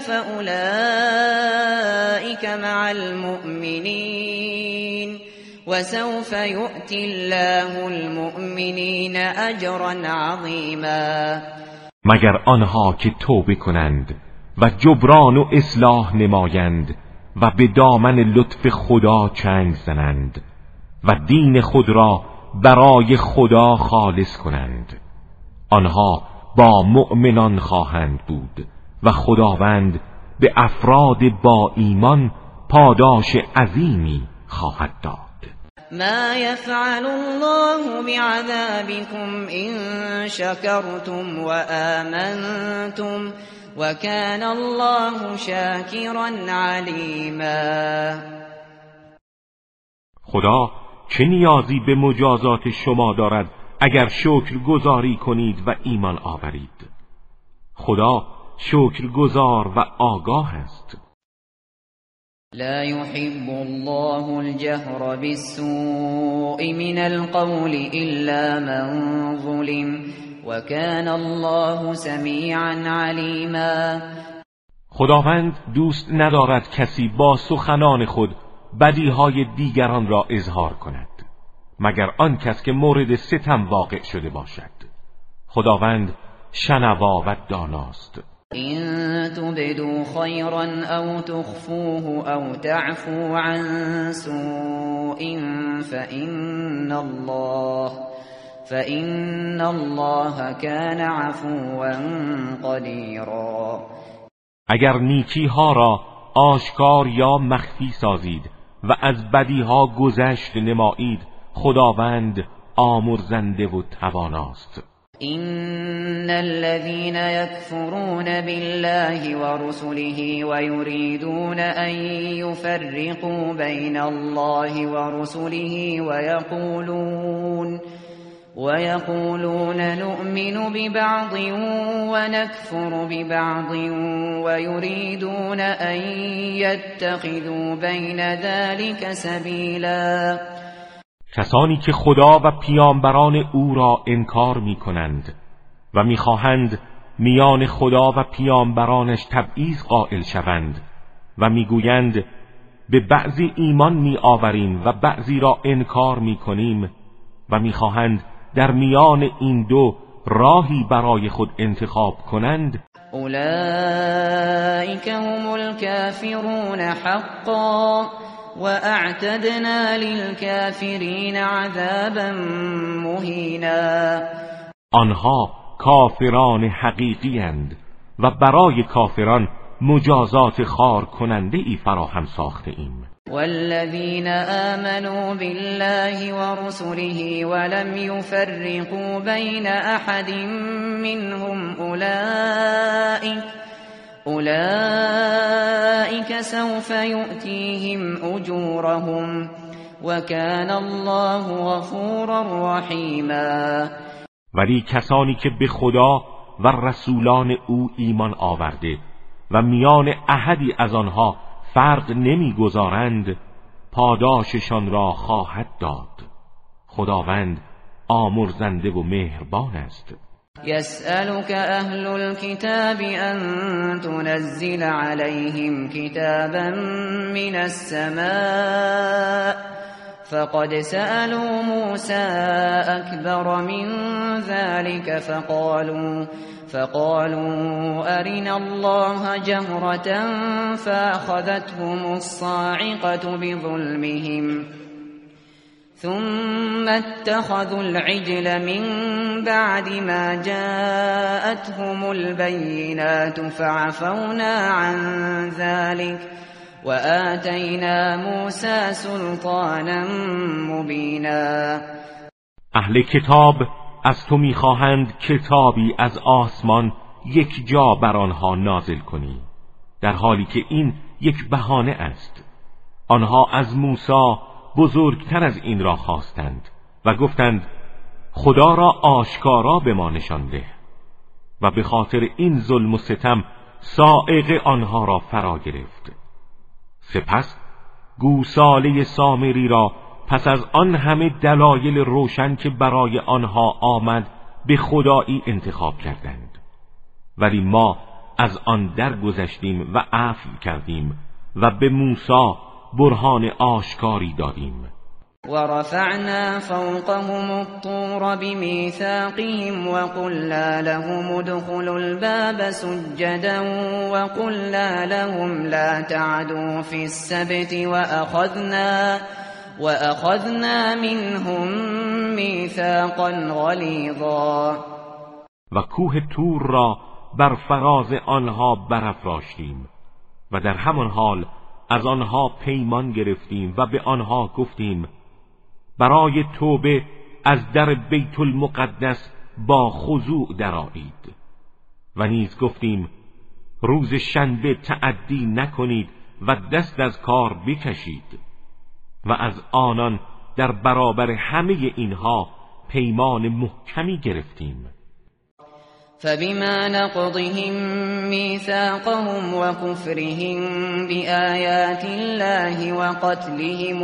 فأولئك مع المؤمنين وسوف يؤتي الله المؤمنين أجرا عظيما. مگر آنها که توبه کنند و جبران و اصلاح نمایند و به دامن لطف خدا چنگ زنند و دین خود را برای خدا خالص کنند، آنها با مؤمنان خواهند بود و خداوند به افراد با ایمان پاداش عظیمی خواهد داد. ما يفعل الله بعذابكم إن شكرتم وآمنتم وكان الله شاكرا عليما. خدا چه نیازی به مجازات شما دارد اگر شکر گزاری کنید و ایمان آورید؟ خدا شکر گزار و آگاه است. لا يحب الله الجهر بالسوء من القول إلا من ظلم وكان الله سميعا عليما. خداوند دوست ندارد کسی با سخنان خود بدیهای دیگران را اظهار کند مگر آن کس که مورد ستم واقع شده باشد. خداوند شنوا و داناست. إن تبدوا خيرا أو تخفوه أو تعفو عن سوء فإن الله فإن الله كان عفوا قدیرا. اگر نیکی ها را آشکار یا مخفی سازید و از بدی ها گذشت نمایید، خداوند آمرزنده و تواناست. إن الذين يكفرون بالله ورسله ويريدون أن يفرقوا بين الله ورسله ويقولون ويقولون نؤمن ببعض ونكفر ببعض ويريدون أن يتخذوا بين ذلك سبيلا. کسانی که خدا و پیامبران او را انکار می کنند و می خواهند میان خدا و پیامبرانش تبعیض قائل شوند و می گویند به بعضی ایمان می آوریم و بعضی را انکار می کنیم و می خواهند در میان این دو راهی برای خود انتخاب کنند، اولئک هم الکافرون حقا واعتدنا للكافرین عذابا مهینا. آنها کافران حقیقی اند و برای کافران مجازات خار کننده ای فراهم ساخته ایم. والذین آمنوا بالله ورسله ولم يفرقوا بین احد منهم اولئک اولئک سوف یؤتیهم اجورهم وکان الله غفورا رحیما. ولی کسانی که به خدا و رسولان او ایمان آورده و میان احدی از آنها فرق نمیگذارند، پاداششان را خواهد داد. خداوند آمرزنده و مهربان است. يسألك أهل الكتاب أن تنزل عليهم كتابا من السماء فقد سألوا موسى أكبر من ذلك فقالوا فقالوا أرنا الله جهرة فأخذتهم الصاعقة بظلمهم ثم اتخذوا العجل من بعد ما جاءتهم البينات فعفونا عن ذلك وآتينا موسى سلطانا مبینا. اهل کتاب از تو میخواهند کتابی از آسمان یک جا بر آنها نازل کنی، در حالی که این یک بهانه است. آنها از موسی بزرگتر از این را خواستند و گفتند خدا را آشکارا به ما نشان ده، و به خاطر این ظلم و ستم صاعقه آنها را فرا گرفت. سپس گوساله سامری را پس از آن همه دلایل روشن که برای آنها آمد به خدایی انتخاب کردند، ولی ما از آن درگذشتیم و عفو کردیم و به موسی برهان آشکاری دادیم. ورفعنا فوقهم الطور بميثاقهم وقلنا لهم ادخلوا الباب سجدا وقلنا لهم لا تعدوا في السبت وأخذنا وأخذنا منهم ميثاقا غلیظا. و کوه طور را بر فراز آنها برافراشتیم و در همان حال از آنها پیمان گرفتیم و به آنها گفتیم برای توبه از در بیت المقدس با خضوع درآیید، و نیز گفتیم روز شنبه تعدی نکنید و دست از کار بکشید، و از آنان در برابر همه اینها پیمان محکمی گرفتیم. فبما نقضهم ميثاقهم وكفرهم بآيات الله وقتلهم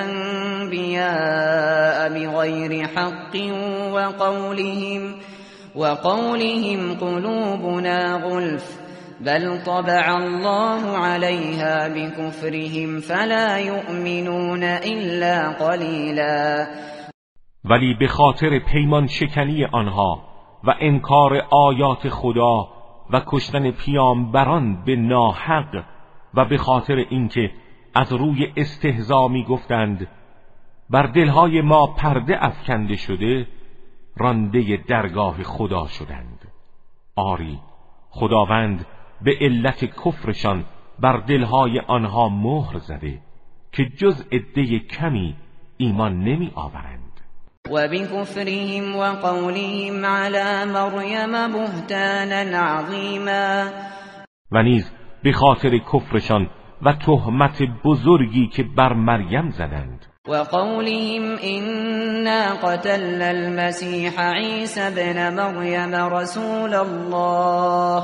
الأنبياء بغير حق وقولهم وقولهم قلوبنا غلف بل طبع الله عليها بكفرهم فلا يؤمنون إلا قليلا. ولی به خاطر پیمان شکنی آنها و انکار آیات خدا و کشتن پیامبران به ناحق و به خاطر اینکه از روی استهزا می گفتند بر دلهای ما پرده افکنده شده، رانده درگاه خدا شدند. آری، خداوند به علت کفرشان بر دلهای آنها مهر زده که جز عده کمی ایمان نمی آورند. و بکفرهم و قولهم علی مریم بهتانا عظیما، و نیز به خاطر کفرشان و تهمت بزرگی که بر مریم زدند. و قولهم انا قتلنا المسیح عیسی ابن مریم رسول الله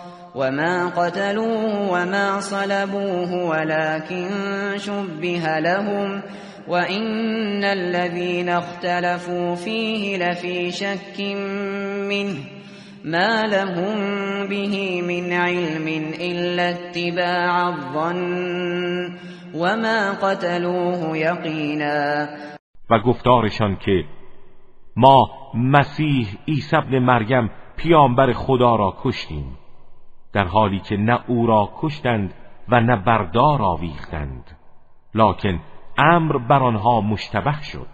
وما قتلوه وما صلبوه ولكن شبه لهم وإن الذين اختلفوا فيه لفي شك منه ما لهم به من علم إلا اتباع الظن وما قتلوه یقینا. و گفتارشان که ما مسیح عیسی ابن مریم پیامبر خدا را کشتیم، در حالی که نه او را کشتند و نه بردار آویختند، لکن امر بر آنها مشتبه شد.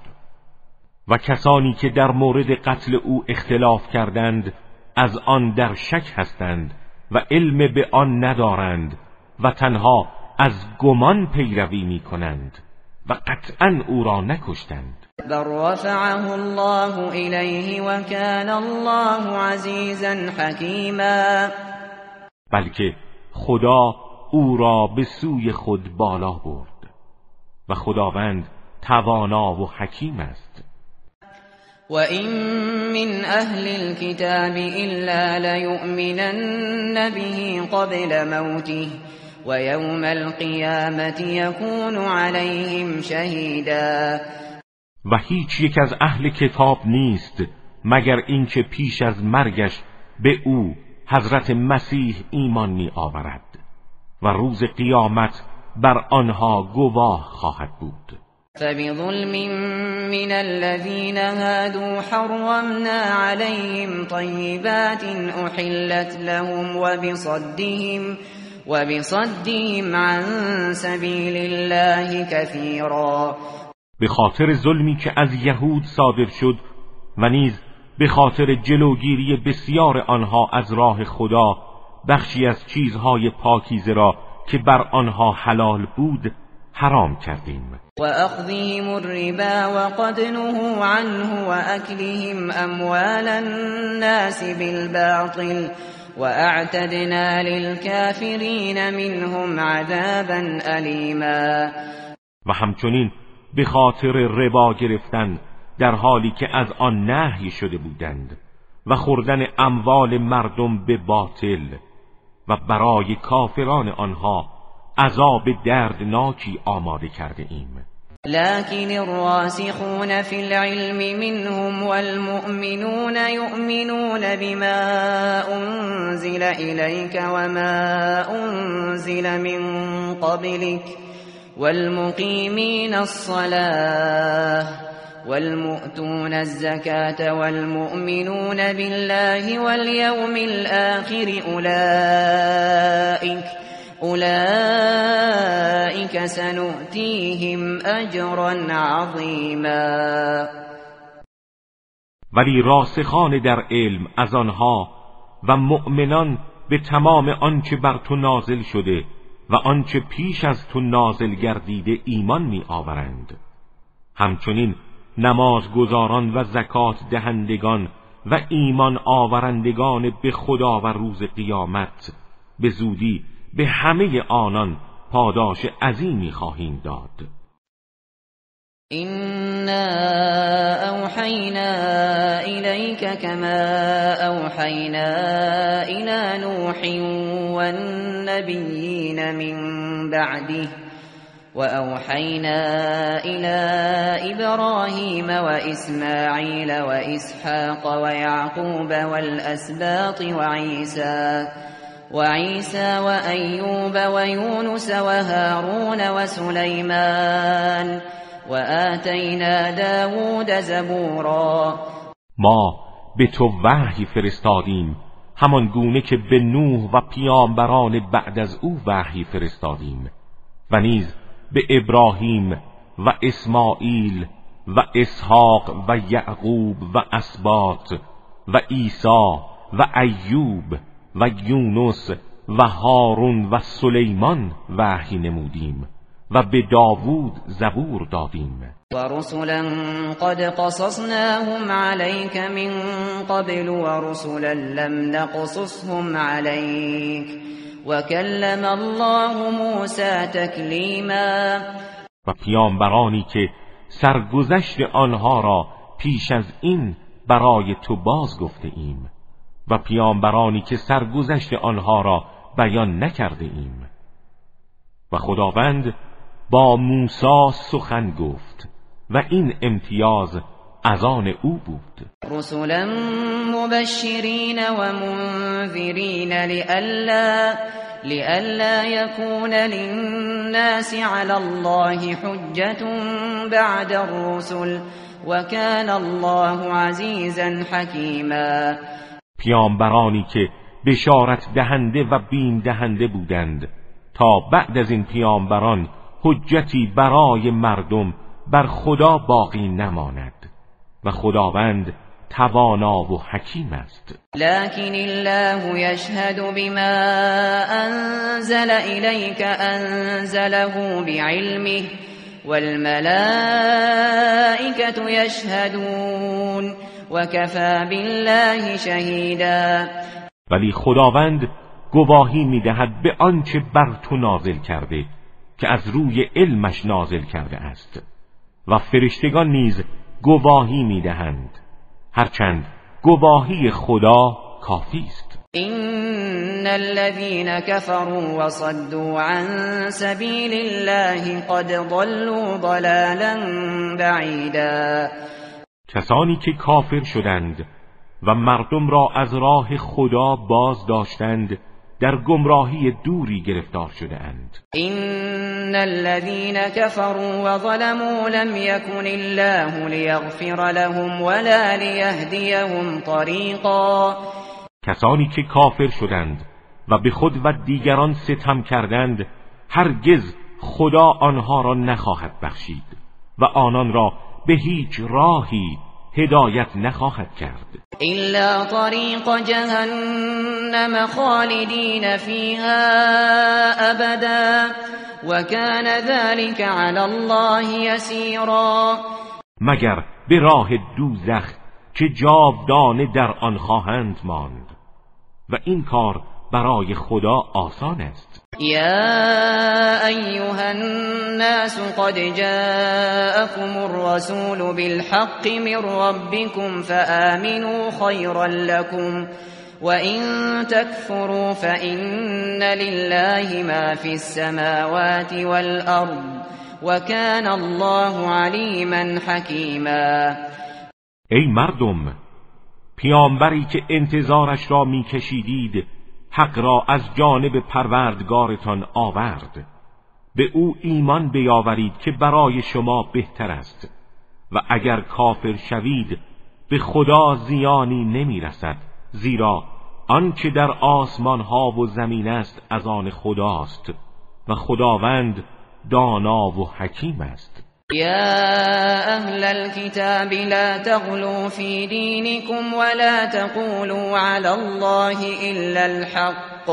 و کسانی که در مورد قتل او اختلاف کردند از آن در شک هستند و علم به آن ندارند و تنها از گمان پیروی می کنند و قطعا او را نکشتند. بل رفعه الله الیه و کان الله عزیزا حکیما، بلکه خدا او را به سوی خود بالا برد و خداوند توانا و حکیم است. و این من اهل الكتاب الا لیؤمنن به قبل موته و یوم القیامة یکون علیهم شهیدا، و هیچ یک از اهل کتاب نیست مگر اینکه پیش از مرگش به او حضرت مسیح ایمان می آورد و روز قیامت بر آنها گواه خواهد بود. فبظلم من الذين هادوا حرمنا عليهم طيبات أحلت لهم وبصدهم وبصدهم عن سبيل الله كثيرا، به خاطر ظلمی که از یهود صادر شد و نیز به خاطر جلوگیری بسیار آنها از راه خدا، بخشی از چیزهای پاکیزه را که بر آنها حلال بود حرام کردیم. و اخذهم الربا وقد نهوا عنه و اکلهم اموال الناس بالباطل و اعتدنا للكافرین منهم عذابا الیما، و همچنین به خاطر ربا گرفتن در حالی که از آن نهی شده بودند و خوردن اموال مردم به باطل، و برای کافران آنها عذاب دردناکی آماده کرده ایم. لكن الراسخون في العلم منهم والمؤمنون يؤمنون بما أنزل إليك وما أنزل من قبلك والمقيمين الصلاة والمؤتون الزكاة والمؤمنون بالله واليوم الآخر أولئك أولئك سنؤتيهم أجرا عظيما. ولی راسخان در علم از آنها و مؤمنان به تمام آنچه بر تو نازل شده و آنچه پیش از تو نازل گردیده ایمان می آورند، همچنین نمازگزاران و زکات دهندگان و ایمان آورندگان به خدا و روز قیامت به زودی به همه آنان پاداش عظیمی خواهیم داد. إنا أوحينا إليك كما أوحينا إلى نوح والنبيين من بعده وأوحينا إلى إبراهيم وإسماعيل وإسحاق ويعقوب والأسباط وعيسى وعيسى وأيوب ويونس وهارون وسليمان وآتینا داوود زبورا. ما به تو وحی فرستادیم، همان گونه که به نوح و پیامبران بعد از او وحی فرستادیم، و نیز به ابراهیم و اسماعیل و اسحاق و یعقوب و اسباط و عیسی و ایوب و یونس و هارون و سلیمان وحی نمودیم و به داوود زبور دادیم. و رسلا قد قصصناهم عليك من قبل و رسلا لم نقصصهم عليك و کلم الله موسی تکلیما. و پیامبرانی که سرگذشت آنها را پیش از این برای تو باز گفته ایم و پیامبرانی که سرگذشت آنها را بیان نکرده ایم. و خداوند با موسی سخن گفت و این امتیاز از آن او بود. رسلا مبشرین و منذرین لئلا لئلا یکون للناس علی الله حجة بعد الرسل و کان الله عزیزا حکیما. پیامبرانی که بشارت دهنده و بیم دهنده بودند تا بعد از این پیامبران حجتی برای مردم بر خدا باقی نماند و خداوند توانا و حکیم است. لكن الله يشهد بما انزل إليك انزله بعلمه والملائكة يشهدون وكفى بالله شهيدا. ولی خداوند گواهی می‌دهد به آنچه بر تو نازل کرده که از روی علمش نازل کرده است و فرشتگان نیز گواهی می‌دهند، هرچند گواهی خدا کافی است. ان الذين كفروا وصدوا عن سبيل الله قد ضلوا ضلالا بعيدا. کسانی که کافر شدند و مردم را از راه خدا باز داشتند در گمراهی دوری گرفتار شده اند. ان الذين كفروا وظلموا لم يكن الله ليغفر لهم ولا ليهديهم طريقا. کسانی که کافر شدند و به خود و دیگران ستم کردند هرگز خدا آنها را نخواهد بخشید و آنان را به هیچ راهی هدایت نخواهد کرد الا طریق جهنم خالدین فیها ابدا و کان ذلك علی الله یسیرا. مگر به راه دوزخ که جاودانه در آن خواهند ماند و این کار برای خدا آسان است. یا ایها الناس قد جاءكم الرسول بالحق من ربكم فآمنوا خيرا لكم وإن تكفروا فإن لله ما في السماوات والأرض وكان الله عليما حكيما. ای مردم، پیامبری که انتظارش را میکشیدید حق را از جانب پروردگارتان آورد، به او ایمان بیاورید که برای شما بهتر است و اگر کافر شوید به خدا زیانی نمیرسد، زیرا آنچه در آسمان ها و زمین است از آن خداست و خداوند دانا و حکیم است. يا أهل الكتاب لا تغلوا في دينكم ولا تقولوا على الله إلا الحق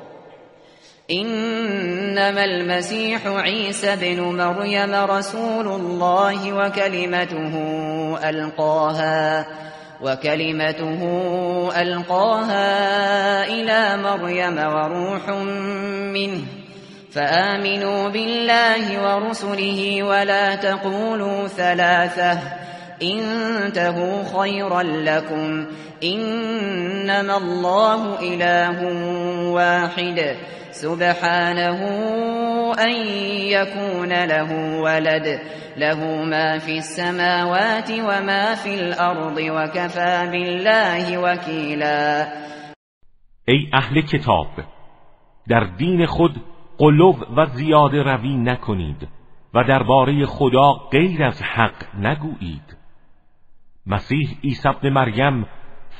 إنما المسيح عيسى بن مريم رسول الله وكلمته ألقاها وكلمته ألقاها إلى مريم وروح منه فآمنوا بالله ورسله ولا تقولوا ثلاثة انتهوا خيرا لكم إنما الله إله واحد سبحانه أن يكون له ولد له ما في السماوات وما في الأرض وكفى بالله وكيلا. ای اهل کتاب، در دین خود غلو و زیاده روی نکنید و درباره خدا غیر از حق نگویید. مسیح عیسی ابن مریم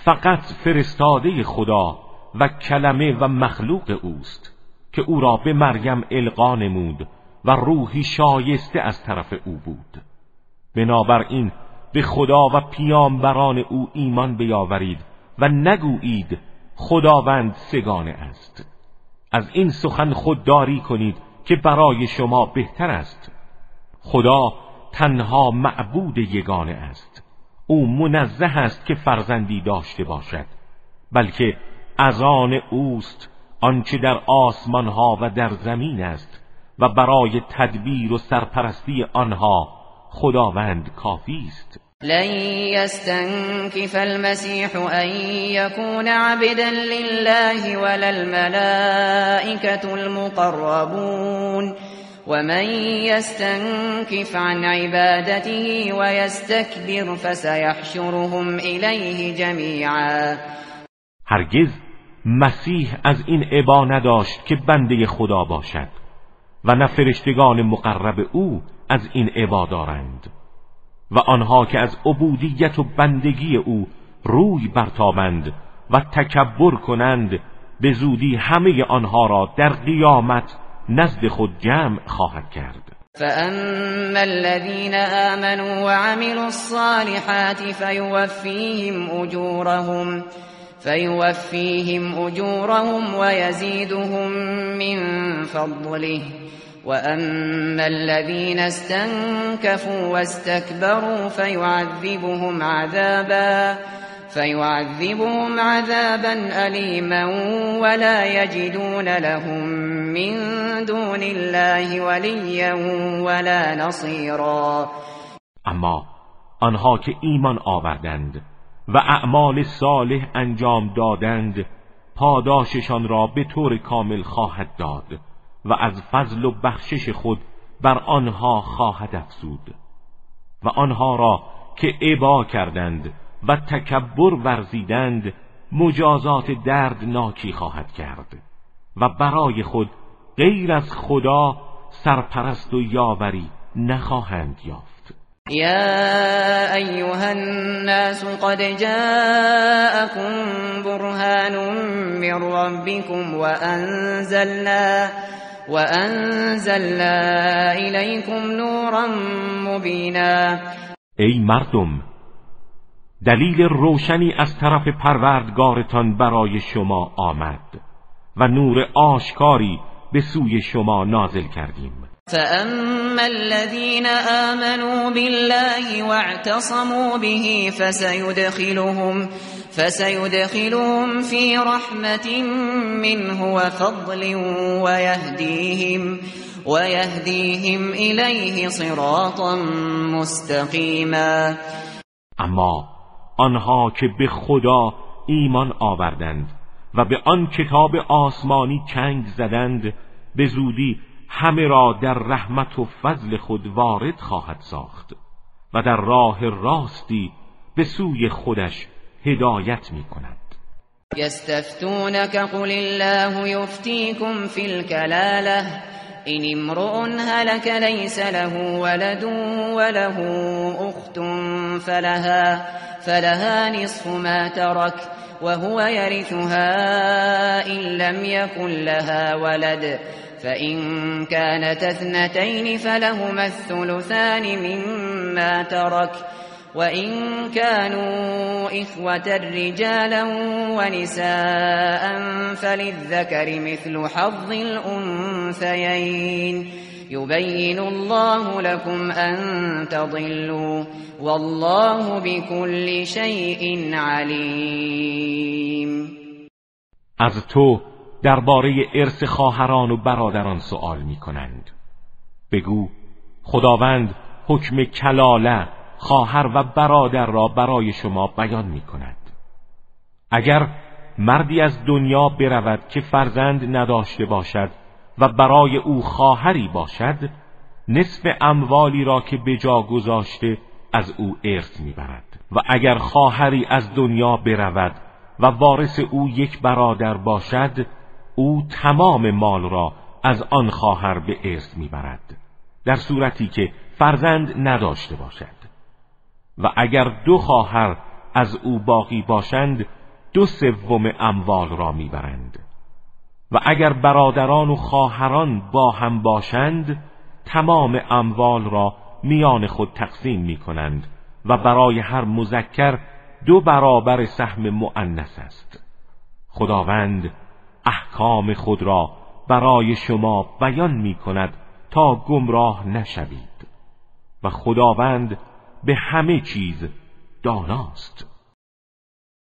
فقط فرستاده خدا و کلمه و مخلوق اوست که او را به مریم القا نمود و روحی شایسته از طرف او بود. بنابراین به خدا و پیامبران او ایمان بیاورید و نگویید خداوند سگانه است. از این سخن خودداری کنید که برای شما بهتر است. خدا تنها معبود یگانه است. او منزه است که فرزندی داشته باشد، بلکه از آن اوست آنچه در آسمان ها و در زمین است و برای تدبیر و سرپرستی آنها خداوند کافی است. لن يستنكف المسيح أن يكون عبدا لله ولا الملائكة المقربون ومن يستنكف عن عبادته ويستكبر فسيحشرهم إليه جميعا. هرگز مسیح از این ابا نداشت که بنده خدا باشد و نه فرشتگان مقرب او از این ابا دارند، و آنها که از عبودیت و بندگی او روی برتابند و تکبر کنند به زودی همه آنها را در قیامت نزد خود جمع خواهد کرد. فأما الذين آمنوا وعملوا الصالحات فيوفيهم أجورهم فيوفيهم أجورهم ويزيدهم من فضله وأما الذين استنكفوا واستكبروا فيعذبهم عذابا فيعذبهم عذابا أليما ولا يجدون لهم من دون الله وليا ولا نصيرا. اما آنها که ایمان آوردند و اعمال صالح انجام دادند پاداششان را به طور کامل خواهد داد و از فضل و بخشش خود بر آنها خواهد افزود، و آنها را که ابا کردند و تکبر ورزیدند مجازات دردناکی خواهد کرد و برای خود غیر از خدا سرپرست و یاوری نخواهند یافت. يا أيها الناس قد جاءكم برهان من ربكم وأنزلنا وأنزلنا إليكم نورا مبینا. ای مردم، دلیل روشنی از طرف پروردگارتان برای شما آمد و نور آشکاری به سوی شما نازل کردیم. فأما الذين آمنوا بالله واعتصموا به فسيدخلهم فسيدخلهم في رحمة منه وفضل ويهديهم ويهديهم إليه صراطا مستقيما. اما آنها که به خدا ایمان آوردند و به آن کتاب آسمانی چنگ زدند به زودی همه را در رحمت و فضل خود وارد خواهد ساخت و در راه راستی به سوی خودش هدایت می کند. یستفتونک قل الله یفتیکم فی الکلاله این امرؤ هلك لیس له ولد وله اخت فلها فلها نصف ما ترك وهو يرثها إن لم يكن لها ولد فإن كانت اثنتين فلهما الثلثان مما ترك وإن كانوا إخوة رجالا ونساء فللذكر مثل حظ الأنثيين يبين الله لكم أن تضلوا والله بكل شيء عليم. از تو درباره ارث خواهران و برادران سؤال می کنند. بگو خداوند حکم کلاله خواهر و برادر را برای شما بیان می کند. اگر مردی از دنیا برود که فرزند نداشته باشد و برای او خواهری باشد، نصف اموالی را که به جا گذاشته از او ارث می برد. و اگر خواهری از دنیا برود و وارث او یک برادر باشد، او تمام مال را از آن خواهر به ارث میبرد در صورتی که فرزند نداشته باشد. و اگر دو خواهر از او باقی باشند دو سوم اموال را میبرند و اگر برادران و خواهران با هم باشند تمام اموال را میان خود تقسیم میکنند و برای هر مذکر دو برابر سهم مؤنث است. خداوند احکام خود را برای شما بیان میکند تا گمراه نشوید و خداوند به همه چیز داناست.